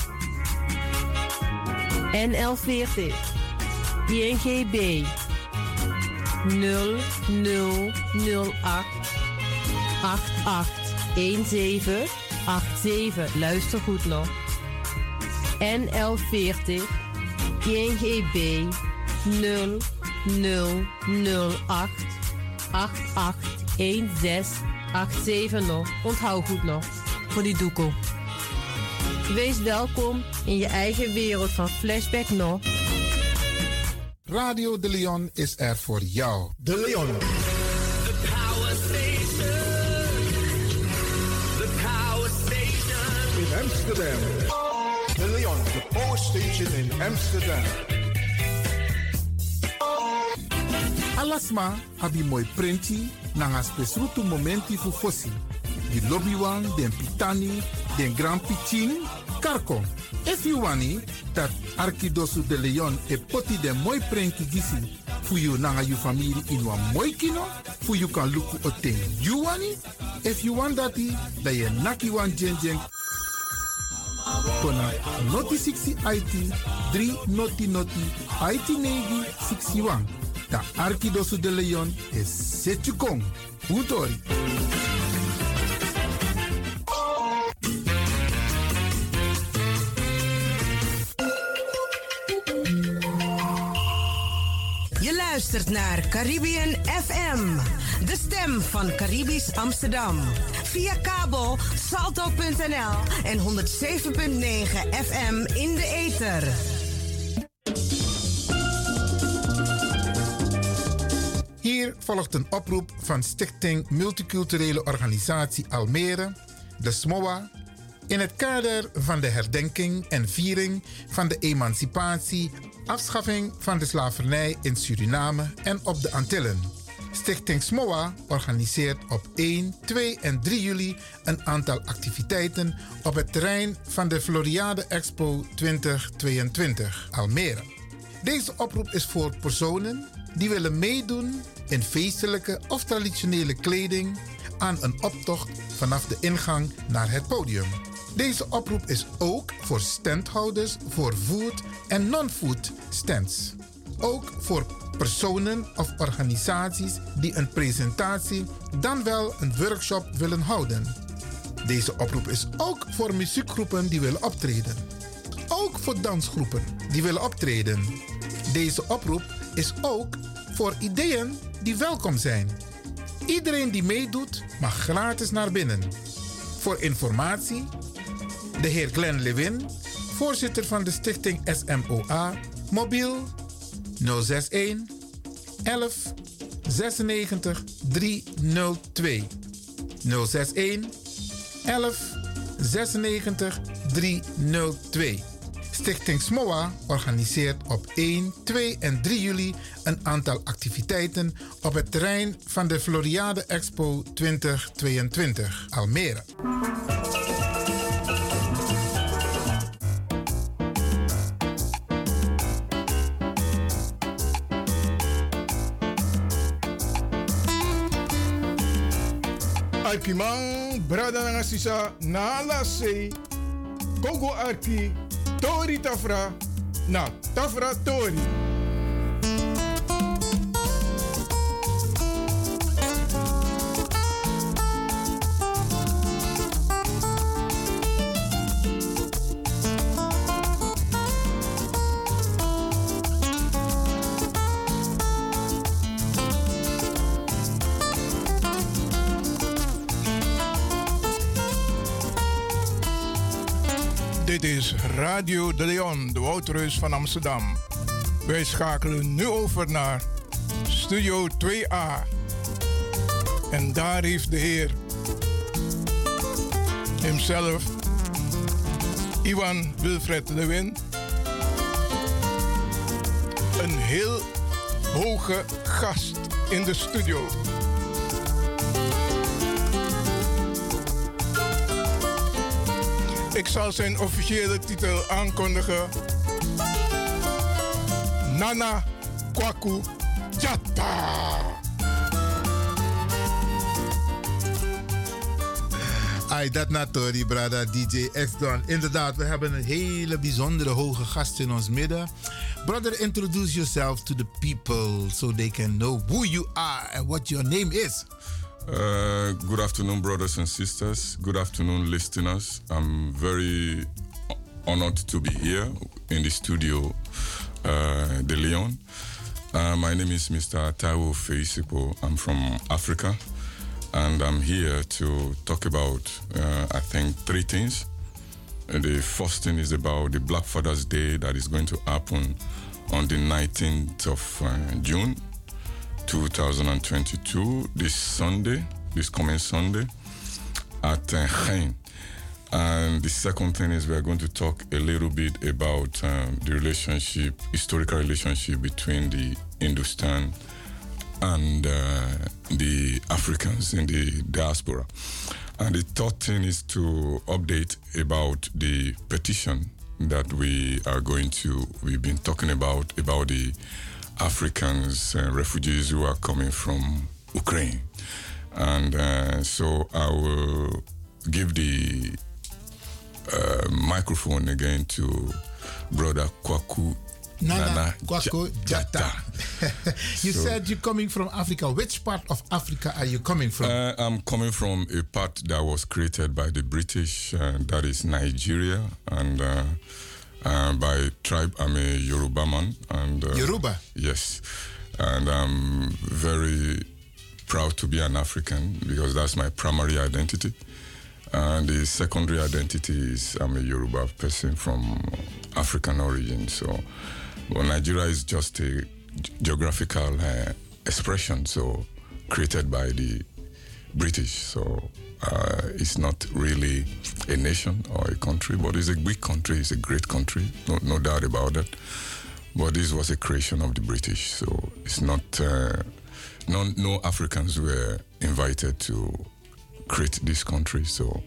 N L veertig I N G B nul nul nul acht acht acht een zeven acht zeven. Luister goed nog. N L veertig I N G B nul nul nul acht acht acht een zes acht zeven nog. Onthoud goed nog. Voor die doekoe. Wees welkom in je eigen wereld van Flashback nog. Radio De Leon is er voor jou. De Leon. The power station. The power station. In Amsterdam. De Leon, the power station in Amsterdam. Alasma abi moi prenti nanga spesrutu momenti fu fossi. Di lobbywan, den pitani, den grand pitin, karko. If you wani, dat Arkidosu de Leon e poti den moi prenki gisi. Fu you nanga you family in wan moi kino, fu you kan luku oten. You wani? If you want dati, da ye naki wan jen jen. Kona noti sixty I T, three noti noti, I T negi sixty-one. Da Arkidosu de Leon is Setjukong. Utori. Je luistert naar Caribbean F M, de stem van Caribisch Amsterdam. Via kabel salto punt n l en honderd zeven punt negen F M in de ether. Hier volgt een oproep van Stichting Multiculturele Organisatie Almere, de S M O A, in het kader van de herdenking en viering van de emancipatie, afschaffing van de slavernij in Suriname en op de Antillen. Stichting S M O A organiseert op één, twee en drie juli een aantal activiteiten op het terrein van de Floriade Expo twintig tweeëntwintig Almere. Deze oproep is voor personen die willen meedoen in feestelijke of traditionele kleding aan een optocht vanaf de ingang naar het podium. Deze oproep is ook voor standhouders voor food- en non-food stands. Ook voor personen of organisaties die een presentatie dan wel een workshop willen houden. Deze oproep is ook voor muziekgroepen die willen optreden. Ook voor dansgroepen die willen optreden. Deze oproep is ook voor ideeën die welkom zijn. Iedereen die meedoet mag gratis naar binnen. Voor informatie, de heer Glenn Lewin, voorzitter van de stichting S M O A, mobiel nul zes een elf zesennegentig driehonderdtwee. nul zes een elf zesennegentig driehonderdtwee. Stichting S M O A organiseert op één, twee en drie juli een aantal activiteiten op het terrein van de Floriade Expo twintig tweeëntwintig Almere. Arkimang, brada nga sisa, na la se, Gogo Arki, Tori Tafra, na Tafra Tori. Dit is Radio De Leon, de Woudreus van Amsterdam. Wij schakelen nu over naar Studio twee A. En daar heeft de Heer hemzelf Ivan Wilfred Lewin. Een heel hoge gast in de studio. Ik zal zijn officiële titel aankondigen. Nana Kwaku Jatta. Ai, dat natori, brada D J X-Don. Inderdaad, we hebben een hele bijzondere hoge gast in ons midden. Brother, introduce yourself to the people so they can know who you are and what your name is. Uh, good afternoon, brothers and sisters. Good afternoon, listeners. I'm very honored to be here in the studio, uh, De Leon. Uh, my name is Mister Taiwo Feisipo. I'm from Africa, and I'm here to talk about, uh, I think, three things. Uh, the first thing is about the Black Father's Day that is going to happen on the nineteenth of uh, June. twenty twenty-two, this Sunday, this coming Sunday, at uh, Gein. And the second thing is we're going to talk a little bit about um, the relationship, historical relationship between the Hindustan and uh, the Africans in the diaspora. And the third thing is to update about the petition that we are going to, we've been talking about, about the Africans, uh, refugees who are coming from Ukraine. And uh, so I will give the uh, microphone again to Brother Kwaku Nana, Nana Kwaku Jatta. You So- said you're coming from Africa. Which part of Africa are you coming from? Uh, I'm coming from a part that was created by the British, uh, that is Nigeria, and uh, uh, by tribe, I'm a Yoruba man. And, uh, Yoruba? Yes. And I'm very proud to be an African because that's my primary identity. And the secondary identity is I'm a Yoruba person from African origin. So well, Nigeria is just a geographical uh, expression, so created by the British. So uh, it's not really a nation or a country, but it's a big country. It's a great country, no, no doubt about that. But this was a creation of the British, so it's not. Uh, no, no Africans were invited to create this country. So.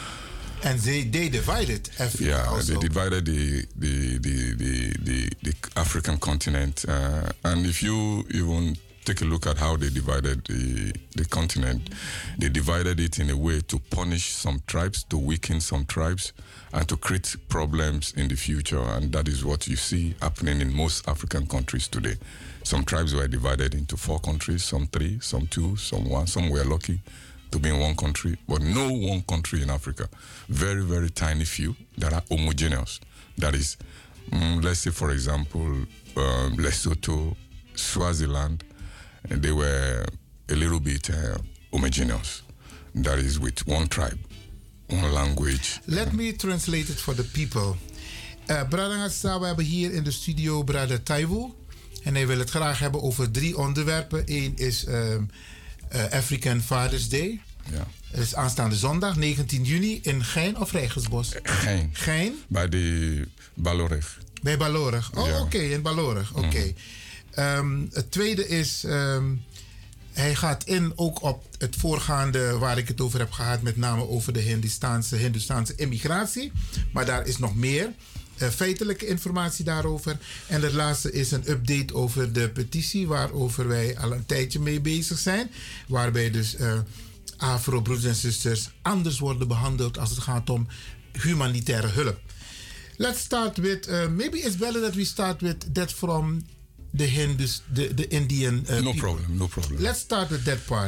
And they, they divided Africa Yeah, also. they divided the the the the, the, the African continent, uh, and if you even take a look at how they divided the the continent, they divided it in a way to punish some tribes, to weaken some tribes, and to create problems in the future. And that is what you see happening in most African countries today. Some tribes were divided into four countries, some three, some two, some one. Some were lucky to be in one country, but no one country in Africa. Very, very tiny few that are homogeneous. That is, mm, let's say, for example, um, Lesotho, Swaziland, and they were a little bit uh, homogeneous. That is with one tribe, one language. Let me translate it for the people. Uh, Brother Ngassa, we hebben hier in de studio Brother Taiwo. En hij wil het graag hebben over drie onderwerpen. Eén is um, uh, African Fathers Day. Ja. Het is aanstaande zondag, negentien juni, in Gein of Rijgersbos? Gein. Gein? Bij de Balorig. Bij Balorig. Oh, Ja. oké, in Balorig. Oké. Um, het tweede is, um, hij gaat in ook op het voorgaande waar ik het over heb gehad, met name over de Hindustaanse, Hindustaanse immigratie. Maar daar is nog meer uh, feitelijke informatie daarover. En het laatste is een update over de petitie, waarover wij al een tijdje mee bezig zijn. Waarbij dus uh, Afro-broeders en zusters anders worden behandeld als het gaat om humanitaire hulp. Let's start with, uh, maybe it's better that we start with that from the Hindus, the, the Indian uh, No people. problem, no problem. Let's start with that part.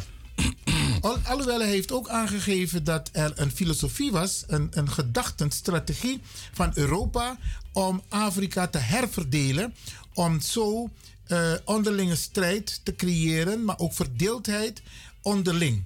Al, alhoewel hij heeft ook aangegeven dat er een filosofie was, een, een gedachtenstrategie van Europa om Afrika te herverdelen, om zo uh, onderlinge strijd te creëren, maar ook verdeeldheid onderling.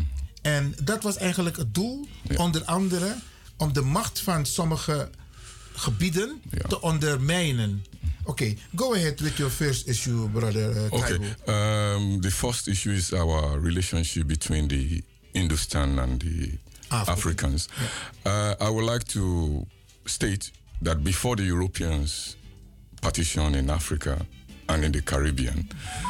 En dat was eigenlijk het doel, Ja. onder andere om de macht van sommige gebieden Ja. te ondermijnen. Oké, okay, go ahead with your first issue, brother uh, Okay. Taiwo. Um, the first issue is our relationship between the Hindustan and the Africa. Africans. Uh, I would like to state that before the Europeans partition in Africa and in the Caribbean,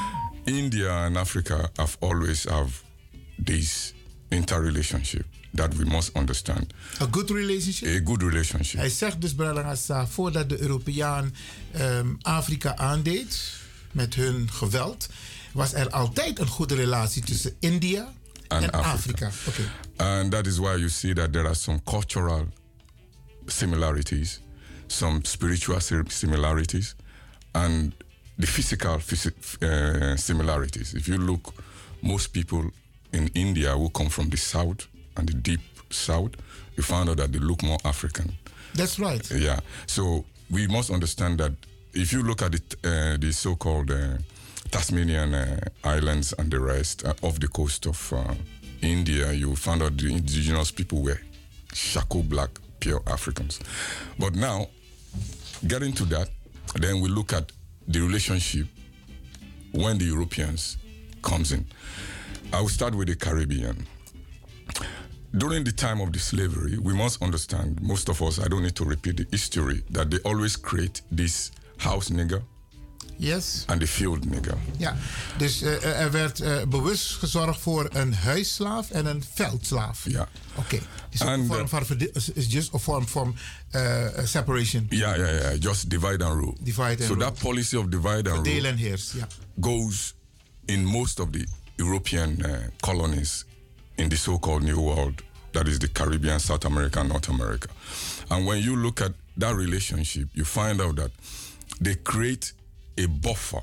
India and Africa have always have this interrelationship that we must understand. A good relationship? A good relationship. Hij zegt dus, Bralangasa, voordat de Europeaan um, Afrika aandeed met hun geweld, was er altijd een goede relatie tussen India and en Africa. Afrika. Okay. And that is why you see that there are some cultural similarities, some spiritual similarities, and the physical uh, similarities. If you look, most people in India who come from the south and the deep south, you find out that they look more African. That's right. Yeah. So we must understand that if you look at it, uh, the so-called uh, Tasmanian uh, islands and the rest uh, of the coast of uh, India, you find out the indigenous people were shako black, pure Africans. But now, getting to that, then we look at the relationship when the Europeans comes in. I will start with the Caribbean. During the time of the slavery, we must understand, most of us, I don't need to repeat the history, that they always create this house nigger. Yes. And the field nigger. Ja, dus uh, er werd uh, bewust gezorgd voor een huisslaaf en een veldslaaf. Ja. Oké. Okay. Is een vorm van is just a form from uh, separation. Ja, ja, ja. Just divide and rule. Divide and so rule. that policy of divide and Verdeel rule en heers, ja. goes in most of the European uh, colonies in the so-called New World, that is the Caribbean, South America, North America. And when you look at that relationship, you find out that they create a buffer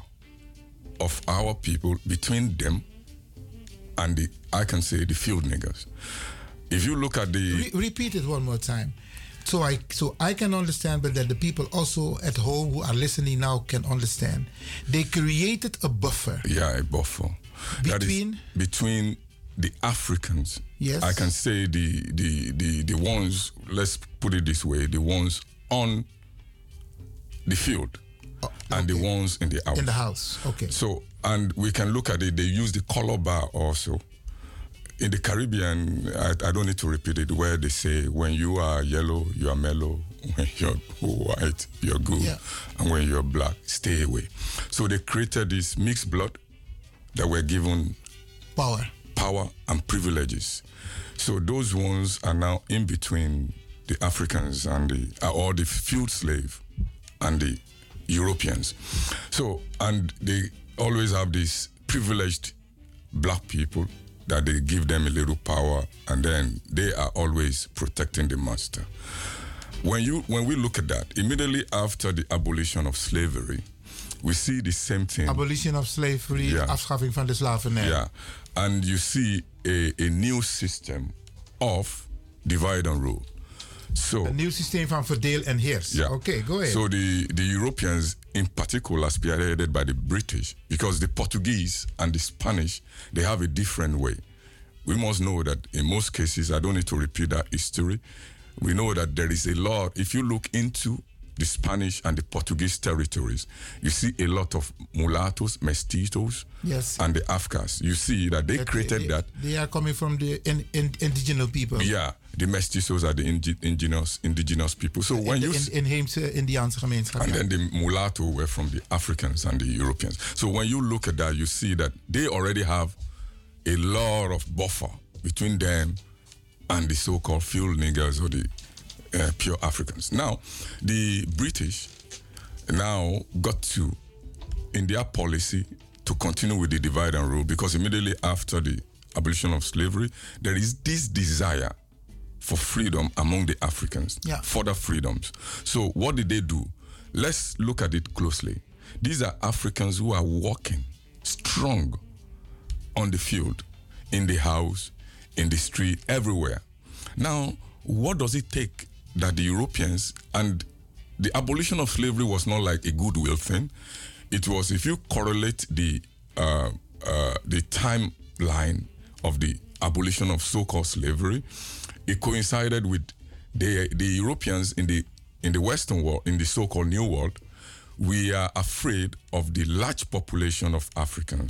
of our people between them and the, I can say, the field niggers. If you look at the... Re- repeat it one more time. So I, so I can understand, but that the people also at home who are listening now can understand. They created a buffer. Yeah, a buffer. Between? Between the Africans. Yes. I can say the, the, the, the ones, let's put it this way, the ones on the field. Oh, okay. And the ones in the house. In the house, okay. So, and we can look at it, they use the color bar also. In the Caribbean, I, I don't need to repeat it, where they say, when you are yellow, you are mellow. When you're white, you're good. Yeah. And when you're black, stay away. So they created this mixed blood that were given power, power and privileges. So those ones are now in between the Africans and the, or the field slave and the Europeans. So, and they always have these privileged black people that they give them a little power, and then they are always protecting the master. When you when we look at that, immediately after the abolition of slavery, we see the same thing. Abolition of slavery, yeah. afschaffing van de slavernij. Yeah, and you see a, a new system of divide and rule. So, een nieuw systeem van verdeel en heers. Yeah. Okay, go ahead. So the, the Europeans in particular spearheaded by the British, because the Portuguese and the Spanish, they have a different way. We must know that in most cases, I don't need to repeat that history, we know that there is a lot, if you look into the Spanish and the Portuguese territories, you see a lot of mulattoes, mestizos, yes. and the Afghans. You see that they that created they, that. They are coming from the in, in, indigenous people. Yeah, the mestizos are the indi- indigenous indigenous people. So when in, you in, inheemse Indiaanse gemeenschap. And ja. then the mulatto were from the Africans and the Europeans. So when you look at that, you see that they already have a lot of buffer between them and the so-called field niggers or the uh, pure Africans. Now, the British now got to, in their policy, to continue with the divide and rule, because immediately after the abolition of slavery, there is this desire for freedom among the Africans, yeah. further freedoms. So what did they do? Let's look at it closely. These are Africans who are working strong on the field, in the house, in the street, everywhere. Now, what does it take that the Europeans, and the abolition of slavery was not like a goodwill thing. It was, if you correlate the uh, uh, the timeline of the abolition of so-called slavery, it coincided with the the Europeans in the in the Western world, in the so-called New World. We are afraid of the large population of Africans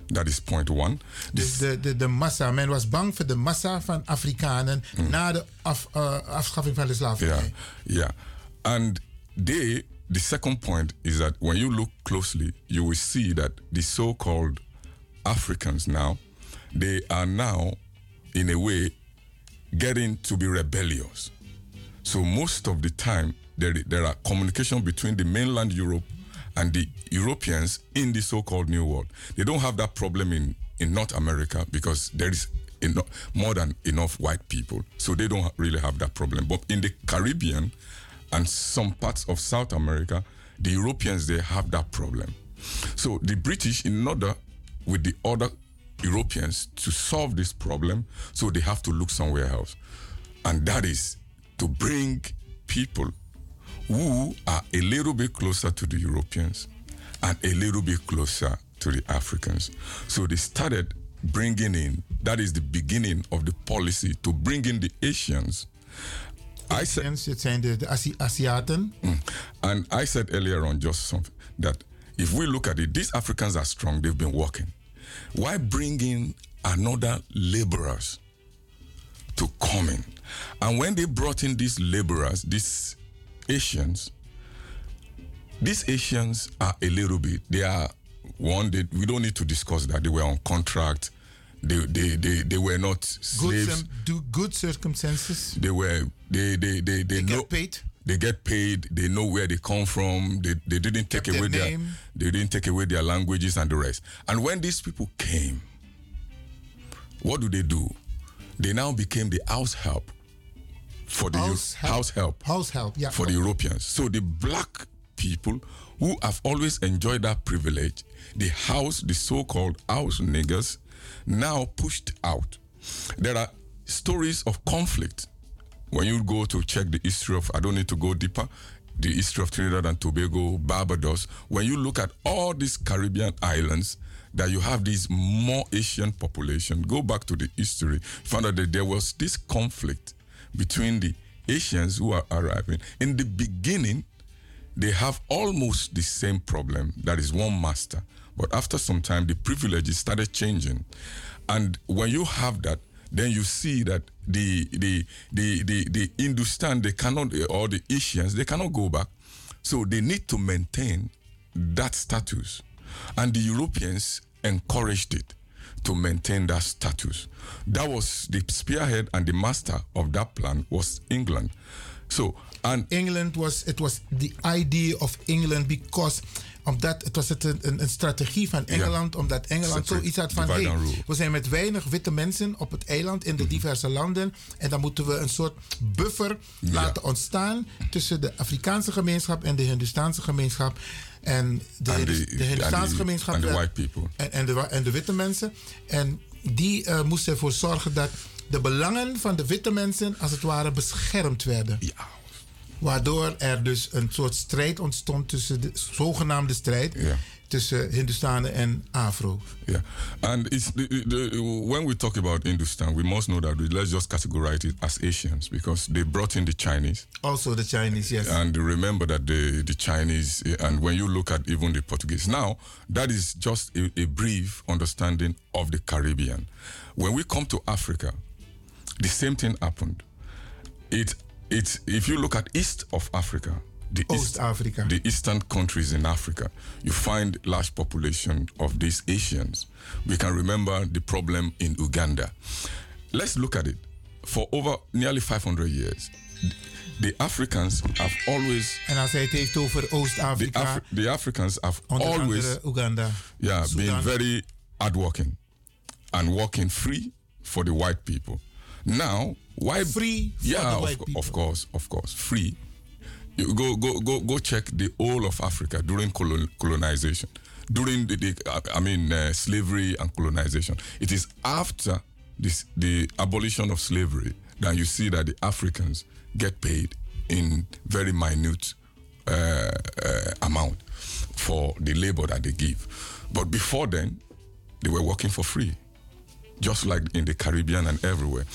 Dat is point one. Dus de, de, de massa, men was bang voor de massa van Afrikanen Mm. na de af, uh, afschaffing van de slavernij. Yeah, yeah. And they, the second point is that when you look closely, you will see that the so-called Africans now, they are now, in a way, getting to be rebellious. So most of the time, there, there are communication between the mainland Europe and the Europeans in the so-called New World. They don't have that problem in, in North America because there is eno- more than enough white people. So they don't ha- really have that problem. But in the Caribbean and some parts of South America, the Europeans, they have that problem. So the British, in order with the other Europeans to solve this problem, so they have to look somewhere else. And that is to bring people who are a little bit closer to the Europeans and a little bit closer to the Africans. So they started bringing in, that is the beginning of the policy, to bring in the Asians. I said, het zijn de, de Asi- Aziaten. Mm. And I said earlier on just something, that if we look at it, these Africans are strong, they've been working. Why bring in another laborers to come in? And when they brought in these laborers, these Asians, these Asians are a little bit, they are one, they, we don't need to discuss that. They were on contract. They, they, they, they were not Good, slaves. cir- do good circumstances. They were, they, they, they, they, know, get paid. They get paid. They know where they come from. They, they didn't take Kept away their their, name. they didn't take away their languages and the rest. And when these people came, what do they do? They now became the house help for the House Eu- help. house help. House help, yeah. For the Europeans. So the black people who have always enjoyed that privilege, the house, the so-called house niggers, now pushed out. There are stories of conflict. When you go to check the history of, I don't need to go deeper, the history of Trinidad and Tobago, Barbados, when you look at all these Caribbean islands, that you have this more Asian population, go back to the history, you find out that there was this conflict between the Asians who are arriving. In the beginning, they have almost the same problem, that is one master. But after some time, the privileges started changing. And when you have that, then you see that the the the the, the Hindustan, they cannot, or the Asians, they cannot go back. So they need to maintain that status. And the Europeans encouraged it to maintain that status. That was the spearhead and the master of that plan was England. So, and England was, it was the idea of England because omdat het was het een, een, een strategie van Engeland, Ja. omdat Engeland Separate, zoiets had van divide hey, and rule. we zijn met weinig witte mensen op het eiland in de diverse landen en dan moeten we een soort buffer Ja. laten ontstaan tussen de Afrikaanse gemeenschap en de Hindustaanse gemeenschap. En de, And Hindu- the- de Hindustaanse and the- gemeenschap and the werd- white people. En, en, de, wa- en de witte mensen. En die uh, moesten ervoor zorgen dat de belangen van de witte mensen als het ware beschermd werden. Ja. Waardoor er dus een soort strijd ontstond tussen de zogenaamde strijd Ja. tussen Hindustanen en Afro. Yeah, and it's the, the, when we talk about Hindustan, we must know that we, let's just categorize it as Asians because they brought in the Chinese. Also the Chinese, yes. And remember that the, the Chinese, and when you look at even the Portuguese, now that is just a, a brief understanding of the Caribbean. When we come to Africa, the same thing happened. It, it, if you look at east of Africa, the East Africa, the eastern countries in Africa, you find large population of these Asians. We can remember the problem in Uganda. Let's look at it. For over nearly five hundred years, the Africans have always. En als hij het heeft over Oost-Afrika, the, Afri- the Africans have onder always, andere Uganda, yeah, Sudan. been very hardworking and working free for the white people. Now, why free? For yeah, the of, white co- people. of course, of course, free. You go, go, go, go! Check the whole of Africa during colon, colonization, during the, the uh, I mean, uh, slavery and colonization. It is after this, the abolition of slavery that you see that the Africans get paid in very minute uh, uh, amount for the labor that they give. But before then, they were working for free, just like in the Caribbean and everywhere.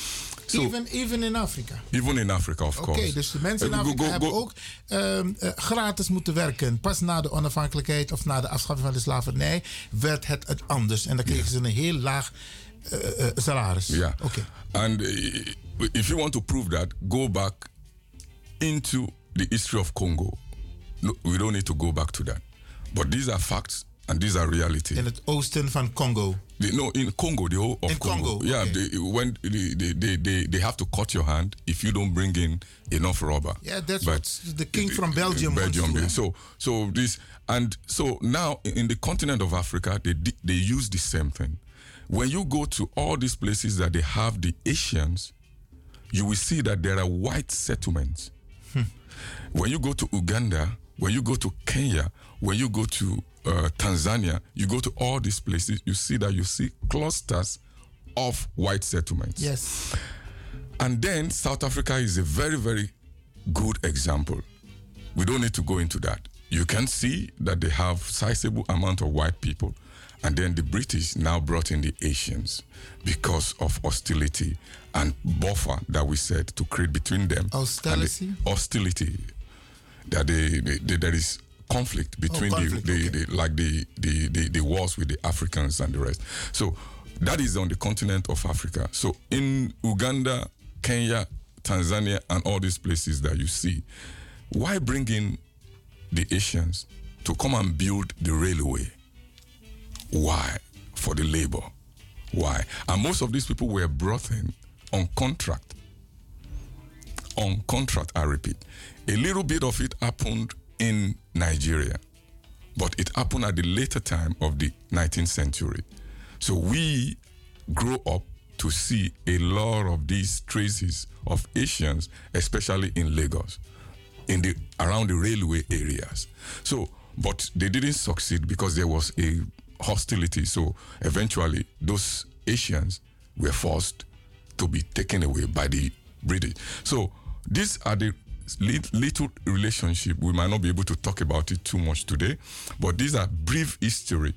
So, even, even in Afrika? Even in Africa, of Oké, course. okay, dus de mensen in Uh, Afrika go- go- hebben go- ook um, uh, gratis moeten werken. Pas na de onafhankelijkheid of na de afschaffing van de slavernij werd het het anders. En dan kregen ze een heel laag uh, uh, salaris. Yeah. Okay. And uh, if you want to prove that, go back into the history of Congo. No, we don't need to go back to that. But these are facts and these are reality. In het oosten van Congo. The, no, in Congo, the whole of in Congo. Congo. Yeah, Okay. they, when they, they, they, they, they have to cut your hand if you don't bring in enough rubber. Yeah, that's But what the king from Belgium wants Belgium. to do. So, so this and so now in the continent of Africa, they di- they use the same thing. When you go to all these places that they have the Asians, you will see that there are white settlements. Hmm. When you go to Uganda, when you go to Kenya, when you go to uh, Tanzania, you go to all these places, you see that you see clusters of white settlements. Yes. And then South Africa is a very, very good example. We don't need to go into that. You can see that they have sizable amount of white people. And then the British now brought in the Asians because of hostility and buffer that we said to create between them. Hostility? And the hostility. That they, they, they, there is conflict between Oh, conflict, the, the, okay. the like the, the, the, the wars with the Africans and the rest. So that is on the continent of Africa. So in Uganda, Kenya, Tanzania, and all these places that you see, why bring in the Asians to come and build the railway? Why? For the labor. Why? And most of these people were brought in on contract. On contract, I repeat. A little bit of it happened in Nigeria, but it happened at the later time of the nineteenth century. So we grow up to see a lot of these traces of Asians, especially in Lagos, in the around the railway areas. So, but they didn't succeed because there was a hostility. So eventually, those Asians were forced to be taken away by the British. So these are the lit- little relationship. We might not be able to talk about it too much today, but these are brief history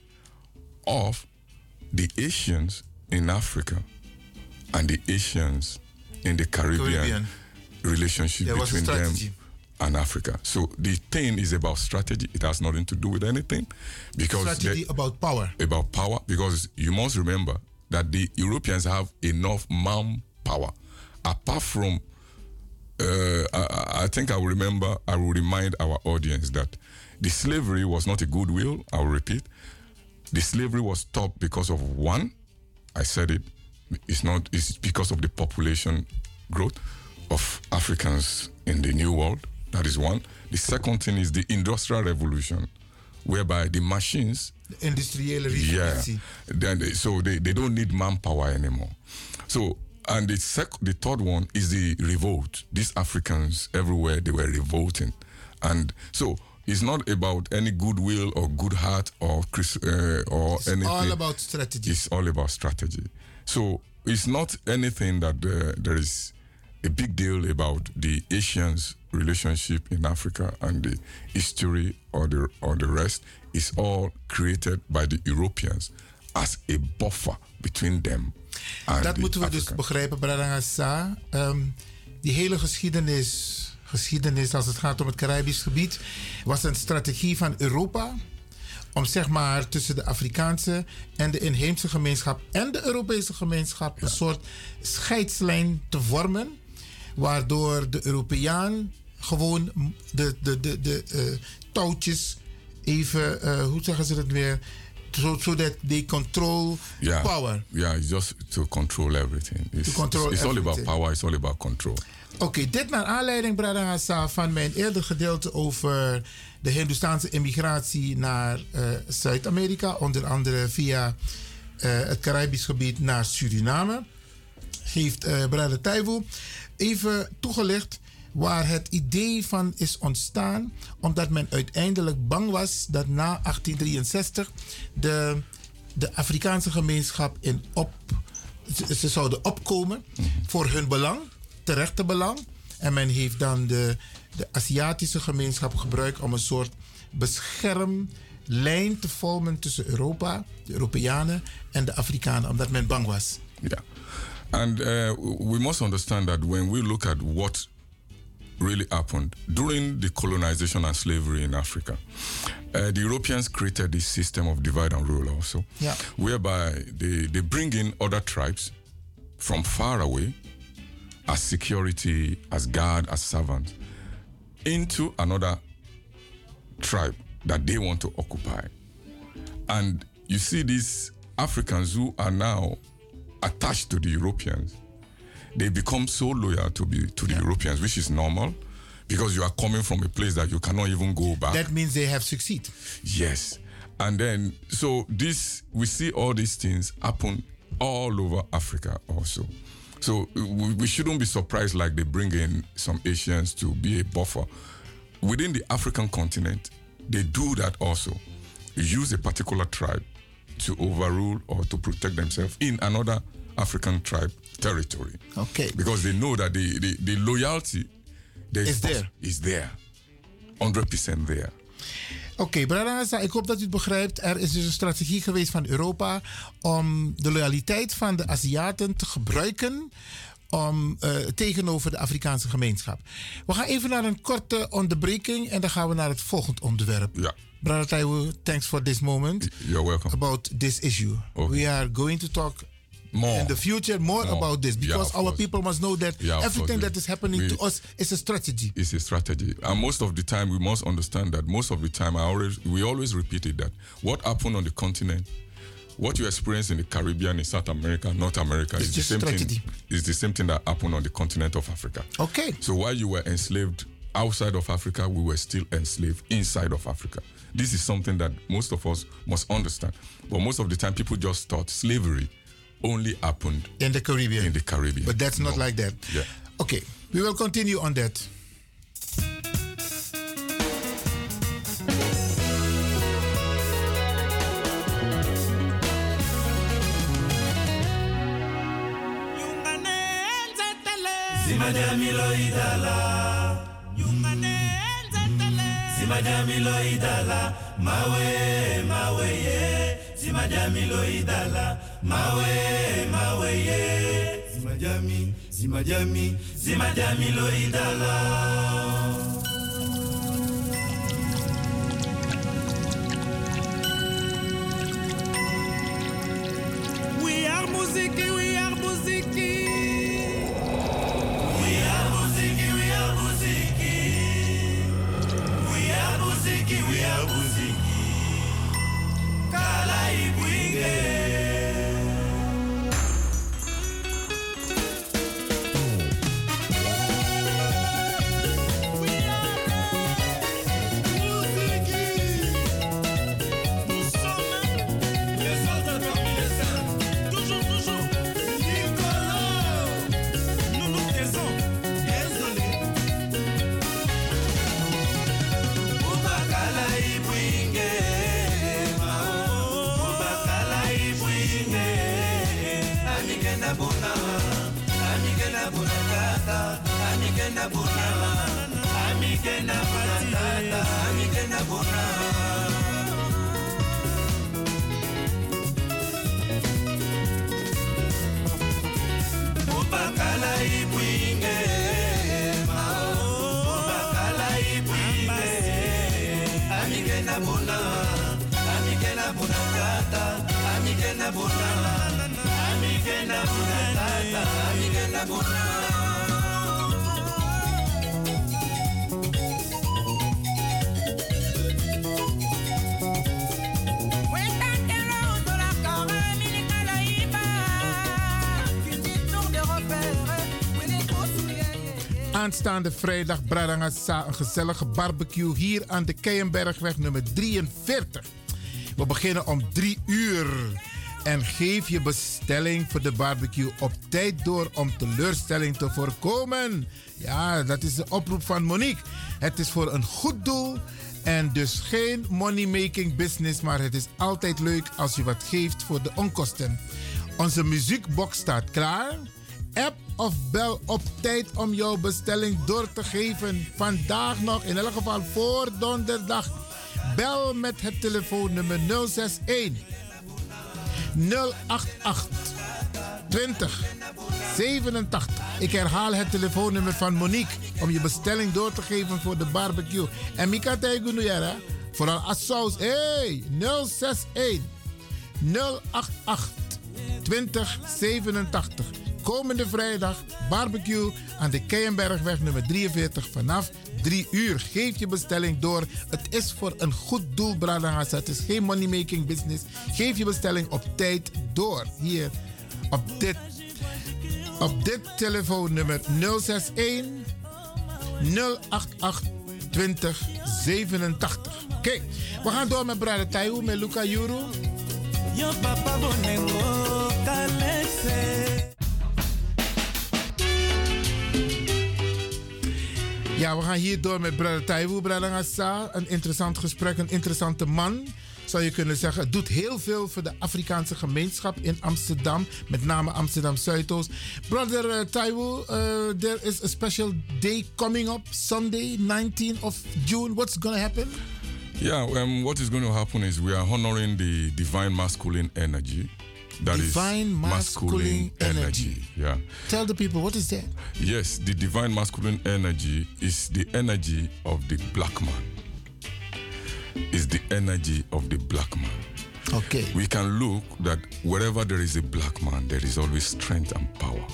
of the Asians in Africa and the Asians in the Caribbean, Caribbean. relationship There was a between them strategy. and Africa. So the thing is about strategy. It has nothing to do with anything. Because Strategy the- about power. about power, because you must remember that the Europeans have enough manpower. Apart from, uh, I, I think I will remember, I will remind our audience that the slavery was not a goodwill. I will repeat. The slavery was stopped because of one, I said it, it's not, it's because of the population growth of Africans in the New World. That is one. The second thing is the Industrial Revolution, whereby the machines, De industriële yeah, revolutie. then they, so they, they don't need manpower anymore. So, and the sec- the third one is the revolt. These Africans everywhere, they were revolting. And so it's not about any goodwill or good heart or Chris, uh, or It's anything. all about strategy. It's all about strategy. So it's not anything that uh, there is a big deal about the Asians' relationship in Africa and the history or the or the rest. Is all created by the Europeans as a buffer between them and Dat the moeten we dus Africans. begrijpen, Bradangasa. Um, die hele geschiedenis, geschiedenis als het gaat om het Caribisch gebied, was een strategie van Europa om zeg maar tussen de Afrikaanse en de inheemse gemeenschap en de Europese gemeenschap een soort scheidslijn te vormen, waardoor de Europeaan gewoon de, de, de, de uh, touwtjes even, uh, hoe zeggen ze het weer, so, so that they control Yeah, power. yeah, it's just to control everything. It's, To control it's, it's all about everything. power. It's all about control. Oké, okay, dit naar aanleiding, Bradangasa, van mijn eerder gedeelte over de Hindoestaanse immigratie naar uh, Zuid-Amerika, onder andere via uh, het Caribisch gebied naar Suriname, heeft uh, Brada Taiwo even toegelicht waar het idee van is ontstaan, omdat men uiteindelijk bang was dat na achttien drieënzestig de, de Afrikaanse gemeenschap in op, ze, ze zouden opkomen voor hun belang, terechte belang. En men heeft dan de, de Aziatische gemeenschap gebruikt om een soort beschermlijn te vormen tussen Europa, de Europeanen en de Afrikanen, omdat men bang was. Ja. And uh, we must understand that when we look at what really happened during the colonization and slavery in Africa, uh, the Europeans created this system of divide and rule also, yeah. whereby they, they bring in other tribes from far away as security, as guard, as servants, into another tribe that they want to occupy. And you see these Africans who are now attached to the Europeans, they become so loyal to be to the yeah. Europeans, which is normal, because you are coming from a place that you cannot even go back. That means they have succeeded. Yes. And then, so this, we see all these things happen all over Africa also. So we, we shouldn't be surprised like they bring in some Asians to be a buffer. Within the African continent, they do that also. Use a particular tribe to overrule or to protect themselves in another African tribe territory. Okay. Because they know that the, the, the loyalty is there. Is there. honderd percent there. Oké, okay, Brada, ik hoop dat u het begrijpt. Er is dus een strategie geweest van Europa om de loyaliteit van de Aziaten te gebruiken om, uh, tegenover de Afrikaanse gemeenschap. We gaan even naar een korte onderbreking en dan gaan we naar het volgende onderwerp. Ja. Brother Taiwo, thanks for this moment. You're welcome. About this issue. Okay. We are going to talk more in the future more, more. about this because yeah, our course. people must know that yeah, everything course. that is happening we, to us is a strategy. It's a strategy. And most of the time we must understand that most of the time I always we always repeated that what happened on the continent, what you experience in the Caribbean, in South America, North America, it's is the same strategy. thing. Is the same thing that happened on the continent of Africa. Okay. So while you were enslaved outside of Africa, we were still enslaved inside of Africa. This is something that most of us must understand. But most of the time people just thought slavery only happened in the Caribbean. In the Caribbean. But that's not no. like that. Yeah. Okay, we will continue on that. Simajamilo idala Simajamilo idala mawe mawe ye Simajamilo idala mawe mawe ye Simajami Simajami Simajamilo idala. We are muziki, we are muziki. We are muziki, we are muziki. We are muziki, we are muziki. Kala ibwinge. Amigena bona, amigena patata, amigena bona. Ubakala ibwinge, mao. Ubakala ibwinge, amigena bona, amigena bona tata, amigena bona, amigena bona tata, amigena bona. Aanstaande vrijdag Bradangasa, een gezellige barbecue hier aan de Keienbergweg nummer drieënveertig. We beginnen om drie uur. En geef je bestelling voor de barbecue op tijd door om teleurstelling te voorkomen. Ja, dat is de oproep van Monique. Het is voor een goed doel en dus geen money-making business, maar het is altijd leuk als je wat geeft voor de onkosten. Onze muziekbox staat klaar. App of bel op tijd om jouw bestelling door te geven. Vandaag nog, in elk geval voor donderdag. Bel met het telefoonnummer nul zes een nul acht acht twintig zevenentachtig. Ik herhaal het telefoonnummer van Monique om je bestelling door te geven voor de barbecue. En Mika Tijgunuyara, vooral als saus. Hey, nul zes een nul acht acht twintig zevenentachtig. Komende vrijdag barbecue aan de Keienbergweg nummer drieënveertig vanaf drie uur. Geef je bestelling door. Het is voor een goed doel, Bradangasa. Het is geen money-making business. Geef je bestelling op tijd door. Hier op dit, op dit telefoonnummer nul zes een nul acht acht twintig zevenentachtig. Oké, okay. We gaan door met Brada Taiwo met Luca Juru. Yo papa bonengo kalese. Ja, we gaan hier door met Brada Taiwo, Brada Ngassa. Een interessant gesprek, een interessante man, zou je kunnen zeggen. Het doet heel veel voor de Afrikaanse gemeenschap in Amsterdam, met name Amsterdam Zuidoost. Brother uh, Taiwo, uh, there is a special day coming up, Sunday, nineteenth of June. What's going to happen? Yeah, um, what is going to happen is we are honoring the divine masculine energy. That divine is masculine, masculine energy. energy. Yeah. Tell the people, what is that? Yes, the divine masculine energy is the energy of the black man. Is the energy of the black man. Okay. We can look that wherever there is a black man, there is always strength and power.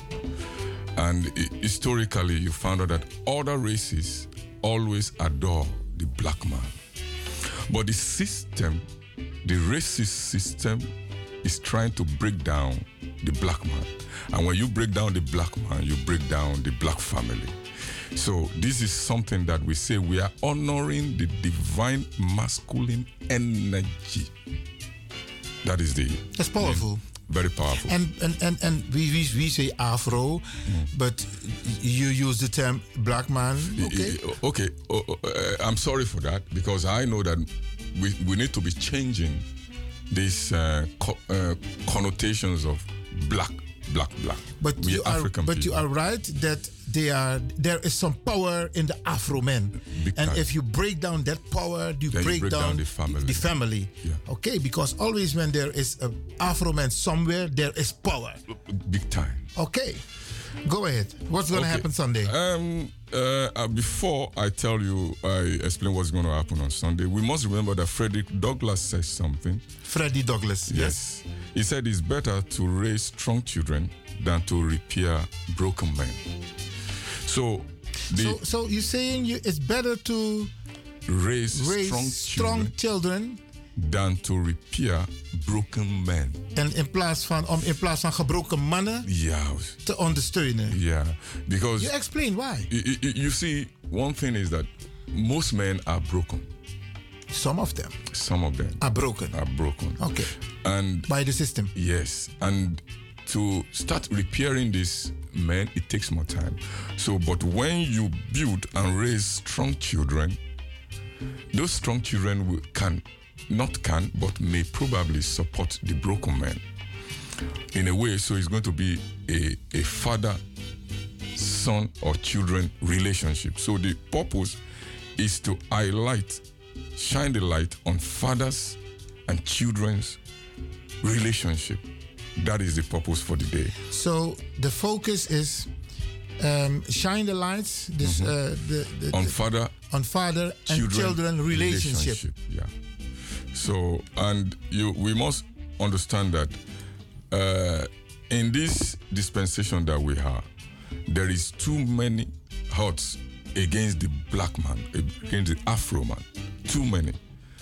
And historically, you found out that other races always adore the black man. But the system, the racist system, is trying to break down the black man. And when you break down the black man, you break down the black family. So this is something that we say we are honoring the divine masculine energy. That is the... That's powerful. Very powerful. And and, and, and we, we, we say Afro, mm. but you use the term black man. Okay. Okay. Uh, uh, I'm sorry for that, because I know that we, we need to be changing these uh, co- uh, connotations of black, black, black. But we you African are, but people. you are right that they are there is some power in the Afro men, Big and time. if you break down that power, you, break, you break down, down the family. The family. Yeah. Okay, because always when there is an Afro man somewhere, there is power. Big time. Okay, go ahead. What's going to Okay. happen Sunday? Um, uh, uh, before I tell you, I explain what's going to happen on Sunday. We must remember that Frederick Douglass says something. Freddie Douglass. Yes. yes. He said it's better to raise strong children than to repair broken men. So, the so, so you're saying you, it's better to raise, raise strong, strong children, children than to repair broken men. En in plaats van om in plaats van gebroken mannen yeah. te ondersteunen. Yeah, because you explain why. You, you, you see, one thing is that most men are broken. Some of them. Some of them are broken. Are broken. Okay. And by the system. Yes, and to start repairing these men, it takes more time. So, but when you build and raise strong children, those strong children will, can, not can, but may probably support the broken men in a way. So it's going to be a, a father, son, or children relationship. So the purpose is to highlight, shine the light on fathers and children's relationship. That is the purpose for the day. So the focus is um, shine the lights this, mm-hmm. uh, the, the, on the, father, on father children, and children relationship. relationship. Yeah. So and you, we must understand that uh, in this dispensation that we have, there is too many odds against the black man, against the Afro man. Too many.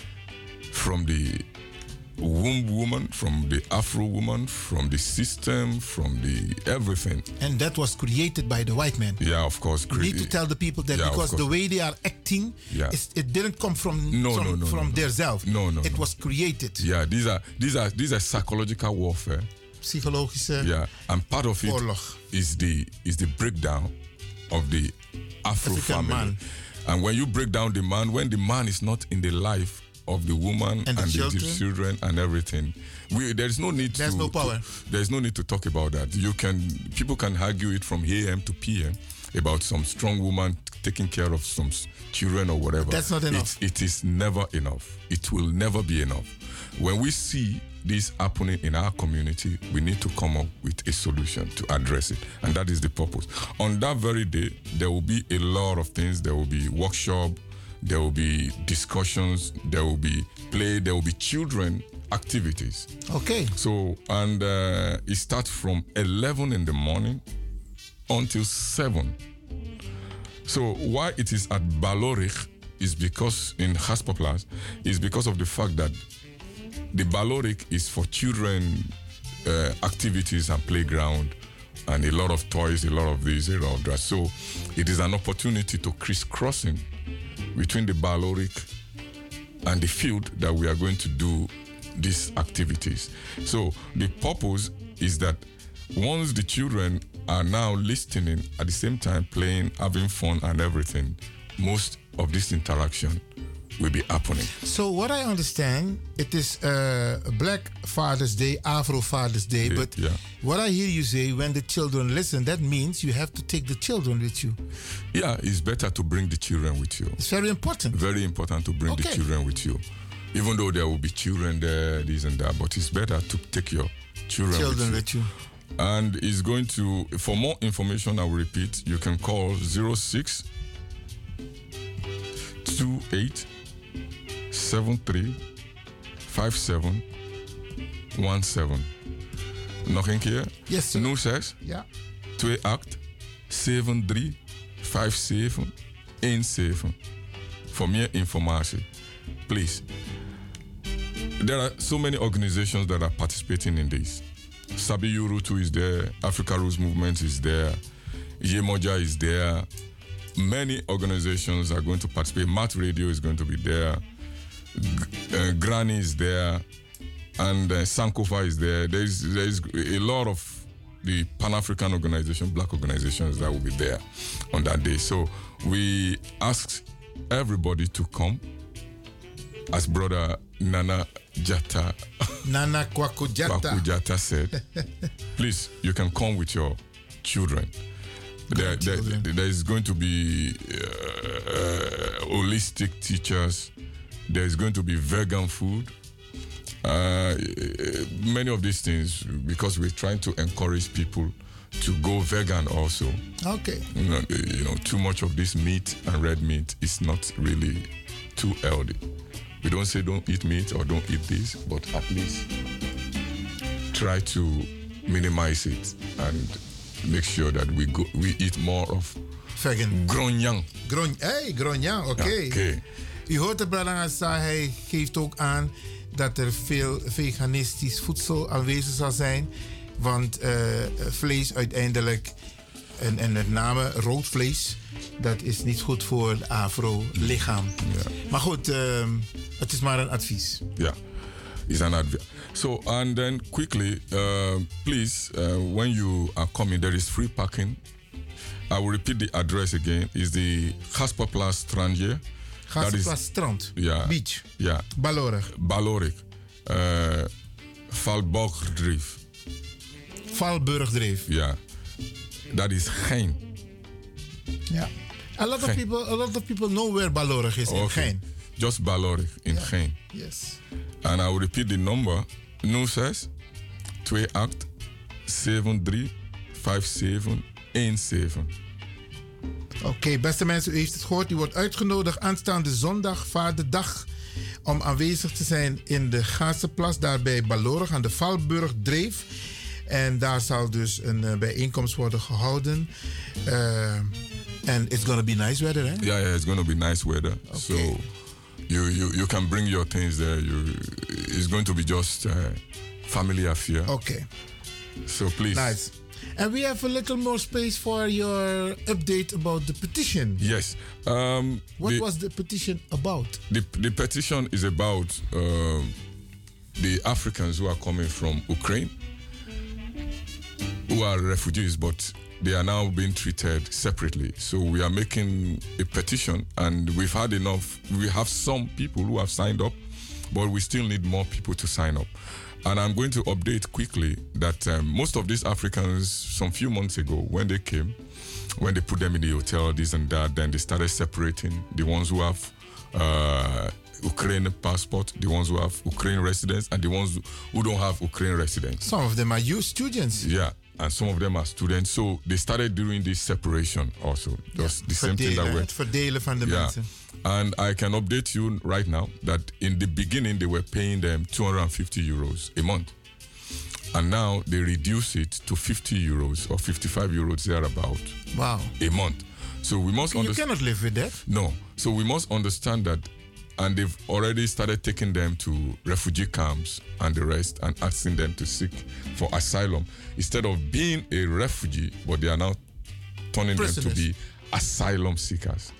From the womb woman, from the Afro woman, from the system, from the everything. And that was created by the white man. Yeah, of course. We need to tell the people that yeah, because the way they are acting, yeah. is, it didn't come from no, from, no, no, from no, no. their self. No, no, it no. was created. Yeah, these are these are these are psychological warfare. Psychologische. Yeah, and part of it oorlog. is the is the breakdown of the Afro African family. Man. And when you break down the man, when the man is not in the life of the woman and the, and children. the children and everything, we, there is no need There's to. no power. To, there is no need to talk about that. You can people can argue it from A M to P M, about some strong woman taking care of some s- children or whatever. That's not enough. It, it is never enough. It will never be enough. When we see this happening in our community, we need to come up with a solution to address it. And that is the purpose. On that very day, there will be a lot of things. There will be workshop, there will be discussions, there will be play, there will be children activities. Okay. So, and uh, it starts from eleven in the morning until seven. So why it is at Balorig is because in Gaspoplas is because of the fact that the Balorig is for children uh, activities and playground and a lot of toys, a lot of this, a lot of that. So it is an opportunity to crisscrossing between the Balorig and the field that we are going to do these activities. So the purpose is that once the children are now listening at the same time playing, having fun and everything, most of this interaction will be happening. So what I understand, it is uh, Black Father's Day, Afro Father's Day, Yeah, but yeah. what I hear you say, when the children listen, that means you have to take the children with you. Yeah, it's better to bring the children with you. It's very important. Very important to bring the Okay. children with you. Even though there will be children there, this and that, but it's better to take your children, Children with you. with you. And it's going to, for more information, I will repeat, you can call zero six two eight seven three five seven one seven. Nog een keer? Yes, sir. nul zes Ja. twee acht zeven drie vijf zeven een zeven. For meer informatie, please. There are so many organizations that are participating in this. Sabi Yurutu is there, Africa Roots Movement is there, Yemoja is there. Many organizations are going to participate. Matt Radio is going to be there. G- uh, Granny is there. And uh, Sankofa is there. There's, there's a lot of the Pan-African organization, black organizations that will be there on that day. So we ask everybody to come. As brother Nana Jata Nana Kwaku Jata. Kwaku Jata said, please, you can come with your children. There, there, there is going to be uh, uh, holistic teachers. There is going to be vegan food. Uh, many of these things, because we're trying to encourage people to go vegan also. Okay. You know, you know, too much of this meat and red meat is not really too healthy. We don't say don't eat meat or don't eat this, but at least try to minimize it and make sure that we go, we eat more of vegan. Gronjang. Gron, hey, Gronjang, oké. Ja, oké. U hoort de Bradangasa, hij geeft ook aan dat er veel veganistisch voedsel aanwezig zal zijn. Want uh, vlees uiteindelijk, en, en met name rood vlees, dat is niet goed voor het afro-lichaam. Ja. Maar goed, uh, het is maar een advies. Yeah, it's an advice. So, and then quickly, uh, please, uh, when you are coming, there is free parking. I will repeat the address again. It's the Gaspoplas Strandje. Gaspoplas Strand. Yeah. Beach. Yeah. Balorig. Balorig. Uh, Valborgdreef. Valburgdreef. Yeah. Dat is Gein. Yeah. A lot of Gein. people, a lot of people know where Balorig is in Okay. Gein. Just Balorig in Yeah. Gein. Yes. And I will repeat the number. nul zes twee acht zeven drie vijf zeven een zeven. Oké, okay, beste mensen, u heeft het gehoord. U wordt uitgenodigd aanstaande zondag, Vaderdag, om aanwezig te zijn in de Gaasenplas, daar bij Balorig aan de Valburgdreef. En daar zal dus een uh, bijeenkomst worden gehouden. En uh, it's gonna be nice weather, hè? Yeah, yeah, it's gonna be nice weather. Okay. So you, you you can bring your things there. You, it's going to be just a family affair. Okay. So please. Nice. And we have a little more space for your update about the petition. Yes. Um, What the, was the petition about? The, the petition is about uh, the Africans who are coming from Ukraine, who are refugees, but they are now being treated separately. So we are making a petition, and we've had enough. We have some people who have signed up, but we still need more people to sign up. And I'm going to update quickly that um, most of these Africans, some few months ago, when they came, when they put them in the hotel, this and that, then they started separating the ones who have uh, Ukrainian passport, the ones who have Ukrainian residence, and the ones who don't have Ukrainian residence. Some of them are youth students. Yeah, and some of them are students. So they started doing this separation also. Just the same thing that Verdelen, we're... het verdelen van de Yeah. mensen. And I can update you right now that in the beginning they were paying them two hundred fifty euros a month. And now they reduce it to fifty euros or fifty-five euros thereabout. Wow. A month. So we must You understand. cannot live with that. No. So we must understand that, and they've already started taking them to refugee camps and the rest and asking them to seek for asylum instead of being a refugee, but they are now turning them to Prisoners. be asylum seekers.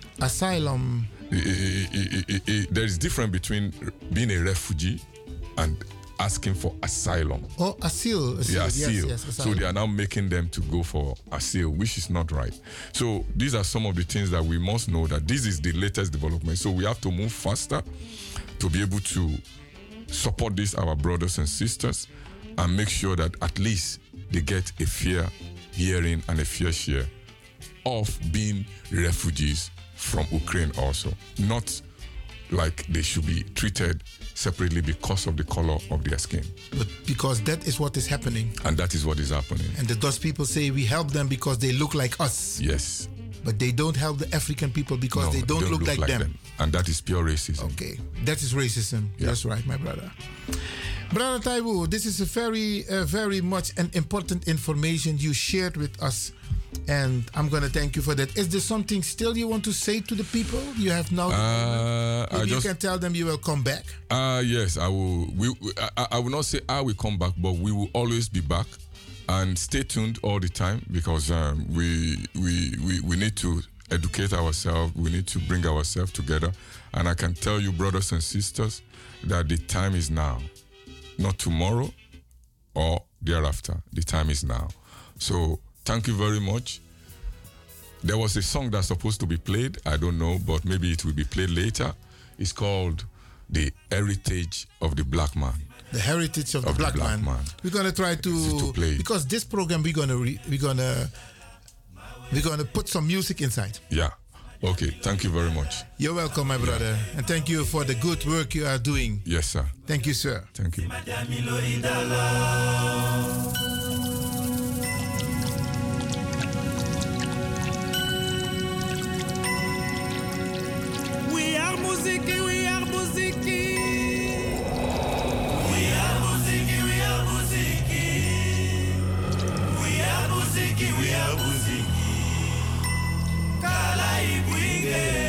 Asylum. I- I- I- I- I- there is difference between being a refugee and asking for asylum. Oh, asylum. Yeah, Yes, asylum. yes, So asylum. they are now making them to go for asylum, which is not right. So these are some of the things that we must know, that this is the latest development. So we have to move faster to be able to support these our brothers and sisters and make sure that at least they get a fair hearing and a fair share of being refugees from Ukraine also. Not like they should be treated separately because of the color of their skin. But because that is what is happening. And that is what is happening. And the Dutch people say we help them because they look like us. Yes. But they don't help the African people because No, they don't, look, like, them. And that is pure racism. Okay. That is racism. Yeah. That's right, my brother. Brother Taiwo, this is a very, uh, very much an important information you shared with us. And I'm going to thank you for that. Is there something still you want to say to the people? You have now. Uh, I Maybe you just- can tell them you will come back. Uh, yes, I will. We, we- I, I will not say I will come back, but we will always be back. And stay tuned all the time because um, we, we, we, we need to educate ourselves. We need to bring ourselves together. And I can tell you, brothers and sisters, that the time is now. Not tomorrow or thereafter. The time is now. So thank you very much. There was a song that's supposed to be played. I don't know, but maybe it will be played later. It's called The Heritage of the Black Man. The heritage of, Of the the black, black man. man. We're gonna try to, To play. because this program we're gonna re, we're gonna we're gonna put some music inside. Yeah. Okay. Thank you very much. You're welcome, my brother, and thank you for the good work you are doing. Yes, sir. Thank you, sir. Thank you. We are muziki, we are muziki. We are muziki, we are muziki. We are muziki, we are muziki. Kala ibwinge.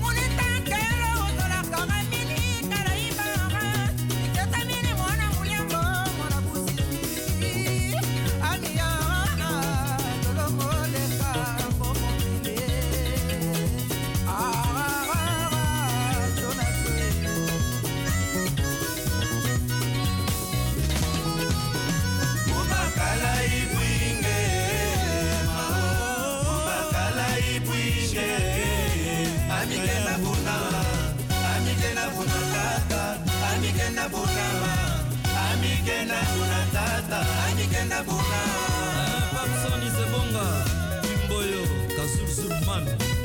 Moneta, que lo, la cara, mini, cara, y barra. na buna amike na buna tata amike na buna papsoni sebonga imboyo kazurzurman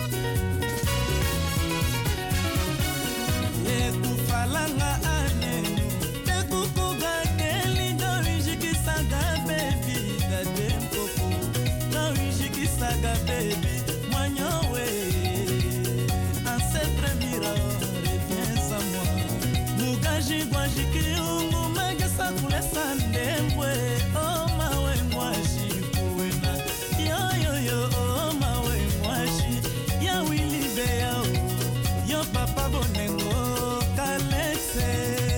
ye kufalanga ane te kukuga deli do wijikisaga baby gade mpoko do wijikisaga baby mwanyowe ancêtre mira reviens à moi mugaji gwajikiungu magasa kule sandembwe oh mawe ngwashi kuena yo yo yo oh mawe ngwashi ya wili beya yo papa bonengo kalexe.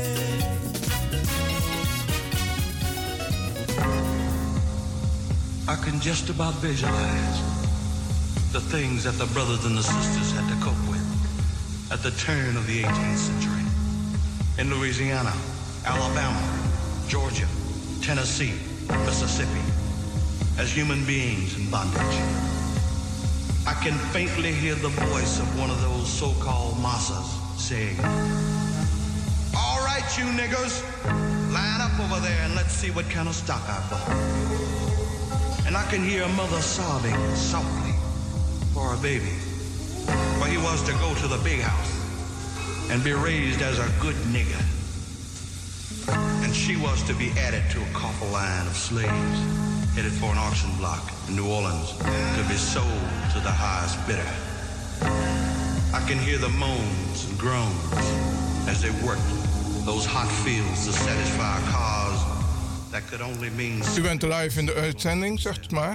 I can just about visualize the things that the brothers and the sisters had to cope with at the turn of the eighteenth century in Louisiana, Alabama, Georgia, Tennessee, Mississippi, as human beings in bondage. I can faintly hear the voice of one of those so-called massas saying, "All right, you niggers, line up over there and let's see what kind of stock I bought." And I can hear a mother sobbing softly for her baby, for he was to go to the big house and be raised as a good nigger. And she was to be added to a coffle line of slaves headed for an auction block in New Orleans to be sold to the highest bidder. I can hear the moans and groans as they worked those hot fields to satisfy cars that could only mean... U bent live in de uitzending, zegt maar.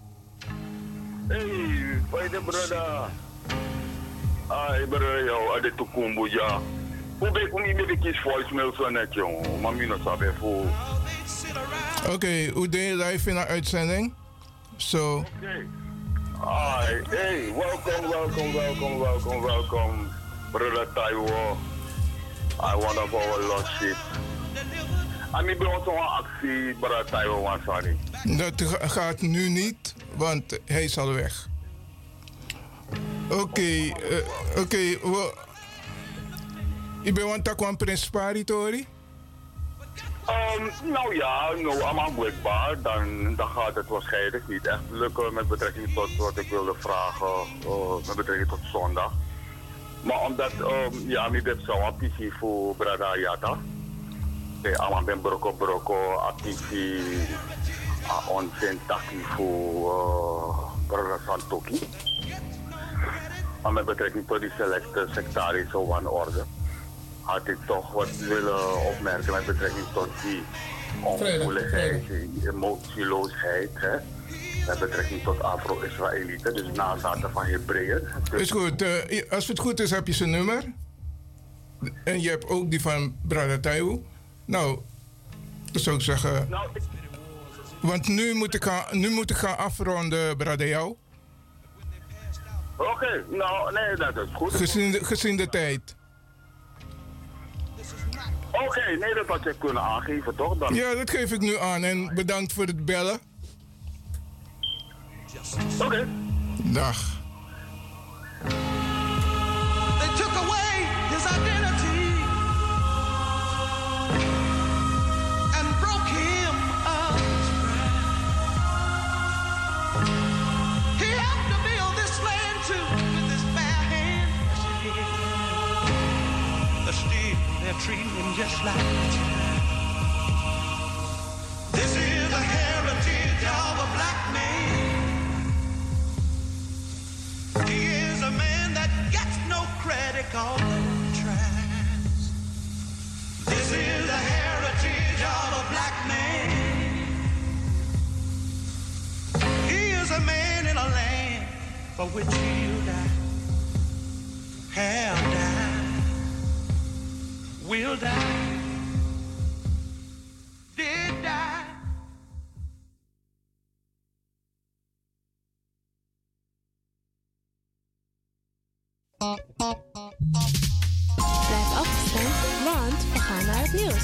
Hey, fighter brother. Ay, brother, yo, ade tukumbu ja. Hoe ben ik niet meer kies voicemail zo net, jong. Maar mi no sabe voor. Oké, hoe deed je live in de uitzending? Zo. Oké. Ay, hey, welkom, welkom, welkom, welkom, welkom. Brother Taiwo. I want to go a lot shit. En ik ben zo'n actie, brother Taiwo, want sorry. Dat gaat nu niet, want hij is al weg. Oké, okay, uh, oké. Okay, well, je bent want dat principari, Tori? Um, nou ja, nou, aanmaakbaar, dan, dan gaat het waarschijnlijk niet echt lukken met betrekking tot wat ik wilde vragen, uh, met betrekking tot zondag. Maar omdat, um, ja, ik heb zo'n pissie voor Brada Yata. Ik ben broko broko, actief, onzin voor Brada Santoki. Maar met betrekking tot die selecte sectarische wanorde had ik toch wat willen opmerken met betrekking tot die ongevoeligheid, die emotieloosheid, hè, met betrekking tot Afro-Israëlieten, dus nazaten van Hebreeën. Is goed, uh, als het goed is heb je zijn nummer. En je hebt ook die van Brada Taiwo. Nou, dat zou ik zeggen. Nou, ik... Want nu moet ik gaan, nu moet ik gaan afronden, Brada jou. Oké, okay, nou, nee, dat is goed. Gezien de, gezien de tijd. Oké, okay, nee, dat had je kunnen aangeven, toch? Dan... Ja, dat geef ik nu aan en bedankt voor het bellen. Oké. Okay. Dag. They took away his identity and broke him of his pride. He helped to build this land too with his bare hands. But still, they're treating him just like a child. This is the heritage of a black man. He is a man that gets no credit, cause no tries. This is the heritage of a black man. He is a man in a land for which he'll die. Have died. Will die. Did die. Blijf afgestemd, want we gaan naar het nieuws.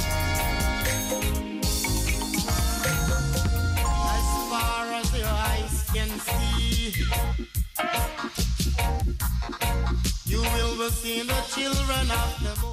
As far as the eye You will be seeing the children of the moon.